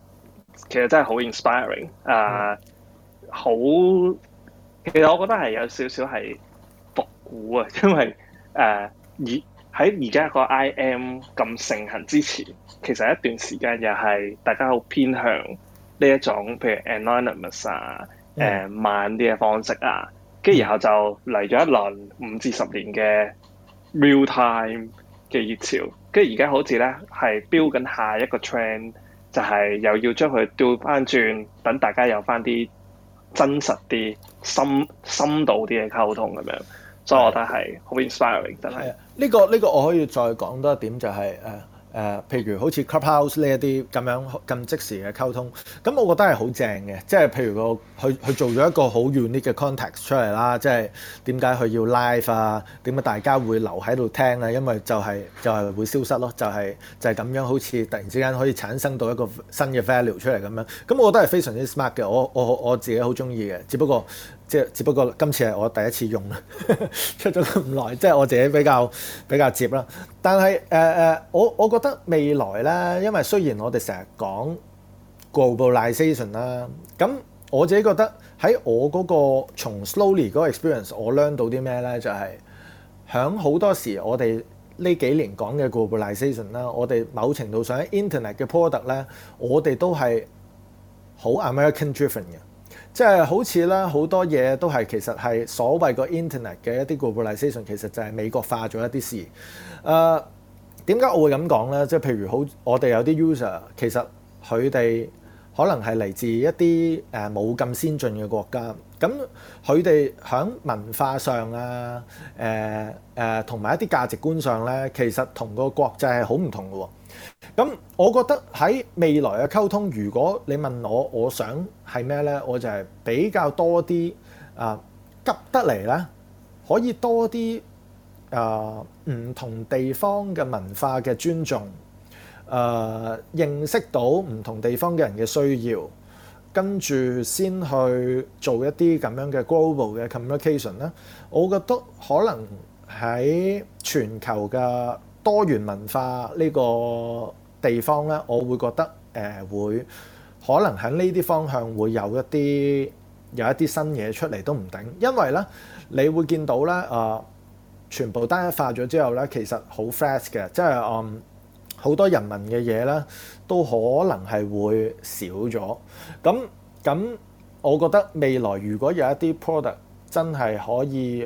C: 其實真係好 inspiring 好，其實我覺得係有少少係復古啊，因為喺而家個 IM 咁盛行之前，其實一段時間又係大家好偏向呢一種，譬如 anonymous 慢啲嘅方式啊，跟住然後就嚟咗一輪5至10年嘅 real time 嘅熱潮，跟住而家好似咧係標緊下一個 trend，就係又要將佢調翻轉，等大家有翻啲真實啲、深度啲嘅溝通咁樣，所以我覺得係好 inspiring，真係。
D: 呢個我可以再講多一點，就係譬如好似 Clubhouse 呢一啲咁即時嘅溝通，咁我覺得係好正嘅。即係譬如佢做咗一個好 unique 嘅 context 出嚟啦，即係點解佢要 live 啊？點解大家會留喺度聽啊？因為就係會消失咯，就係咁樣，好似突然之間可以產生到一個新嘅 value 出嚟咁樣。咁我覺得係非常之 smart 嘅，我自己好中意嘅。只不過今次係我第一次用出咗咁耐，即係我自己比較接啦。但係我覺得未來咧，因為雖然我哋成日講 globalization 啦，咁我自己覺得喺我嗰個從 slowly 嗰個 experience，我 learn 到啲咩咧？就係響好多時我哋呢幾年講嘅 globalization 啦，我哋某程度上喺 internet 嘅 product 咧，我哋都係好 American driven 嘅。即係好似咧，好多嘢都係其實係所謂個 internet 嘅一啲 globalization，其實就係美國化咗一啲事。點解我會咁講咧？即係譬如我哋有啲 user，其實佢哋可能係嚟自一啲冇咁先進嘅國家，咁佢哋喺文化上啊，同埋一啲價值觀上咧，其實同個國際係好唔同嘅喎。咁我覺得喺未來嘅溝通，如果你問我想係咩咧，我就係比較多啲急得嚟咧，可以多啲唔同地方嘅文化嘅尊重，認識到唔同地方嘅人嘅需要，跟住先去做一啲咁樣嘅 global 嘅 communication 咧。我覺得可能喺全球嘅多元文化呢個地方咧，我會覺得會可能喺呢啲方向會有一啲新嘢出嚟都唔定，因為咧你會見到咧全部單一化咗之後咧，其實好 fast 嘅，即係好多人民嘅嘢咧都可能係會少咗。咁我覺得未來如果有一啲 product 真係可以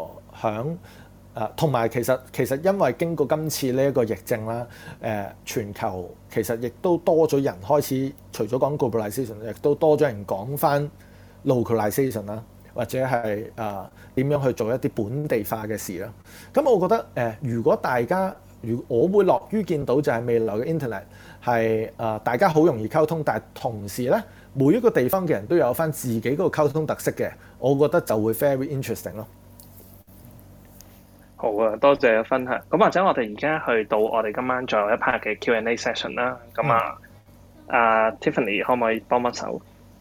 D: 同埋其實因為經過今次呢一個疫症啦，全球其實亦都多咗人開始，除咗講 globalization，亦都多咗人講翻 localization 啦，或者係點樣去做一啲本地化嘅事啦。咁我覺得如果我會樂於見到就係未來嘅 internet 係大家好容易溝通，但係同時咧每一個地方嘅人都有翻自己嗰個溝通特色嘅，我覺得就會 very interesting 咯。
C: 好啊，多謝分享。咁或者我哋而家去到我哋今晚最後一 part 嘅 Q&A session 啦。咁Tiffany 可唔可以幫幫手？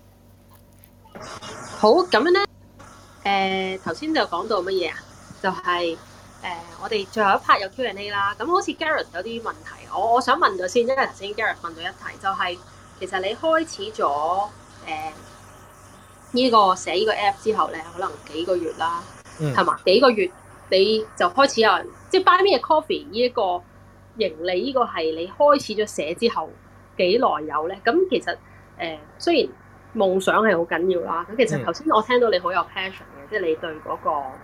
F: 好，咁樣咧，頭先就講到乜嘢啊？就係我哋最後一 part 有 Q&A 啦。咁好似 Gareth 有啲問題，我想問咗先，因為頭先 Gareth 問咗一題，就係其實你開始咗呢個寫呢個 app 之後咧，可能幾個月啦，係嘛？幾個月你就開始有人即係 Buy Me a Coffee 呢一個盈利，呢個係你開始咗寫之後幾耐有咧？咁其實雖然夢想係好緊要啦，咁其實頭先我聽到你好有 passion 嘅，即係你對嗰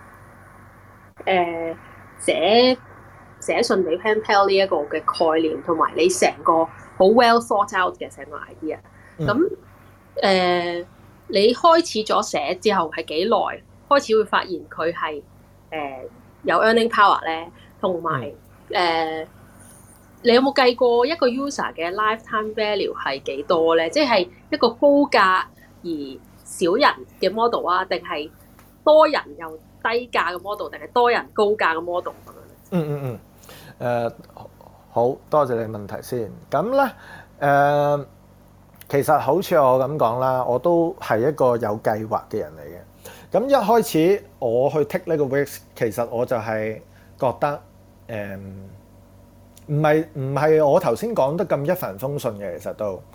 F: 個寫信俾 Pen Pal 呢一個嘅概念，同埋你成個好 well thought out 嘅成個 idea。咁你開始咗寫之後係幾耐開始會發現佢係有 earning power 咧？同埋你有冇計過一個 user 嘅 lifetime value 係幾多咧？即係一個高價而少人嘅 model 啊，定係多人又低價嘅 model， 定係多人高價嘅 model 咁樣？
D: 好多謝你問題先。咁咧其實好似我咁講啦，我都係一個有計劃嘅人嚟嘅。咁一開始我去 take 呢個 risk， 其實我就係覺得唔係我頭先講得咁一帆風順嘅，其實都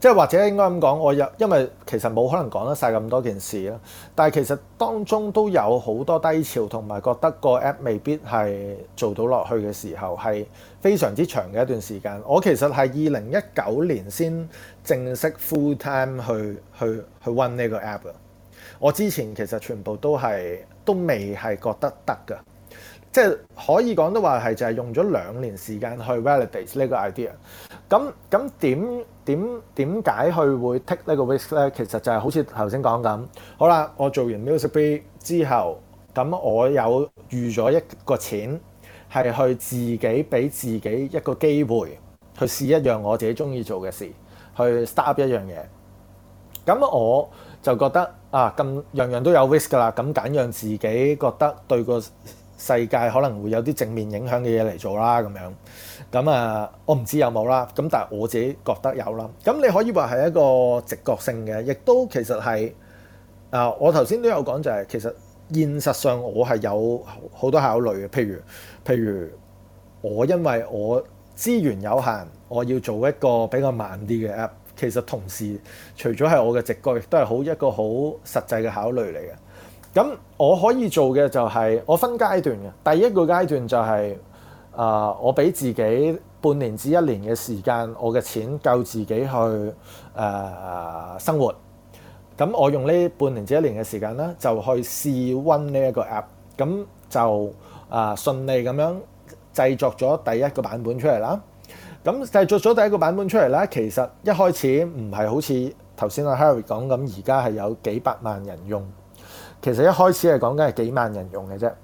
D: 即係或者應該咁講，因為其實冇可能講得晒咁多件事啦。但係其實當中都有好多低潮，同埋覺得個 app 未必係做到落去嘅時候，係非常之長嘅一段時間。我其實係2019年先正式 full time 去 run 呢個 app 嘅。我之前其實全部都未係覺得得㗎。即係可以講都話係就係用咗2年時間去 validate 呢個 idea。咁點解佢會 take 呢個 risk 咧？其實就係好似頭先講咁。好啦，我做完 Music.Bee 之後，咁我有預咗一個錢係去自己俾自己一個機會去試一樣我自己中意做嘅事，去 start up 一樣嘢。咁我就覺得咁樣樣都有 risk 㗎啦。咁揀讓自己覺得對個世界可能會有啲正面影響嘅嘢嚟做啦，咁樣咁我唔知有冇啦。咁但係我自己覺得有啦。咁你可以話係一個直覺性嘅，亦都其實係我頭先都有講就係其實現實上我係有好多考慮嘅。譬如我因為我資源有限，我要做一個比較慢啲嘅 app。其實同時除咗係我嘅直覺，亦都係一個好實際嘅考慮嚟嘅。咁我可以做嘅就係我分階段嘅。第一個階段就係我俾自己半年至1年嘅時間，我嘅錢夠自己去生活。咁我用呢半年至1年嘅時間咧，就去試 run 呢一個 app。咁就順利咁樣製作咗第一個版本出嚟啦。咁製作咗第一個版本出嚟咧，其實一開始唔係好似頭先阿 Harry 講咁，而家係有幾百萬人用。其實一開始係講緊係幾萬人用嘅啫。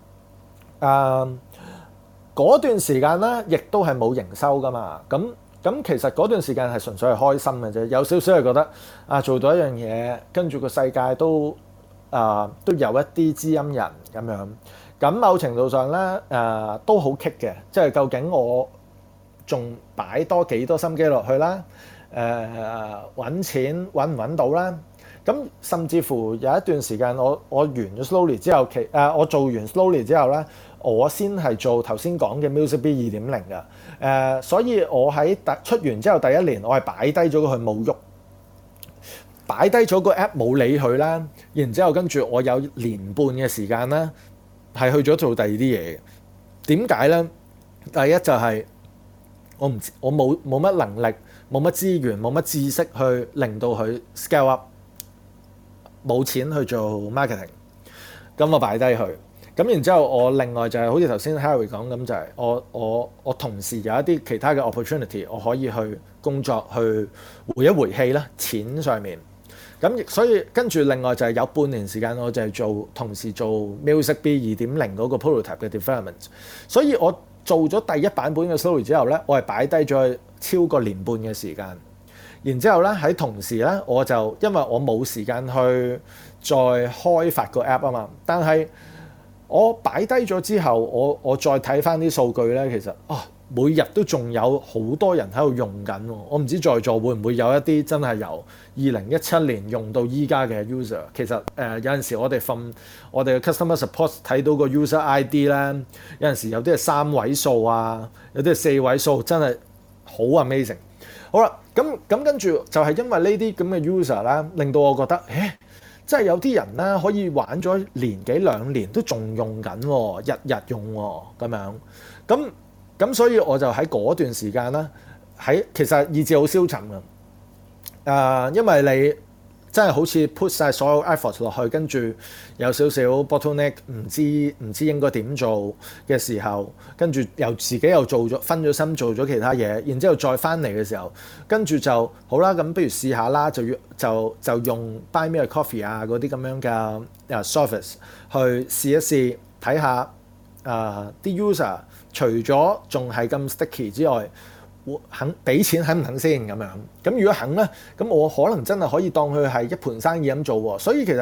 D: 嗰段時間咧，亦都係冇營收噶嘛。咁其實嗰段時間係純粹係開心嘅啫，有少少係覺得做到一樣嘢，跟住個世界都有一啲知音人咁樣。咁某程度上咧都好棘嘅，即係究竟我仲擺多幾多心機落去啦？揾錢揾唔揾到啦？咁甚至乎有一段時間我完咗 Slowly 之後，我做完 Slowly 之後咧，我先係做頭先講嘅 Music.Bee 2.0嘅。所以我喺出完之後第1年，我係擺低咗佢冇喐，擺低咗個 app 冇理佢啦。然之後跟住我有年半嘅時間咧，係去咗做第二啲嘢嘅。點解咧？第一就係我冇乜能力，冇乜資源，冇乜知識去令到佢 scale up。冇錢去做 marketing，咁我擺低佢。咁然之後我另外就係好似頭先 Harry 講咁，就係我同時有一啲其他嘅 opportunity，我可以去工作去回一回氣啦，錢上面。咁所以跟住另外就係有半年時間，我就係同時做 Music.Bee 2.0嗰個 prototype 嘅 development。所以我做咗第一版本嘅 story 之後咧，我係擺低咗超過年半嘅時間。然之後咧，喺同時咧，我就因為我冇時間去再開發個 app 啊嘛，但係我擺低咗之後，我再睇翻啲數據咧，其實每日都仲有好多人喺度用緊喎。我唔知在座會唔會有一啲真係由2017年用到依家嘅 user。其實有陣時我哋from我哋嘅 customer support 睇到個 user ID 咧，有陣時有啲係3位數啊，有啲係4位數，真係好 amazing。好啦，咁跟住就係因為呢啲咁嘅 user 啦，令到我覺得，真係有啲人咧可以玩咗年幾2年都仲用緊喎，日日用喎咁樣。咁所以我就喺嗰段時間咧，其實意志好消沉嘅。因為你真係好似 put 晒所有 effort 落去，跟住有少少 bottleneck，唔知應該點做嘅時候，跟住自己又分咗心做咗其他嘢，然之後再翻嚟嘅時候，跟住就好啦，咁不如試下啦，就用 Buy Me a Coffee 啊嗰啲咁樣嘅service 去試一試，睇下啲 user 除咗仲係咁 sticky 之外，肯俾錢肯唔肯先咁樣？咁如果肯咧，咁我可能真係可以當佢係一盤生意咁做喎。所以其實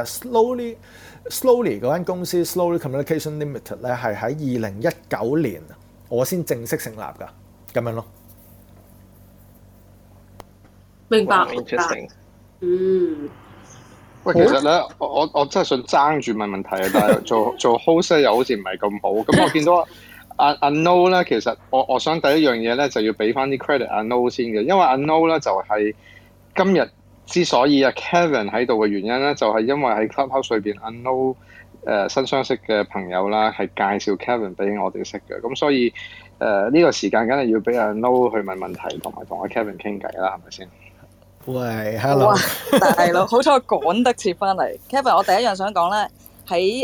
D: Slowly 嗰間公司 Slowly Communication Limited 咧係喺2019年我先正式成立㗎，咁樣咯。
F: 明白。
B: 喂，其實咧，我真係想爭住問問題啊，但係做 host 又好似唔係咁好。咁我見到阿 No 咧，其實我想第一樣嘢咧就要俾翻啲 credit 阿 No 先嘅，因為阿 No 咧就係今日之所以Kevin 喺度嘅原因咧，就係因為喺 Clubhouse 裏邊 Unknow 新相識嘅朋友啦，係介紹 Kevin 俾我哋識嘅。咁所以呢個時間梗係要俾 Unknow 去問問題，同埋同阿 Kevin 傾偈啦，係咪先？
D: 喂 ，Hello，
I: 大佬，好彩我趕得切翻嚟。Kevin，我第一樣想講咧，喺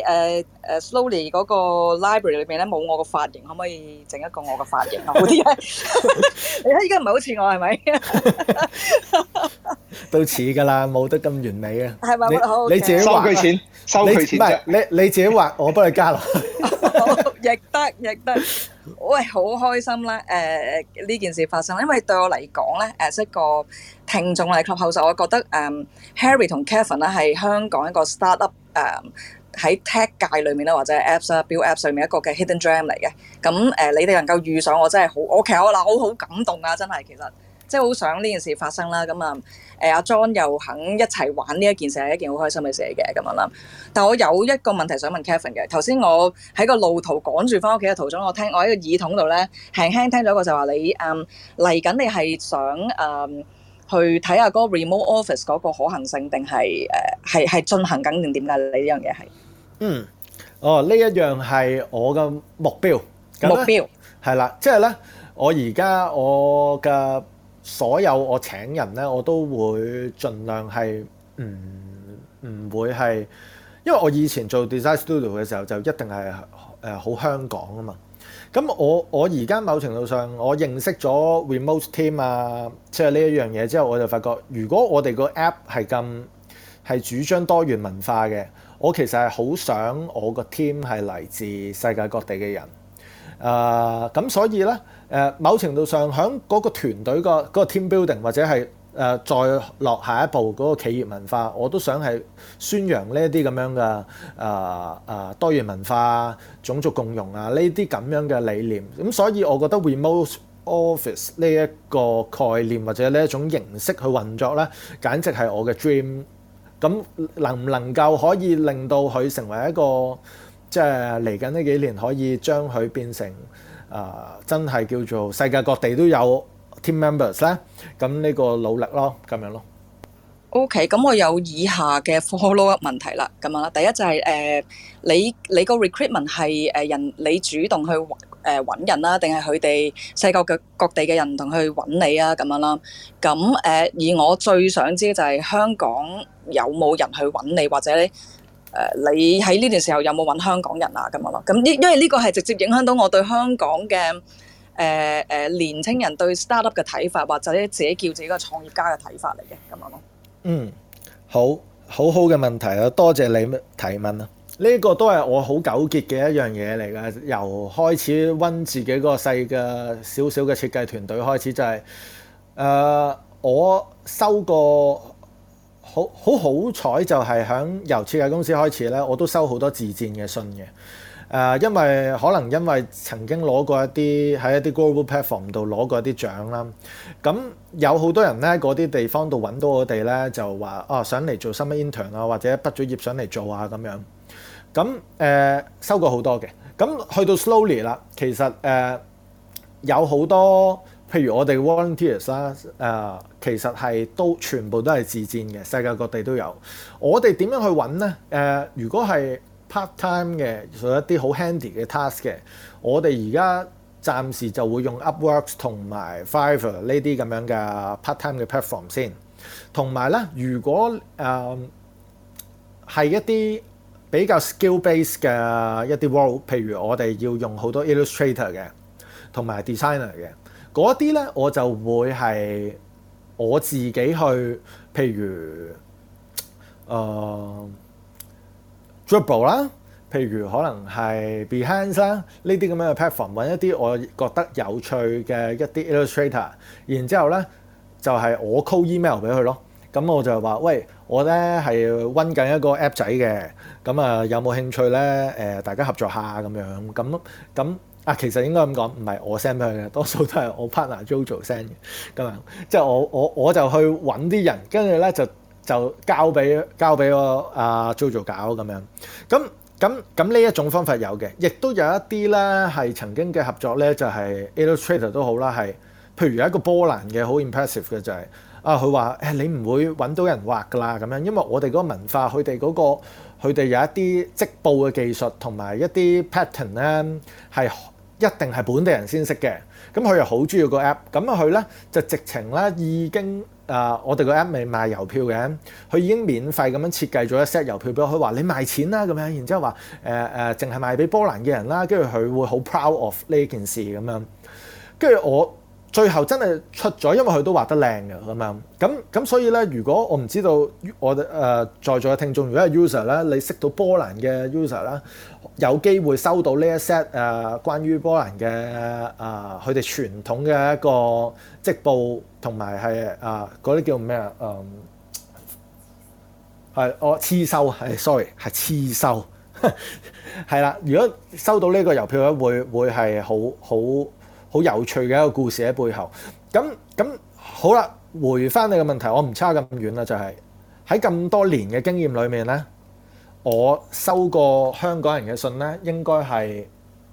I: Slowly 嗰個 library 裏邊咧，冇我個髮型，可唔可以整一個我個髮型啊？好啲嘅。你睇依家唔係好似我係咪？
D: 都似㗎啦，冇得咁完美啊！
I: 係咪？好，
D: 你自己畫，
B: 收佢錢，收佢錢啫。
D: 你自己畫，我幫你加落。
I: 亦得。喂，好開心啦！呢件事發生，因為對我嚟講咧，一個聽眾嚟 Clubhouse，我覺得Harry 同 Kevin 咧係香港一個 startup 喺 tech 界裏面咧，或者 apps 啊 build apps 裏面一個嘅 hidden gem 嚟嘅。咁你哋能夠遇上我真係好，其實我好感動啊！真係其實即係好想呢件事發生啦。咁阿 John 又肯一齊玩呢一件事係一件好開心嘅事嚟嘅咁樣啦。但我有一個問題想問 Kevin 嘅。頭先我喺個路途趕住翻屋企嘅途中，我喺個耳筒度咧輕輕聽咗一個就話你嚟緊你係想去睇下嗰個 remote office 嗰個可行性，定係進行緊定點解？你呢樣嘢係？
D: 呢一樣係我嘅目標。
I: 目標
D: 係啦，即係咧，我而家我嘅所有我請人咧，我都會盡量係唔會係，因為我以前做 design studio 嘅時候就一定係好香港啊嘛。咁我而家某程度上我認識咗 remote team 啊，即係呢一樣嘢之後，我就發覺如果我哋個 app 係主張多元文化嘅，我其實係好想我個 team 係嚟自世界各地嘅人。咁所以咧，某程度上喺嗰個團隊嗰個 team building 或者係再落下一步嗰個企業文化，我都想係宣揚呢一啲咁樣嘅多元文化、種族共融啊呢啲咁樣嘅理念。咁所以我覺得 remote office 呢一個概念或者呢一種形式去運作咧，簡直係我嘅 dream。咁能唔能夠可以令到佢成為一個即係嚟緊呢幾年可以將佢變成真係叫做世界各地都有 team members 咧？咁呢個努力咯，咁樣咯。
I: OK， 咁我有以下嘅 follow up 問題啦，咁樣啦。第一就係你個 recruitment 係人你主動去揾人啦，定係佢哋世界各地嘅人同去揾你啊？咁樣啦。咁而我最想知就係香港有冇人去揾你，或者你喺呢段時候有冇揾香港人啊？咁樣咯。咁因為呢個係直接影響到我對香港嘅年青人對 startup 嘅睇法，或者自己叫自己個創業家嘅睇法嚟嘅，咁樣咯。
D: 好嘅問題啊！多謝你提問啊！呢個都係我好糾結嘅一樣嘢嚟㗎。由開始溫自己個細嘅少少嘅設計團隊開始，就係我收過好彩，就係由設計公司開始咧，我都收好多自薦嘅信嘅。因為曾經攞過一啲喺一啲 global platform 度攞過一啲獎啦，咁有好多人咧嗰啲地方度揾到我哋咧，就話想嚟做 summer intern 啊，或者畢咗業想嚟做啊咁樣。咁收過好多嘅，咁去到 Slowly 啦，其實有好多譬如我哋 volunteers 啦，其實係全部都係自薦嘅，世界各地都有。我哋點樣去揾咧？如果係part time 嘅做一啲好 handy 嘅 task 嘅，我哋而家暫時就會用 Upworks 同埋 Fiverr 呢啲咁樣嘅 part time 嘅 platform 先。同埋咧，如果係一啲比較 skill base 嘅一啲 role， 譬如我哋要用好多 illustrator 嘅，同埋 designer 嘅嗰啲咧，我就會係我自己去，譬如Dribble 啦，譬如可能係 Behance 啦，呢啲咁樣嘅 platform 揾一啲我覺得有趣嘅一啲 illustrator， 然之後咧就係我 call email 俾佢咯。咁我就話：喂，我咧係溫緊一個 app 仔嘅，咁有冇興趣咧？大家合作下咁樣。咁其實應該咁講，唔係我 send 俾佢嘅，多數都係我 partner Jojo send 嘅。咁樣即係我就去揾啲人，跟住咧就交俾我Jojo 搞咁樣。咁呢一種方法有嘅，亦都有一啲咧係曾經嘅合作咧，就係 illustrator 都好啦，係譬如有一個波蘭嘅好 impressive 嘅就係佢話你唔會揾到人畫㗎啦咁樣，因為我哋嗰個文化，佢哋有一啲織布嘅技術同埋一啲 pattern 咧係一定係本地人先識嘅。咁佢又好中意個 app， 咁佢咧就直情咧已經我哋個 app 未賣郵票嘅，佢已經免費咁樣設計咗一 set 郵票俾我，佢話你賣錢啦咁樣，然之後話淨係賣俾波蘭嘅人啦，跟住佢會好 proud of 呢件事咁樣，跟住我最後真係出咗，因為佢都畫得靚嘅咁樣，咁所以咧，如果我唔知道我哋在座嘅聽眾，如果係 user 咧，你識到波蘭嘅 user 啦，有機會收到呢一 set 關於波蘭嘅佢哋傳統嘅一個織布同埋係嗰啲叫咩啊？係我刺繡係 sorry 係刺繡係啦。如果收到呢個郵票咧，會係好有趣嘅一個故事喺背後。咁好啦，回翻你嘅問題，我唔差咁遠啦，就係喺咁多年嘅經驗裏面咧，我收過香港人嘅信咧，應該係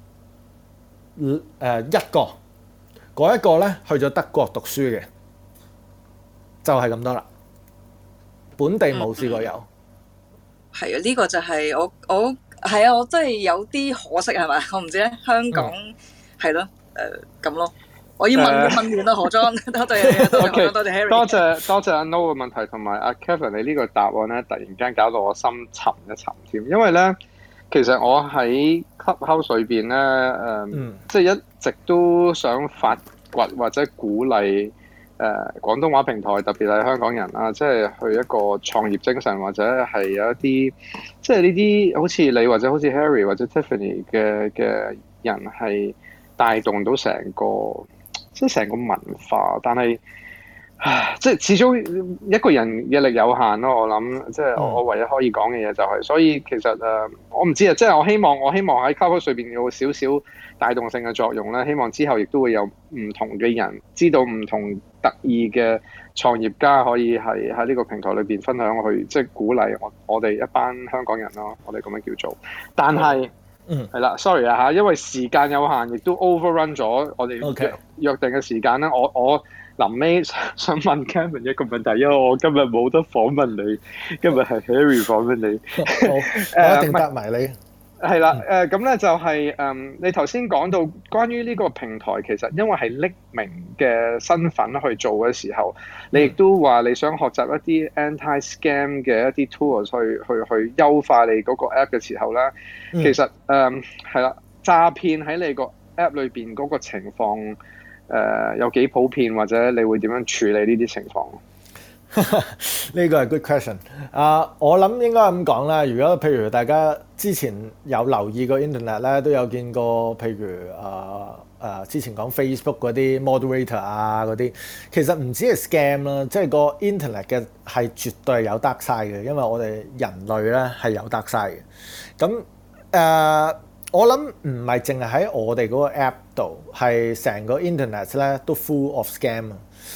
D: 一個，嗰一個咧去咗德國讀書嘅，就係咁多啦。本地冇試過有。
I: 係啊，呢個就係我係啊，我真係有啲可惜係咪？我唔知咧，香港係咯。咁咯，我要問完啦，何莊，多謝多謝 Harry，
B: 多謝阿 No 嘅問題，同埋阿 Kevin 你呢個答案咧，突然間搞到我心沉一沉添，因為咧，其實我喺 Clubhouse 裏邊咧，即係一直都想發掘或者鼓勵廣東話平台，特別係香港人啊，即係去一個創業精神，或者係有一啲即係呢啲好似你或者好似 Harry 或者 Tiffany 嘅人係帶動到成個即係成個文化，但係即係始終一個人嘅力有限咯。我諗即係我唯一可以講嘅嘢就係，所以其實我唔知啊，即係我希望喺 Clubhouse 裏邊有少少帶動性嘅作用咧。希望之後亦都會有唔同嘅人知道唔同特異嘅創業家可以係喺呢個平台裏邊分享去，即係鼓勵我哋一班香港人咯。我哋咁樣叫做，但係。係啦 ，sorry 啊嚇，因為時間有限，亦都 overrun 咗我哋約定嘅時間啦。我臨尾想問 Kevin 一個問題，因為我今日冇得訪問你，今日係 Harry 訪問你。
D: 我一定答埋你。
B: 係啦，咁咧就係你頭先講到關於呢個平台，其實因為係匿名嘅身份去做嘅時候，你亦都話你想學習一啲 anti-scam 嘅一啲 tools 去優化你嗰個 app 嘅時候咧，其實係啦，詐騙喺你個 app 裏邊嗰個情況有幾普遍，或者你會點樣處理呢啲情況？
D: 呢個係 good question。我諗應該咁講啦。如果譬如大家之前有留意過 internet 咧，都有見過，譬如之前講 Facebook 嗰啲 moderator 啊嗰啲，其實唔止係 scam 啦，即係個 internet 嘅係絕對係有 dark side嘅，因為我哋人類咧係有 dark side 嘅。咁我諗唔係淨係喺我哋嗰個 app 度，係成個 internet 咧都 full of scam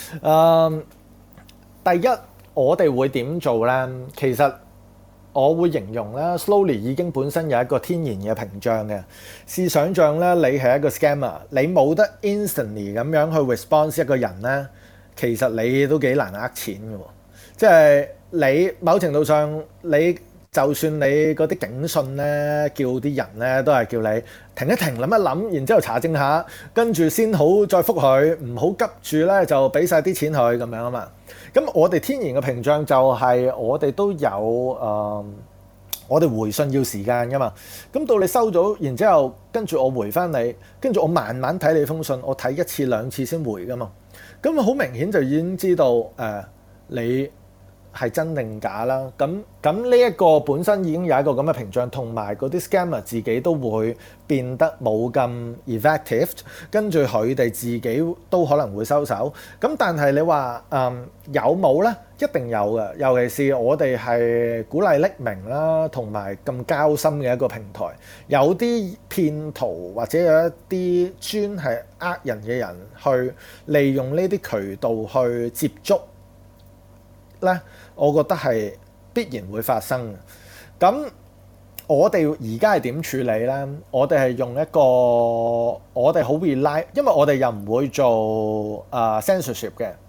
D: 第一，我哋會點做咧？其實我會形容咧 ，Slowly 已經本身有一個天然嘅屏障嘅。試想像咧，你係一個 scammer，你冇得 instantly 咁樣去 response 一個人咧，其實你都幾難呃錢嘅喎。即係你某程度上，你就算你嗰啲警訊咧，叫啲人咧都係叫你停一停，諗一諗，然之後查證下，跟住先好再覆佢，唔好急住咧就俾晒啲錢佢咁樣啊嘛。咁我哋天然嘅屏障就係我哋都有我哋回信要時間噶嘛。咁到你收咗，然之後跟住我回翻你，跟住我慢慢睇你封信，我睇一次兩次先回噶嘛。咁好明顯就已經知道你係真定假啦。咁呢一個本身已經有一個咁嘅屏障，同埋嗰啲 scammer 自己都會變得冇咁 effective， 跟住佢哋自己都可能會收手。咁但係你話有冇呢？一定有嘅，尤其是我哋係鼓勵匿名啦，同埋咁交心嘅一個平台。有啲騙徒或者有一啲專係呃人嘅人，去利用呢啲渠道去接觸咧，我覺得係必然會發生嘅。咁我哋而家係點處理咧？我哋係用一個我哋好 rely，因為我哋又唔會做censorship 嘅。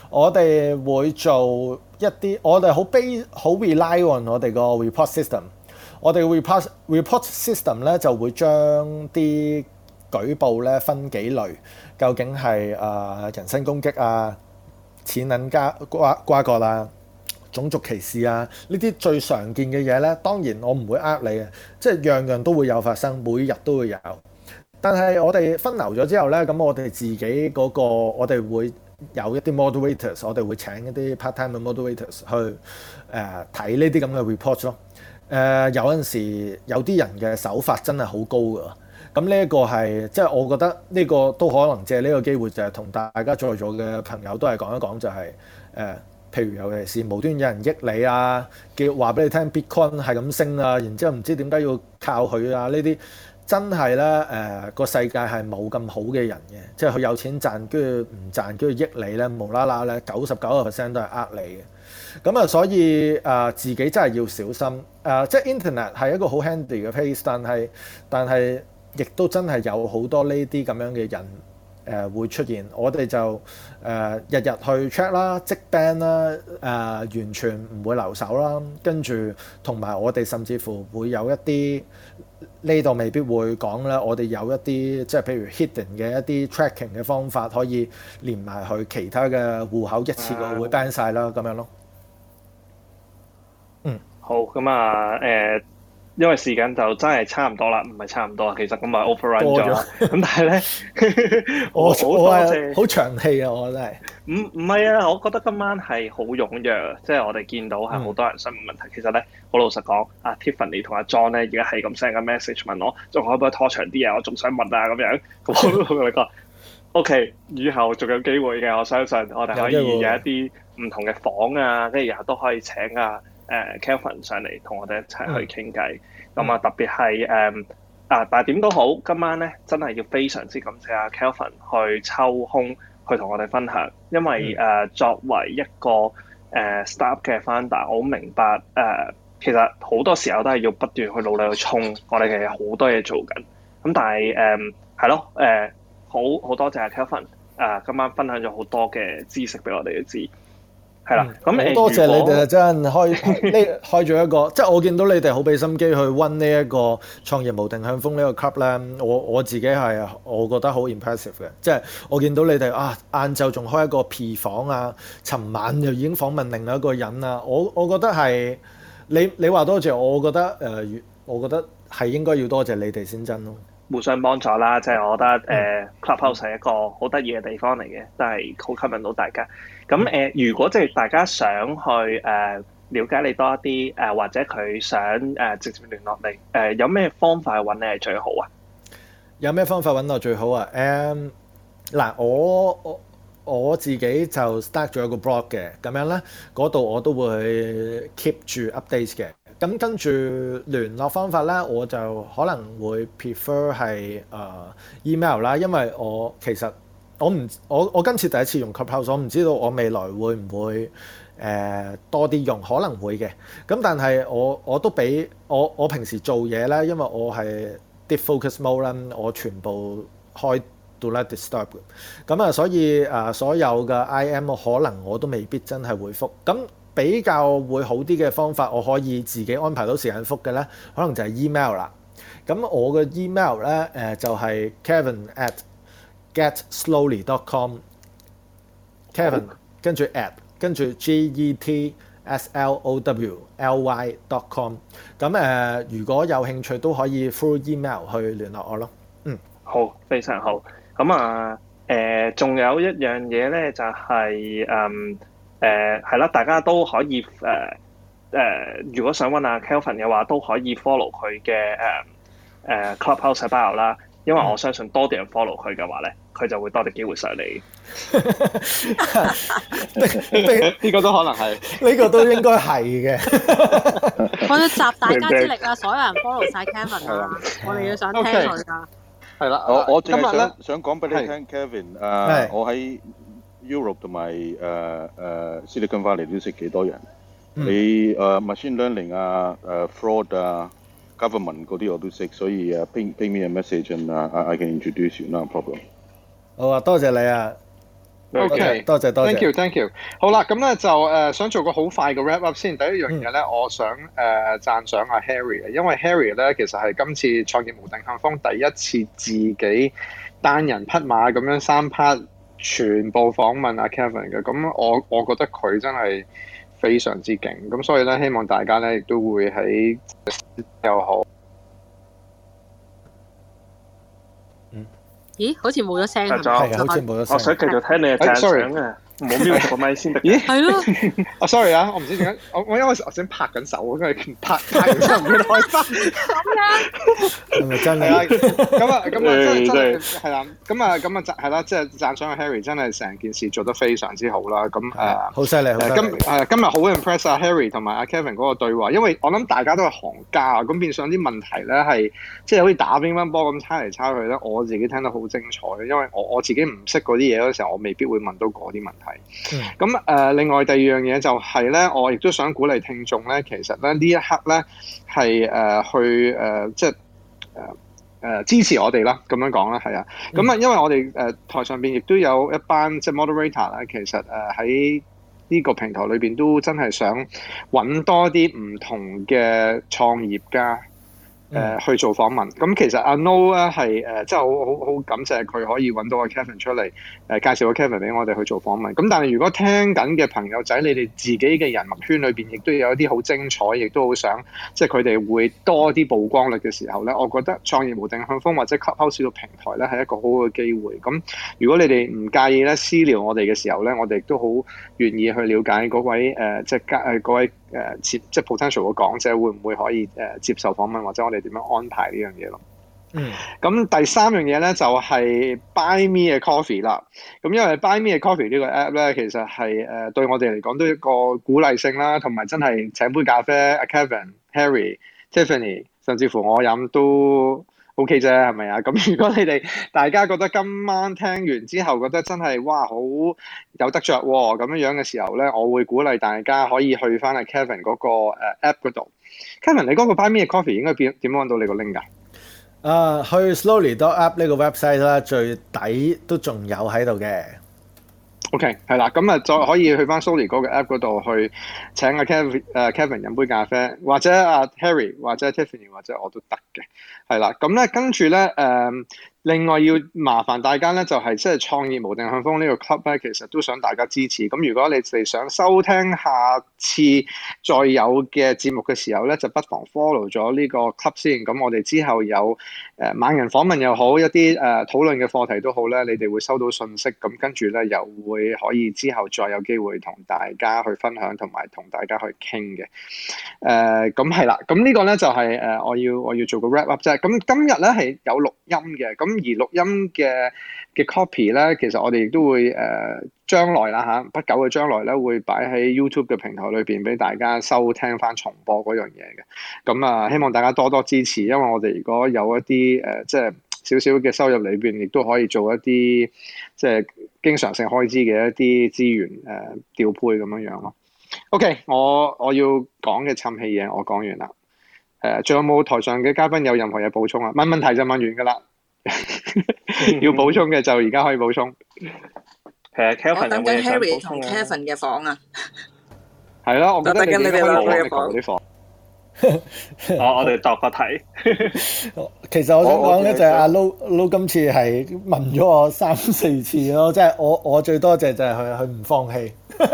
D: 我哋會做一啲，我哋好 rely on 我哋個 report system。我哋 report system 咧就會將啲舉報咧分幾類，究竟係人身攻擊啊、錢銀瓜葛啊、種族歧視啊，呢啲最常見嘅嘢咧，當然我唔會呃你嘅，即係樣樣都會有發生，每日都會有。但係我哋分流咗之後咧，咁我哋自己嗰個我哋會有一啲 moderators， 我哋會請一啲 part-time 嘅 moderators 去睇呢啲咁嘅 report 咯。有陣時有啲人嘅手法真係好高㗎，咁呢一個係即係我覺得呢個都可能借呢個機會就係同大家在座嘅朋友都係講一講，就係譬如尤其是無端有人益你啊，叫話俾你聽 Bitcoin 係咁升啊，然之後唔知點解要靠佢啊，呢啲真係咧個世界係冇咁好嘅人嘅，即係佢有錢賺跟住唔賺跟住益你咧，無啦啦咧99% 都係呃你嘅。咁啊，所以自己真係要小心。即係 Internet 係一個好 handy 嘅 place， 但係亦都真係有好多呢啲咁樣嘅人會出現。我哋就日日去 check 啦、即 ban 啦、完全唔會留守啦。跟住同埋我哋甚至乎會有一啲呢度未必會講啦。我哋有一啲即係譬如 hidden 嘅一啲 tracking 嘅方法，可以連埋去其他嘅戶口一次過會 ban 晒啦，咁樣咯。
C: 好咁啊，因為時間就真係差唔多啦，唔係差唔多啊，其實咁咪 overrun 咗。咁但係咧，我好多謝，
D: 好長氣啊！我真係
C: 唔係啊，我覺得今晚係好踴躍，即係我哋見到係好多人想問問題。其實咧，好老實講，阿 Tiffany 同阿 John 咧，而家係咁 send 個 message 問我，仲可唔可以拖長啲啊？我仲想問啊咁樣。咁我都同佢講 ，OK， 以後仲有機會嘅，我相信我哋可以有一啲唔同嘅房啊，跟住日後都可以請Kelvin 上嚟同我哋一齊去傾偈，咁啊特別係但係點都好，今晚咧真係要非常之感謝阿 Kelvin 去抽空去同我哋分享，因為作為一個startup 嘅 founder，我好明白其實好多時候都係要不斷去努力去衝，我哋其實好多嘢做緊，咁但係係咯好多謝阿 Kelvin 今晚分享咗好多嘅知識俾我哋知。係啦，咁
D: 好多謝你哋真開咗一個，即係我見到你哋好俾心機去溫呢一個創業無定向瘋呢個 club 咧，我自己係我覺得好 impressive 嘅，即係我見到你哋晏晝仲開一個 P 房啊，尋晚就已經訪問另外一個人啊，我覺得係你話多謝，我覺得係應該要多謝你哋先真咯。
C: 互相幫助啦，即係我覺得Clubhouse 係一個好得意嘅地方嚟嘅，都係好吸引到大家。咁如果即係大家想去了解你多一啲或者佢想直接聯絡你有咩方法去揾你係最好啊？有咩方法揾我最好啊？
D: 嗱，我自己就 start 咗一個 blog 嘅，咁樣咧嗰度我都會 keep 住 update 嘅。咁跟住聯絡方法咧，我就可能會 prefer 係email 啦，因為其實我今次第一次用 Clubhouse， 我唔知道我未來會唔會多啲用，可能會嘅。咁但係我都俾我平時做嘢咧，因為我係 deep focus mode 啦，我全部開 do not disturb 嘅。咁所以所有嘅 IM 可能我都未必真係會覆。咁比較會好啲嘅方法，我可以自己安排到時間覆嘅咧，可能就係 email 啦。咁我嘅 email 咧就係 kevin@getslowly.com，Kevin 跟住 getslowly.com。咁如果有興趣都可以 through email 去聯絡我咯。
C: 好，非常好。咁仲有一樣嘢咧，就係係啦，大家都可以如果想揾阿 Kelvin 嘅話，都可以 follow 佢嘅Clubhouse bio 啦。因為我相信多啲人 follow 佢嘅話咧，佢就會多啲機會上嚟。呢個都可能係，
D: 呢個都應該係嘅。
F: 我要集大家之力啊！所有人 follow 晒 Kelvin 啊！我哋要想聽佢㗎。
B: 係啦，
E: 我淨係想講俾你聽 ，Kevin， 我喺Europe 同埋Silicon Valley都識幾多人？你machine learning fraud government 嗰啲我都識，所以ping me a message and I can introduce you，no problem。
D: 好啊，多謝你啊！
B: OK，
D: 多謝。
B: Thank you。好啦，咁咧就想做個好快嘅 wrap up 先。第一樣嘢咧，我想讚賞阿 Harry 嘅，因為 Harry 咧其實係今次創業無定向瘋第一次自己單人匹馬咁樣3 part 全部訪問阿 Kevin 嘅。咁我覺得佢真係非常之勁。咁所以咧，希望大家咧亦都會喺又好。
F: 咦？好似冇咗聲
C: 係
D: 好似冇咗聲。
C: 我想繼續聽你嘅讚賞啊！冇瞄個咪先得。
B: 咦？
F: 係咯。
B: sorry 啊，我唔知點解，我因為我先拍緊手，因為拍完之後唔記得開翻。
D: 係咪真係？
B: 咁真係係啦。咁係啦，即係讚賞阿 Harry 真係成件事做得非常之好啦。咁
D: 好犀利，
B: 今日好 impress 阿 Harry 同埋阿 Kevin 嗰個對話，因為我諗大家都係行家啊。咁變相啲問題咧係即係好似打乒乓波咁猜嚟猜去咧，我自己聽得好精彩。因為我自己唔識嗰啲嘢嗰時候，我未必會問到嗰啲問題。咁另外第二樣嘢就係咧，我亦都想鼓勵聽眾咧，其實咧呢一刻咧係去即係支持我哋啦，咁樣講啦，係啊。咁因為我哋台上邊亦都有一班即係 moderator 啦，其實喺呢個平台裏邊都真係想揾多啲唔同嘅創業家。去做訪問，咁其實阿 No 咧係真係好感謝佢可以揾到阿 Kevin 出嚟介紹個 Kevin 俾我哋去做訪問。咁但係如果聽緊嘅朋友仔，你哋自己嘅人脈圈裏邊，亦都有一啲好精彩，亦都好想即係佢哋會多啲曝光率嘅時候咧，我覺得創業無定向瘋或者 Clubhouse 個平台咧係一個好好嘅機會。咁如果你哋唔介意咧私聊我哋嘅時候咧，我哋亦都好願意去了解嗰位即係嗰位即係 potential 嘅講者會唔會可以接受訪問，或者我哋點樣安排呢樣嘢咯。咁第三樣嘢咧就係 Buy Me a Coffee 啦。咁因為 Buy Me a Coffee 呢個 app 咧，其實係對我哋嚟講都一個鼓勵性啦，同埋真係請杯咖啡，阿 Kevin、Harry、Tiffany， 甚至乎我飲都 OK 啫，係咪啊？咁如果你哋大家覺得今晚聽完之後覺得真係哇好有得着喎咁樣嘅時候咧，我會鼓勵大家可以去翻阿 Kevin 嗰個app 嗰度。Kevin， 你嗰個 Buy Me a Coffee 應該點揾到你個 link 㗎？
D: 去 Slowly.app 呢個 website 啦，最底都仲有喺度嘅。
B: OK， 係啦，咁再可以去翻 Slowly 嗰個 app 嗰度去請阿 Kevin 飲杯咖啡，或者阿 Harry 或者 Tiffany 或者我都得嘅，係啦。咁咧跟住咧另外要麻煩大家咧，就係即係創業無定向瘋呢個 club 咧，其實都想大家支持。咁如果你哋想收聽下次再有嘅節目嘅時候咧，就不妨 follow 咗呢個 club 先。咁我哋之後有猛人訪問又好，一啲討論嘅課題都好咧，你哋會收到信息。咁跟住咧又會可以之後再有機會同大家去分享，同埋同大家去傾嘅。咁係啦，咁呢個咧就係我要做個 wrap up 啫。咁今日咧係有錄音嘅，咁而錄音嘅 copy 咧，其實我哋亦都會將來啦不久嘅將來咧，會擺喺 YouTube 嘅平台裏邊俾大家收聽翻重播嗰樣嘢嘅。咁希望大家多多支持，因為我哋如果有一啲即係少少嘅收入裏邊，亦都可以做一啲即係經常性開支嘅一啲資源調配咁樣樣咯。OK， 我要講嘅氹氣嘢我講完啦。仲有冇台上嘅嘉賓有任何嘢補充啊？問問題就問完㗎啦。要補充嘅就而家可以補充。
I: 我等緊 Harry 同 Kevin 嘅房啊。
B: 係咯，我覺得你哋可以攞啲房。
C: 我哋度個題。
D: 其實我想講咧，就係阿 Lo 今次係問咗我3-4次咯，即係我最多謝就係佢唔放棄。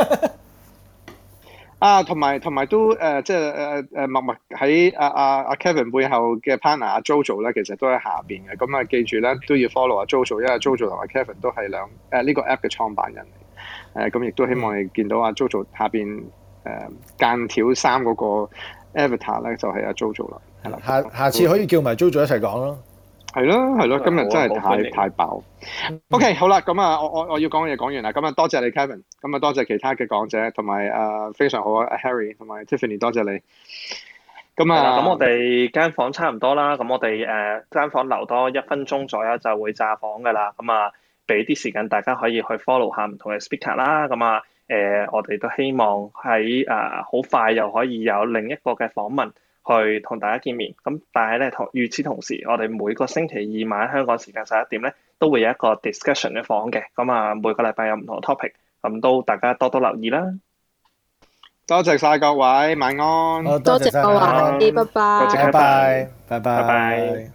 B: 同埋都即係默默喺阿 Kevin 背後嘅 partner 阿 Jojo 咧，其實都喺下邊嘅。咁記住咧都要 follow 阿 Jojo，因為 Jojo 同阿 Kevin 都係呢個 app 嘅創辦人嚟。咁亦都希望你見到阿 Jojo 下邊間條衫嗰個 avatar 咧，就係阿 Jojo 啦。係啦，
D: 下次可以叫埋 Jojo 一齊講咯。係
B: 咯，今日真係太爆。OK， 好啦，咁我要講嘅嘢講完啦。咁多謝你 Kevin，咁多謝其他嘅講者，同埋非常好啊 Harry 同埋 Tiffany， 多謝你。
C: 咁我哋間房差唔多啦，咁我哋間房留多1分鐘左右就會炸房噶啦。俾啲時間大家可以去 follow 下唔同嘅 speaker 啦。我哋都希望喺好快又可以有另一個嘅訪問去同大家見面。咁但係咧，與此同時，我哋每個星期二晚香港時間11點咧，都會有一個 discussion 嘅房嘅。咁啊，每個禮拜有唔同嘅 topic，咁都大家多多留意啦。
B: 多謝晒各位，晚安。
F: 多謝各位，拜拜。
C: 多謝，拜拜。
D: 拜拜。